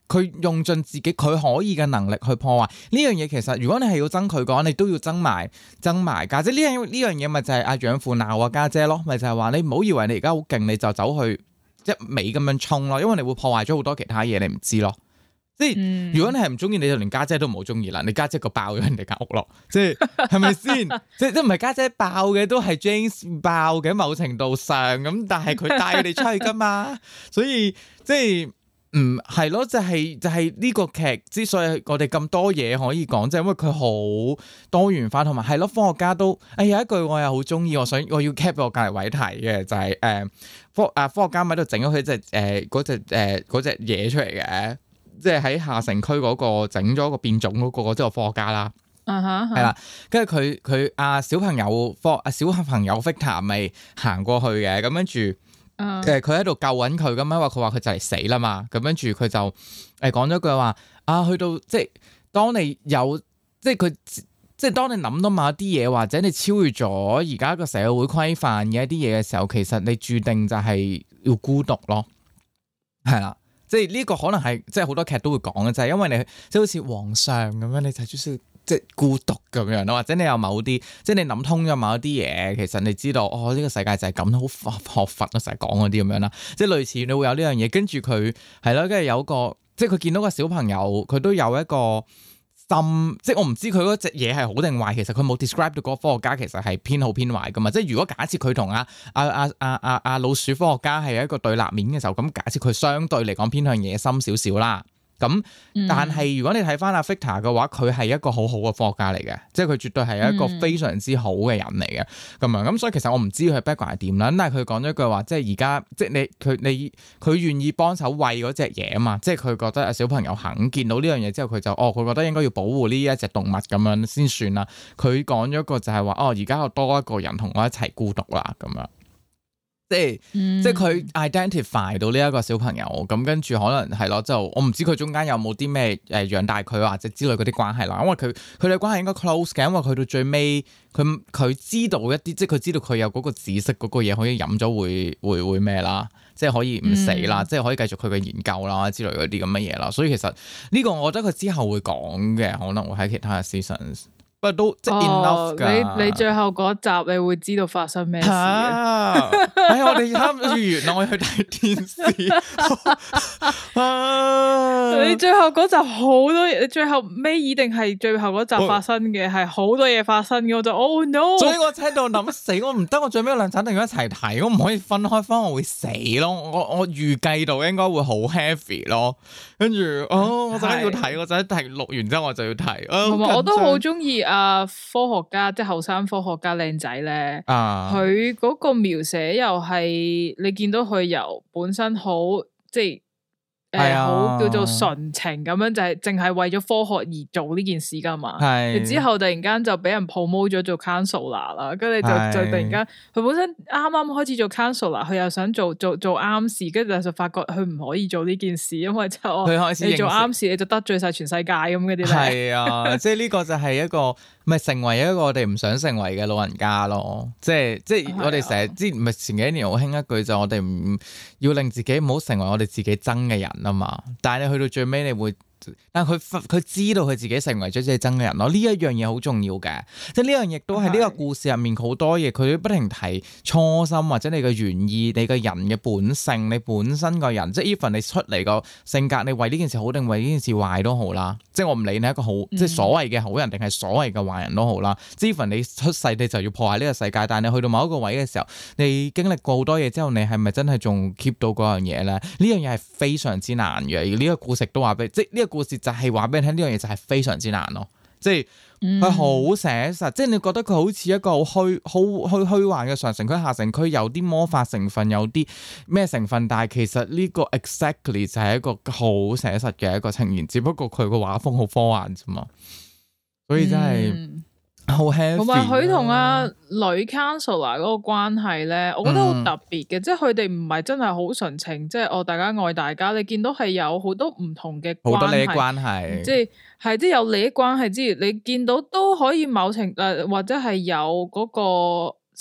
佢用盡自己佢可以嘅能力去破壞呢樣嘢。其實如果你係要憎佢嘅話，你都要憎埋家姐。呢樣嘢咪就係阿養父鬧阿家姐咯，咪就係話你唔好以為你而家好勁，你就走去一味咁樣衝咯，因為你會破壞咗好多其他嘢，你唔知咯。即係如果你係唔中意，你就連家姐都唔好中意啦。你家姐個爆咗人哋間屋咯，即係咪先？即係都唔係家姐爆嘅，都係 James 爆嘅，某程度上咁，但係佢帶佢哋出去噶嘛，所以即係係咯，就係呢個劇之所以我哋咁多嘢可以講，就係因為佢好多元化，同埋係咯，科學家都有一句我又好中意，我要 cap 我隔離位睇嘅就係科學家喺度整咗佢隻嗰隻嘢出嚟嘅。即係喺下城區嗰個整咗個變種嗰個，即係個科學家啦，係啦，跟住佢小朋友小朋友 Victor 咪行過去嘅，咁跟住佢喺度救緊佢咁樣，因為佢話佢就嚟死啦嘛，咁跟住佢就講咗句話去到即係當你有即係佢即係當你諗到某一啲嘢，或者你超越咗而家個社會規範嘅一啲嘢嘅時候，其實你注定就係要孤獨咯，係啦。即係呢個可能係即係好多劇都會講嘅，就係因為你即係好似皇上咁樣，你就需要即係孤獨咁樣咯，或者你有某啲即係你諗通咗某一啲嘢，其實你知道呢個世界就係咁，好學佛咯，成日講嗰啲咁樣啦，即係類似你會有呢樣嘢，跟住佢係咯，跟住有個即係佢見到個小朋友，佢都有一個即係我唔知佢嗰隻嘢係好定壞，其實佢冇 describe 到嗰個科學家其實係偏好偏壞噶嘛。即係如果假設佢同阿老鼠科學家係一個對立面嘅時候，咁假設佢相對嚟講偏向野心少少啦。咁但係如果你睇翻阿 Victor 嘅話，佢係一個好好嘅科學家嚟嘅，即係佢絕對係一個非常之好嘅人嚟嘅咁樣。咁所以其實我唔知佢 background 係點啦。但係佢講咗一句話，即係而家即係佢願意幫手餵嗰隻嘢啊嘛。即係佢覺得小朋友肯見到呢樣嘢之後，佢就佢覺得應該要保護呢一隻動物咁樣先算啦。佢講咗一個就係話而家有多一個人同我一齊孤獨啦咁樣。即係佢 identify 到呢一個小朋友，咁跟住可能係咯，就我唔知佢中間有冇啲咩養大佢或者之類嗰啲關係啦。因為佢哋關係應該 close 嘅，因為佢到最尾佢知道一啲，即係佢知道佢有嗰個紫色嗰個嘢可以飲咗會咩啦，即係可以唔死啦，即係可以繼續佢嘅研究啦之類嗰啲咁嘅嘢啦。所以其實呢個我覺得佢之後會講嘅，可能會喺其他嘅 seasons。不過都即係 enough 㗎。你最後嗰集你會知道發生咩事嘅。我哋差唔多完啦，我要去睇電視。你最後嗰集好多嘢，你最後尾一定係最後嗰集發生嘅，係好多嘢發生嘅。我就no！所以我喺度諗死，我唔得，我最尾兩集一定要一齊睇，我唔可以分開翻，我會死咯。我預計到應該會好 heavy 咯。跟住我就要睇，我就一睇錄完之後我就要睇。同埋我都好中意。科學家即係後生科學家靚仔咧，佢嗰個描寫又係你見到佢由本身好即係。好叫做純情咁樣，就係淨係為咗科學而做呢件事噶嘛。之後突然間就俾人 promote 咗做 counselor 啦，跟住就突然間佢本身啱啱開始做 counselor，佢又想做啱事，跟住就發覺佢唔可以做呢件事，因為就你做啱事你就得罪晒全世界咁嗰啲咧。係啊，即係呢個就係一個咪成為一個我哋唔想成為嘅老人家咯。即係我哋成日之前咪前幾年好興一句就我哋唔要令自己唔好成為我哋自己憎嘅人啊嘛，但係你去到最尾你會，但係佢知道佢自己成為咗自己憎嘅人咯，呢一樣嘢好重要嘅，即係呢樣亦都係呢個故事入面好多嘢，佢不停提初心或者你嘅原意，你嘅人嘅本性，你本身個人，即係 even 你出嚟個性格，你為呢件事好定為呢件事壞都好啦，即係我唔理你係一個好，即係所謂嘅好人定係所謂嘅壞人都好啦，即係 even 你出世你就要破壞呢個世界，但係你去到某一個位嘅時候，你經歷過好多嘢之後，你係咪真係仲 keep 到嗰樣嘢咧？呢樣嘢係非常之難嘅，而呢個故事都話俾，即係呢個故事就係話俾你聽，呢樣嘢就係非常之難咯，即係佢好寫實，即係你覺得佢好似一個好虛幻嘅上城區下城區，有啲魔法成分，有啲咩成分，但係其實呢個 exactly 就係一個好寫實嘅一個呈現，只不過佢個畫風好科幻啫嘛，所以真係。好 heavy，同埋佢同阿女 counselor 嗰個關係咧，我覺得好特別嘅，即係佢哋唔係真係好純情，即係大家愛大家。你見到係有好多唔同嘅關係，好多利益關係，即係有利益關係之餘，你見到都可以某程或者係有嗰個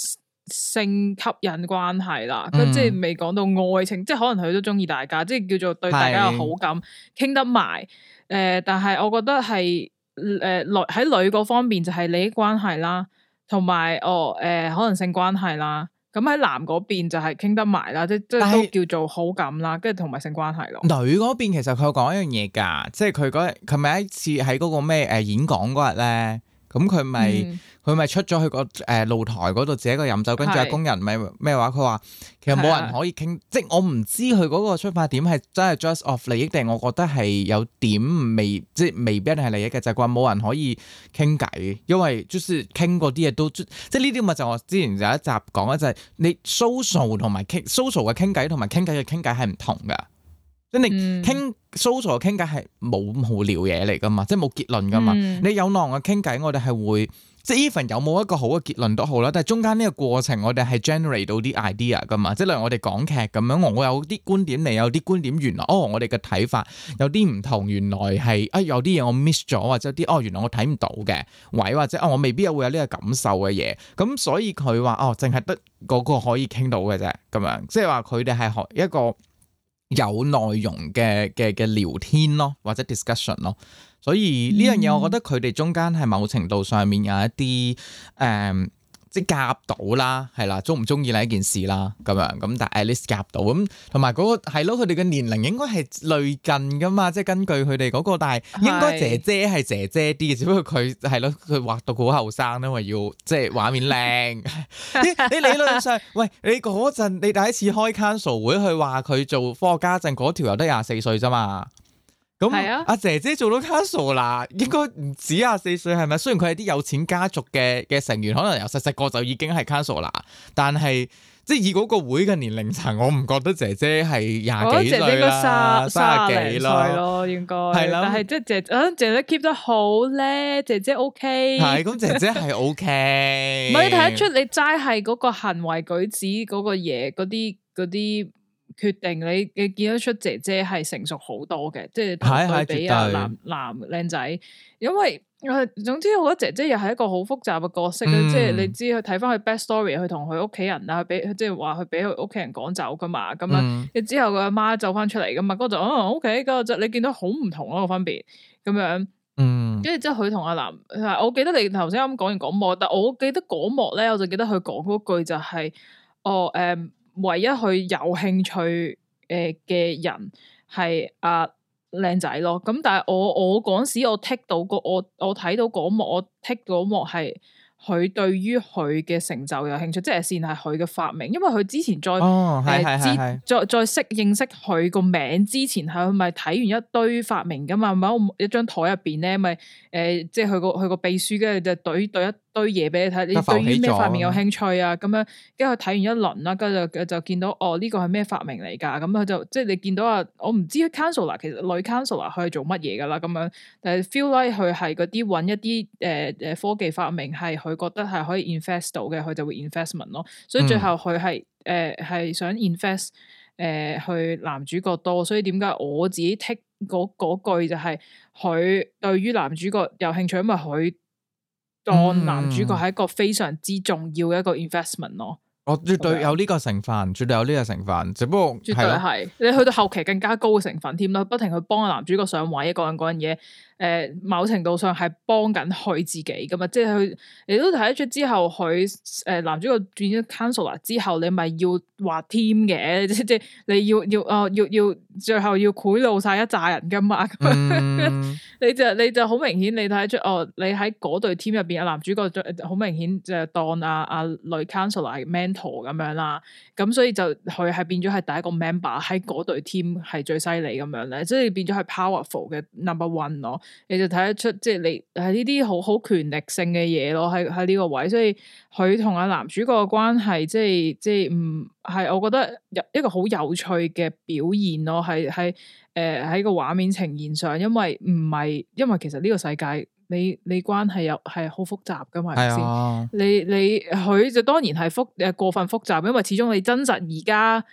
性吸引關係啦，即係未講到愛情，即係可能佢都中意大家，即係叫做對大家有好感，傾得埋。但係我覺得係喺女嗰方面就係利益關係啦，同埋可能性關係啦。咁喺男嗰邊就係傾得埋啦，即係都叫做好感啦，跟住同埋性關係咯。女嗰邊其實佢有講一樣嘢㗎，即係佢咪一次喺嗰個咩演講嗰日咧。咁佢咪出咗去個露台嗰度自己一個飲酒，跟住工人咪咩話？佢話其實冇人可以傾，即係我唔知佢嗰個出發點係真係 just of 利益，定我覺得係有點即係未必一定係利益嘅，就係話冇人可以傾偈，因為就是傾嗰啲嘢都即係呢啲咪就我之前有一集講咧，就係你 social 同埋social 嘅傾偈同埋傾偈嘅傾偈係唔同㗎。即係你傾 social 傾偈係冇無聊嘢嚟噶嘛，即係冇結論噶嘛。你有浪嘅傾偈，我哋係會即係 even 有冇一個好嘅結論都好啦。但係中間呢個過程，我哋係 generate 到啲 idea 噶嘛。即係例如我哋講劇咁樣，我有啲觀點，你有啲觀點，原來我哋嘅睇法有啲唔同，原來係有啲嘢我 miss 咗，或者有啲原來我睇唔到嘅位，或者我未必會有呢個感受嘅嘢。咁所以佢話淨係得嗰個可以傾到嘅啫，咁樣即係話佢哋係學一個有內容嘅聊天咯，或者 discussion 咯，所以呢樣嘢我覺得佢哋中間係某程度上面有一啲即係夾到啦，係啦，中唔中意呢一件事啦，咁樣咁，但係 at least 夾到咁，同埋嗰個係咯，佢哋嘅年齡應該係類近噶嘛，即係根據佢哋嗰個，但係應該姐姐係姐姐啲嘅，只不過佢係咯，佢畫到好後生，因為要即係畫面靚。你理論上，喂，你嗰陣你第一次開 council 會去話佢做科學家陣，嗰條又得24歲啫嘛。咁阿姐姐做到 council 啦，應該唔止24歲係咪？雖然佢係啲有錢家族嘅成員，可能由細個就已經係 council 啦，但係即係以嗰個會嘅年齡層，我唔覺得姐姐係廿幾歲啦，30幾咯，應該係啦。但係即係姐姐 keep 得好咧，姐姐 OK。係咁，姐姐係 OK。唔係你睇得出，你齋係嗰個行為舉止嗰個嘢，嗰啲。決定你見得出姐姐係成熟好多嘅，即係對比男靚仔，因為總之我覺得姐姐又係一個好複雜嘅角色咧，即係你知佢睇翻佢 back story，佢同佢屋企人啊，即係話佢俾佢屋企人趕走噶嘛，咁樣，之後佢阿媽走翻出嚟噶嘛，嗰就OK，嗰就你見到好唔同咯個分別，咁樣，跟住之後佢同阿男，我記得你頭先啱講完嗰幕，但我記得嗰幕咧，我就記得佢講嗰句就係唯一佢有興趣嘅人係阿靚仔咯，咁但係我嗰時我剔到我睇到嗰幕，我剔嗰幕係佢對於佢嘅成就有興趣，即係先係佢嘅發明，因為佢之前再識認識佢個名之前，係佢咪睇完一堆發明噶嘛，咪一張台入邊咧，咪即係佢個秘書跟住就對一堆嘢俾你睇，你對於咩發明有興趣啊？咁樣，跟住佢睇完一輪啦，跟住就見到呢個係咩發明嚟㗎？咁佢就即係你見到我唔知 counselor 其實女 counselor 佢係做乜嘢㗎啦？咁樣，但係 feel like 佢係嗰啲揾一啲科技發明係佢覺得係可以 invest 到嘅，佢就會 investment 咯。所以最後佢係想 invest 去男主角多，所以點解我自己 take 嗰句就係佢對於男主角有興趣，因為佢當男主角係一個非常之重要嘅一個 investment 咯。我絕對有呢個成分，絕對有呢個成分，只不過絕對係你去到後期更加高嘅成分添啦，不停去幫個男主角上位，嗰樣嘢。某程度上係幫緊佢自己噶嘛，即係佢你都睇得出之後，佢男主角變咗 counselor 之後，你咪要畫 team 嘅，即係你要最後要賄賂晒一紮人噶嘛，你就好明顯，你睇得出你喺嗰隊 team 入邊，男主角好明顯就當阿女 counselor 係 mentor 咁樣啦，咁所以就佢係變咗係第一個 member 喺嗰隊 team 係最犀利咁樣咧，即係變咗係 powerful 嘅 number one 咯。你就睇得出，即係你係呢啲好權力性嘅嘢咯，喺呢個位，所以佢同阿男主角嘅關係，即係唔係，我覺得一個好有趣嘅表現咯，係喺個畫面呈現上，因為其實呢個世界你關係又係好複雜噶嘛，係咪先？你佢就當然係過分複雜，因為始終你真實而家。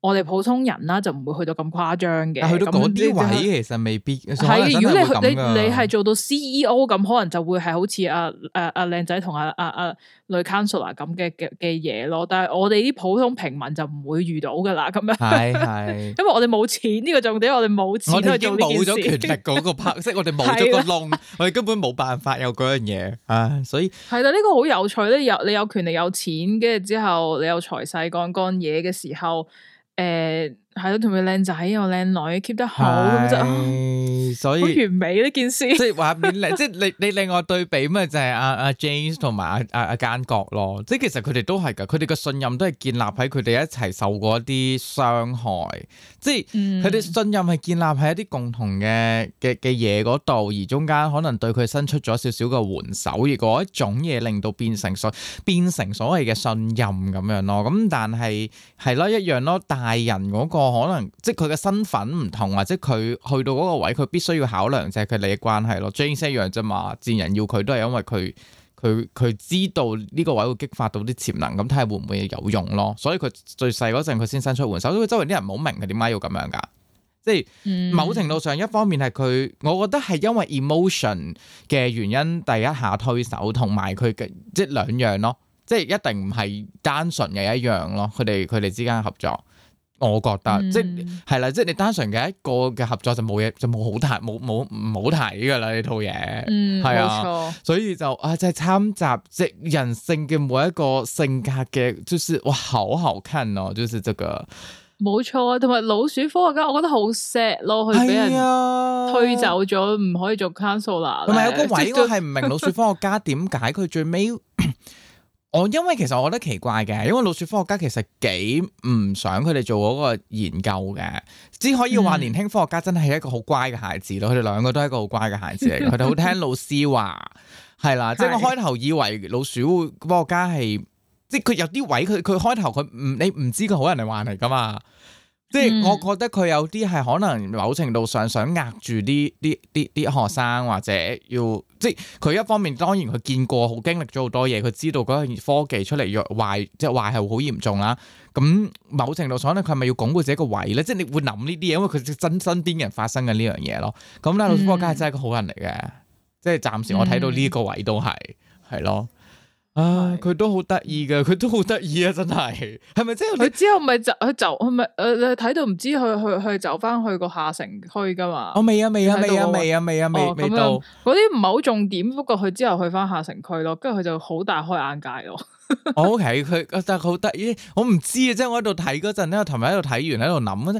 我哋普通人啦就唔會去到咁誇張嘅。 但去到嗰啲位其實未必係。 如果你係做到 CEO 咁，可能就會係好似阿靚仔同阿女 counselor 咁嘅嘢咯。但係我哋啲普通平民就唔會遇到噶啦。咁樣係因為我哋冇錢呢個重點，我哋冇錢去做呢件事。冇咗權力嗰個拍，即係我哋冇咗個窿，我哋根本冇辦法有嗰樣嘢啊！所以係啦，呢個好有趣咧。你有權力有錢，跟住之後你有財勢幹嘢嘅時候。係咯，同佢靚仔又靚女 keep 得好咁就，所以好完美呢件事。即係話面即係你另外對比咪就係阿 James 同埋阿奸角咯。即係其實佢哋都係噶，佢哋嘅信任都係建立喺佢哋一齊受過一啲傷害。即係佢哋信任係建立喺一啲共同嘅嘢嗰度，而中間可能對佢伸出咗少少嘅援手，而嗰一種嘢令到變成所謂嘅信任咁樣咯。咁但係係咯一樣咯，大人嗰個。可能即係佢嘅身份唔同，或者佢去到嗰個位，佢必須要考量就係佢利益關係咯。James 一樣啫嘛，賤人要佢都係因為佢知道呢個位會激發到啲潛能，咁睇下會唔會有用咯。所以佢最細嗰陣佢先伸出援手，所以周圍啲人唔好明佢點解要咁樣噶。即係某程度上，一方面係佢，我覺得係因為 emotion 嘅原因，第一下推手，同埋佢嘅即係兩樣咯，即係一定唔係單純嘅一樣咯。佢哋之間嘅合作。我覺得即係啦，即係你單純嘅一個嘅合作就冇嘢，就冇好睇，冇唔好睇噶啦呢套嘢，係啊，冇錯，所以就就係參雜即係人性嘅每一個性格嘅，就是哇好好看哦，就是這個冇錯，同埋老鼠科學家，我覺得好 sad 咯，佢俾人推走咗，唔可以做 counselor，同埋有個位我係唔明老鼠科學家點解佢最尾。因為其實我覺得奇怪嘅，因為老鼠科學家其實幾唔想佢哋做嗰個研究嘅，只可以話年輕科學家真係一個好乖嘅孩子咯。佢哋兩個都係一個好乖嘅孩子嚟嘅，佢哋好聽老師話，係啦。即係我開頭以為老鼠科學家係，即係佢有啲位佢開頭你唔知佢好人定壞人嚟噶嘛。即係我覺得佢有啲係可能某程度上想壓住啲學生，或者要即係佢一方面當然佢見過好經歷咗好多嘢，佢知道嗰個科技出嚟若壞，即係壞係好嚴重啦。咁某程度上咧，佢係咪要鞏固自己個位咧？即係你會諗呢啲嘢，因為佢身邊嘅人發生嘅呢樣嘢咯。咁咧，老鼠科學家係真係個好人嚟嘅，即係暫時我睇到呢個位都係咯。佢都好得意嘅，佢都好得意啊！真係，係咪即係佢之後咪就佢咪你睇到唔知去走翻去個下城區噶嘛？未到嗰啲唔係好重點，不過佢之後去翻下城區咯，跟住佢就好大開眼界咯。OK， 佢但係好得意，我唔知啊，即係我喺度睇嗰陣咧，我琴日喺度睇完喺度諗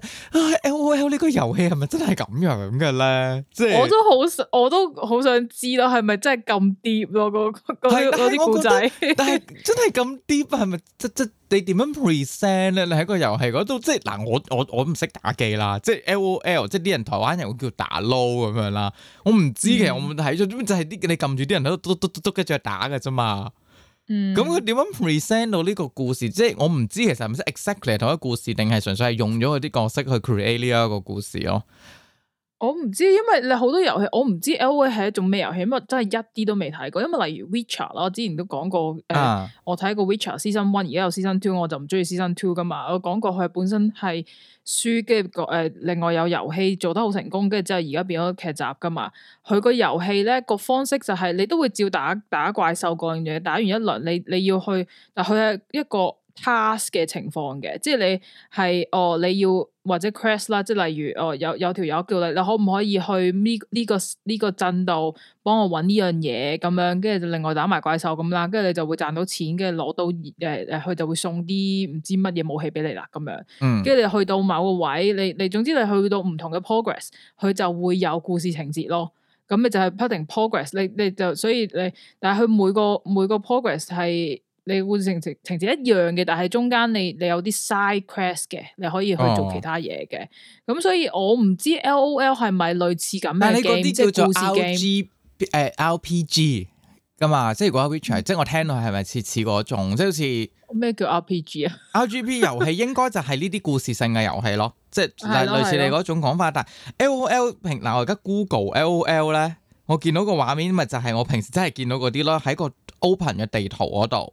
LOL 呢個遊戲係咪真係咁樣嘅咧？即係我都好想知咯，係咪真係咁 deep 咯？嗰啲故仔，但係真係咁 deep 係咪？即你點樣 present 咧？你喺個遊戲嗰度，即係嗱，我唔識打機啦，即係 LOL，即係啲人台灣人會叫打撈咁樣啦。我唔知其實我冇睇咗，就係你撳住啲人喺度篤跟住打嘅啫嘛。咁佢點樣 present 到呢個故事？即係我唔知其實係咪 exactly 同一個故事，定係純粹係用咗佢啲角色去 create 呢一個故事咯？我唔知，因為你好多遊戲，我唔知 LOL 係一種咩遊戲，因為真係一啲都未睇過。因為例如 Witcher 啦，我之前都講過，我睇過 Witcher Season 1，而家有 Season 2，我就唔中意 Season 2噶嘛。我講過佢本身係書，跟住另外有遊戲做得好成功，跟住之後而家變咗劇集噶嘛。佢個遊戲咧個方式就係你都會照打怪獸嗰樣嘢，打完一輪你要去，但佢係一個 task 嘅情況嘅，即係你係你要或者 quest 啦，即係例如有條友叫你可唔可以去呢個鎮度幫我搵呢樣嘢咁樣，跟住就另外打埋怪獸咁啦，跟住你就會賺到錢，跟住攞到佢就會送啲唔知乜嘢武器俾你啦咁樣，跟住你去到某個位，你總之你去到唔同嘅 progress，佢就會有故事情節咯，咁你就係不停 progress，你就所以但係佢每個 progress 係。你會情節一樣嘅，但係中間你有啲 side quest 嘅，你可以去做其他嘢嘅。咁所以我唔知 LOL 係咪類似咁嘅 game，即係故事 game RPG 噶嘛？即係如果 Witcher，即係我聽到係咪似嗰種？即係好似咩叫 RPG 啊？RPG 遊戲應該就係呢啲故事性嘅遊戲咯，即係類似你嗰種講法。但係 LOL 嗱我而家 Google LOL 咧，我見到個畫面咪就係我平時真係見到嗰啲咯，喺個 open 嘅地圖嗰度。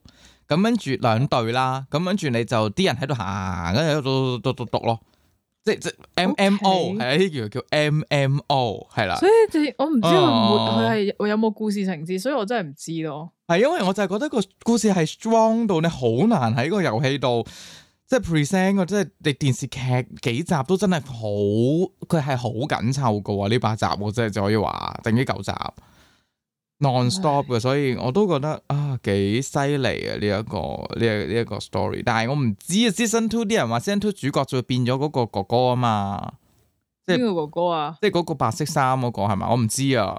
咁跟住兩隊啦，咁跟住你就啲人喺度行，跟住喺度讀咯。即 MMO 係啊，呢叫 MMO 係啦。 所以我唔知佢係有冇故事情節，所以我真係唔知咯。 係因為我就係覺得個故事係 strong 到你好難喺個遊戲度即係 present 個，即係你電視劇幾集都真係好，佢係好緊湊噶喎。呢8集我真係就可以話定呢9集 non-stop 嘅，所以我都覺得啊幾犀利啊呢一個 story。但係我唔知啊 season 2啲人話 season 2主角就會變咗嗰個哥哥啊嘛，即係邊個哥哥啊？ 即係嗰個白色衫嗰個係咪？我唔知啊。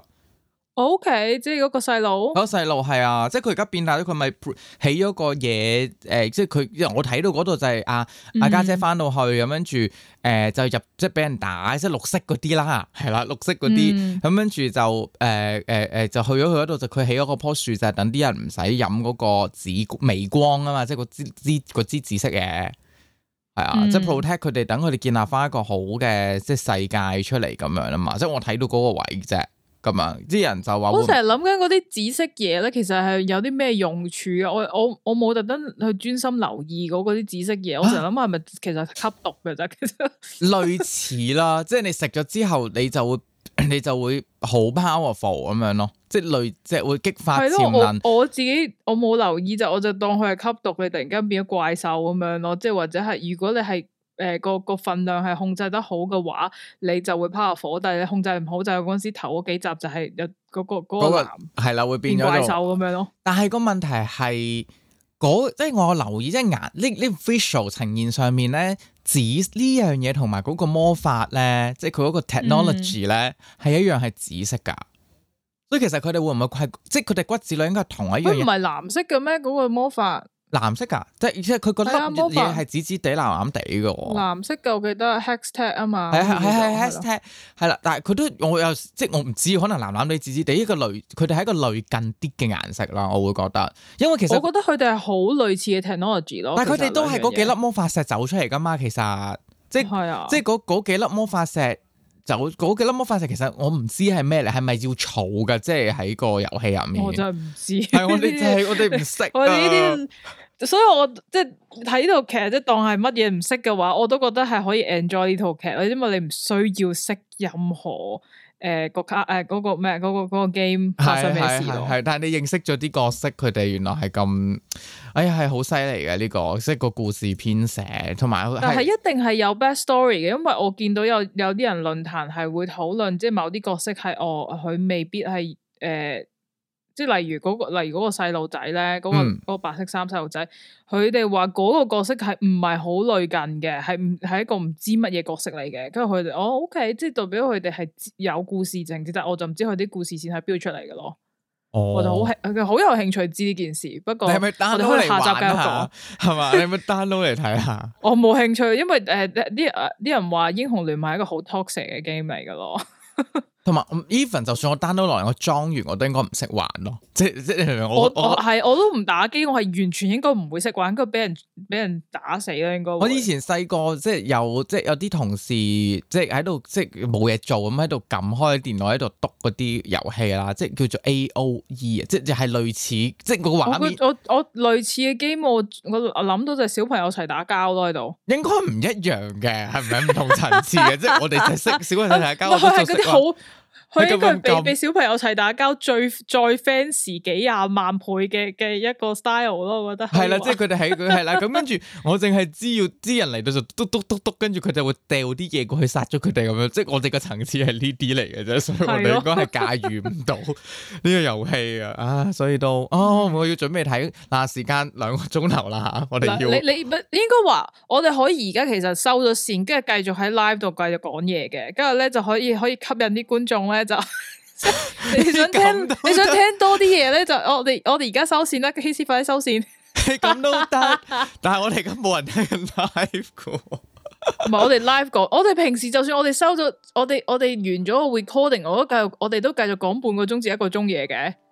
OK，即係嗰個細路。 嗰個細路係啊，即係佢而家變大咗，佢咪起咗個嘢即係佢，因為我睇到嗰度就係阿家姐翻到去咁跟住就入即係俾人打，即係綠色嗰啲啦，係啦，綠色嗰啲咁跟住就就去咗佢嗰度，就佢起咗個棵樹，就係等啲人唔使飲嗰個紫微光啊嘛，即係嗰支紫色嘢係啊，即係 protect 佢哋，等佢哋建立翻一個好嘅即係世界出嚟咁樣啊嘛，即係我睇到嗰個位啫。咁啊！啲人就話我成日諗緊嗰啲紫色嘢咧，其實係有啲咩用處啊？我冇特登去專心留意嗰啲紫色嘢，我成日諗係咪其實吸毒嘅啫？其實類似啦，即係你食咗之後，你就會好 powerful 咁樣咯，即係即係會激發潛能。 我自己我冇留意就我就當佢係吸毒，你突然間變咗怪獸咁樣咯，即係或者係如果你係。個份量係控制得好嘅話，你就會 powerful，但係你控制唔好就係嗰陣時頭嗰幾集就係有嗰個男係啦，會變咗怪獸咁樣咯。 但係個問題係即係我留意即係呢 visual 呈現上面咧，紫呢樣嘢同埋嗰個魔法咧，即係佢嗰個 technology 咧係一樣係紫色噶，所以其實佢哋會唔會係即係佢哋骨子裏應該係同一樣嘢？佢唔係藍色嘅咩？嗰個魔法？ 藍色噶，即係佢覺得嘢係紫紫地、藍藍地嘅。 藍色嘅我記得 Hextech 啊嘛， 係 Hextech 係啦，但係佢都我又即係我唔知，可能藍藍地、紫紫地一個類，佢哋係一個類近啲嘅顏色啦，我會覺得，因為其實我覺得佢哋係好類似嘅 technology 咯。 但係佢哋都係嗰幾粒魔法石走出嚟噶嘛，其實即係即係嗰幾粒魔法石。就嗰幾粒魔法石，其實我唔知係咩嚟，係咪要儲㗎？即係喺個遊戲入面， 我真係唔知。 係我哋就係我哋唔識。 我哋呢啲，所以我即係睇呢套劇，即係當係乜嘢唔識嘅話，我都覺得係可以 enjoy 呢套劇。因為你唔需要識任何個卡嗰個咩嗰個 game 發生咩事咯。係， 但係你認識咗啲角色，佢哋原來係咁，哎呀係好犀利嘅呢個，即係個故事編寫同埋。 但係一定係有 bad story 嘅，因為我見到有啲人論壇係會討論，即係某啲角色係佢未必係即係例如嗰個細路仔咧，嗰個白色衫細路仔，佢哋話嗰個角色係唔係好類近嘅，係一個唔知乜嘢角色嚟嘅。跟住佢哋OK，即係代表佢哋係有故事情節，但係我就唔知佢啲故事線係標出嚟嘅咯。我就好有興趣知呢件事。不過你係咪 download 嚟玩下？係嘛？你係咪 download 嚟睇下？ 我冇興趣，因為啲人話英雄聯盟係一個好 toxic 嘅 game 嚟嘅咯。 同埋 even 就算我 download 落嚟，我裝完我都應該唔識玩咯。即我都唔打機，我係完全應該唔會識玩，應該俾人打死啦。應該我以前細個即係有啲同事即係喺度即係冇嘢做咁喺度撳開電腦喺度篤嗰啲遊戲啦，即係叫做 AOE 啊，即係類似即係個畫面。 我類似嘅 game 我諗到就係小朋友一齊打交咯喺度。應該唔一樣嘅，係咪唔同層次嘅？即係我哋就識小朋友一齊打交。 佢係嗰啲好。佢應該俾小朋友一齊打交再 fancy 幾廿萬倍嘅一個 style 咯，我覺得係啦， 即係佢哋喺佢係啦，咁跟住我淨係知要啲人嚟到就篤，跟住佢就會掉啲嘢過去殺咗佢哋咁樣，即係我哋個層次係呢啲嚟嘅啫，所以我哋應該係駕馭唔到呢個遊戲啊，所以都我要準備睇嗱，時間2個鐘頭啦嚇，我哋要你應該話我哋可以而家其實收咗線，跟住繼續喺 live 度繼續講嘢嘅，跟住咧就可以吸引啲觀眾咧。就你想聽多啲嘢咧，就我哋而家收線啦，KC 快啲收線。 咁都得，但係我哋而家冇人聽緊 live 噶。 唔係我哋 live 講，我哋平時就算我哋收咗，我哋完咗個 recording，我哋都繼續講半個鐘至1個鐘嘢嘅。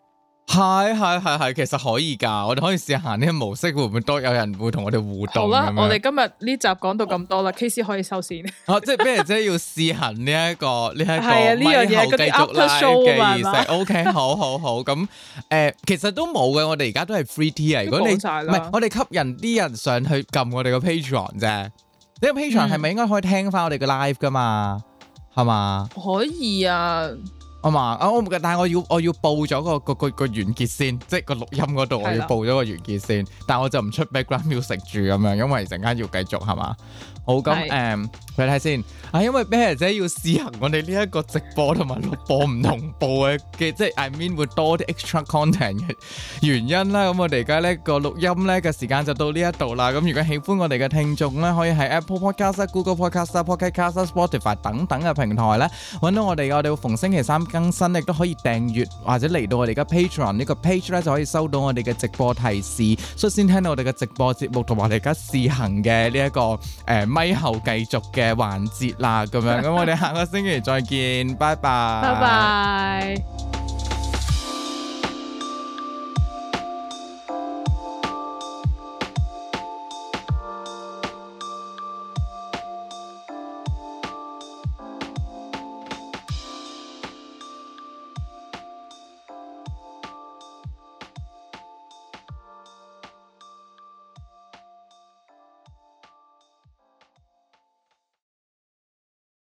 係，其實可以㗎，我哋可以試下呢個模式，會唔會多有人會同我哋互動？ 好啦，我哋今日呢集講到咁多啦，KC 可以收線。 即係咩啫？要試行呢一個咪後樣嘢繼續 live 嘅意思。OK， 好咁其實都冇嘅，我哋而家都係 free tier。如果你唔係，我哋吸引啲人上去撳我哋個 Patreon 啫。呢個 Patreon 係咪應該可以聽翻我哋嘅 live 㗎嘛？係嘛？ 可以啊。 但係我要報咗個完結先，即係個錄音嗰度我要報咗個完結先，但係我就唔出 background music 住咁樣，因為陣間要繼續係嘛。好咁睇睇先因為啤姐要試行我哋呢一個直播同埋錄播唔同步嘅，即係 I mean 會多啲 extra content 嘅原因啦。咁我哋而家呢個錄音呢嘅時間就到呢一度啦。咁如果喜歡我哋嘅聽眾呢，可以喺 Apple Podcast、Google Podcast、Pocket Cast、Spotify 等等嘅平台呢揾到我哋。我哋會逢星期三更新，亦都可以訂閱或者嚟到我哋嘅 Patreon 呢個 page 呢，就可以收到我哋嘅直播提示，率先聽到我哋嘅直播節目同埋我哋而家試行嘅呢一個咪後繼續嘅環節啦，咁樣咁我哋下個星期再見，拜拜。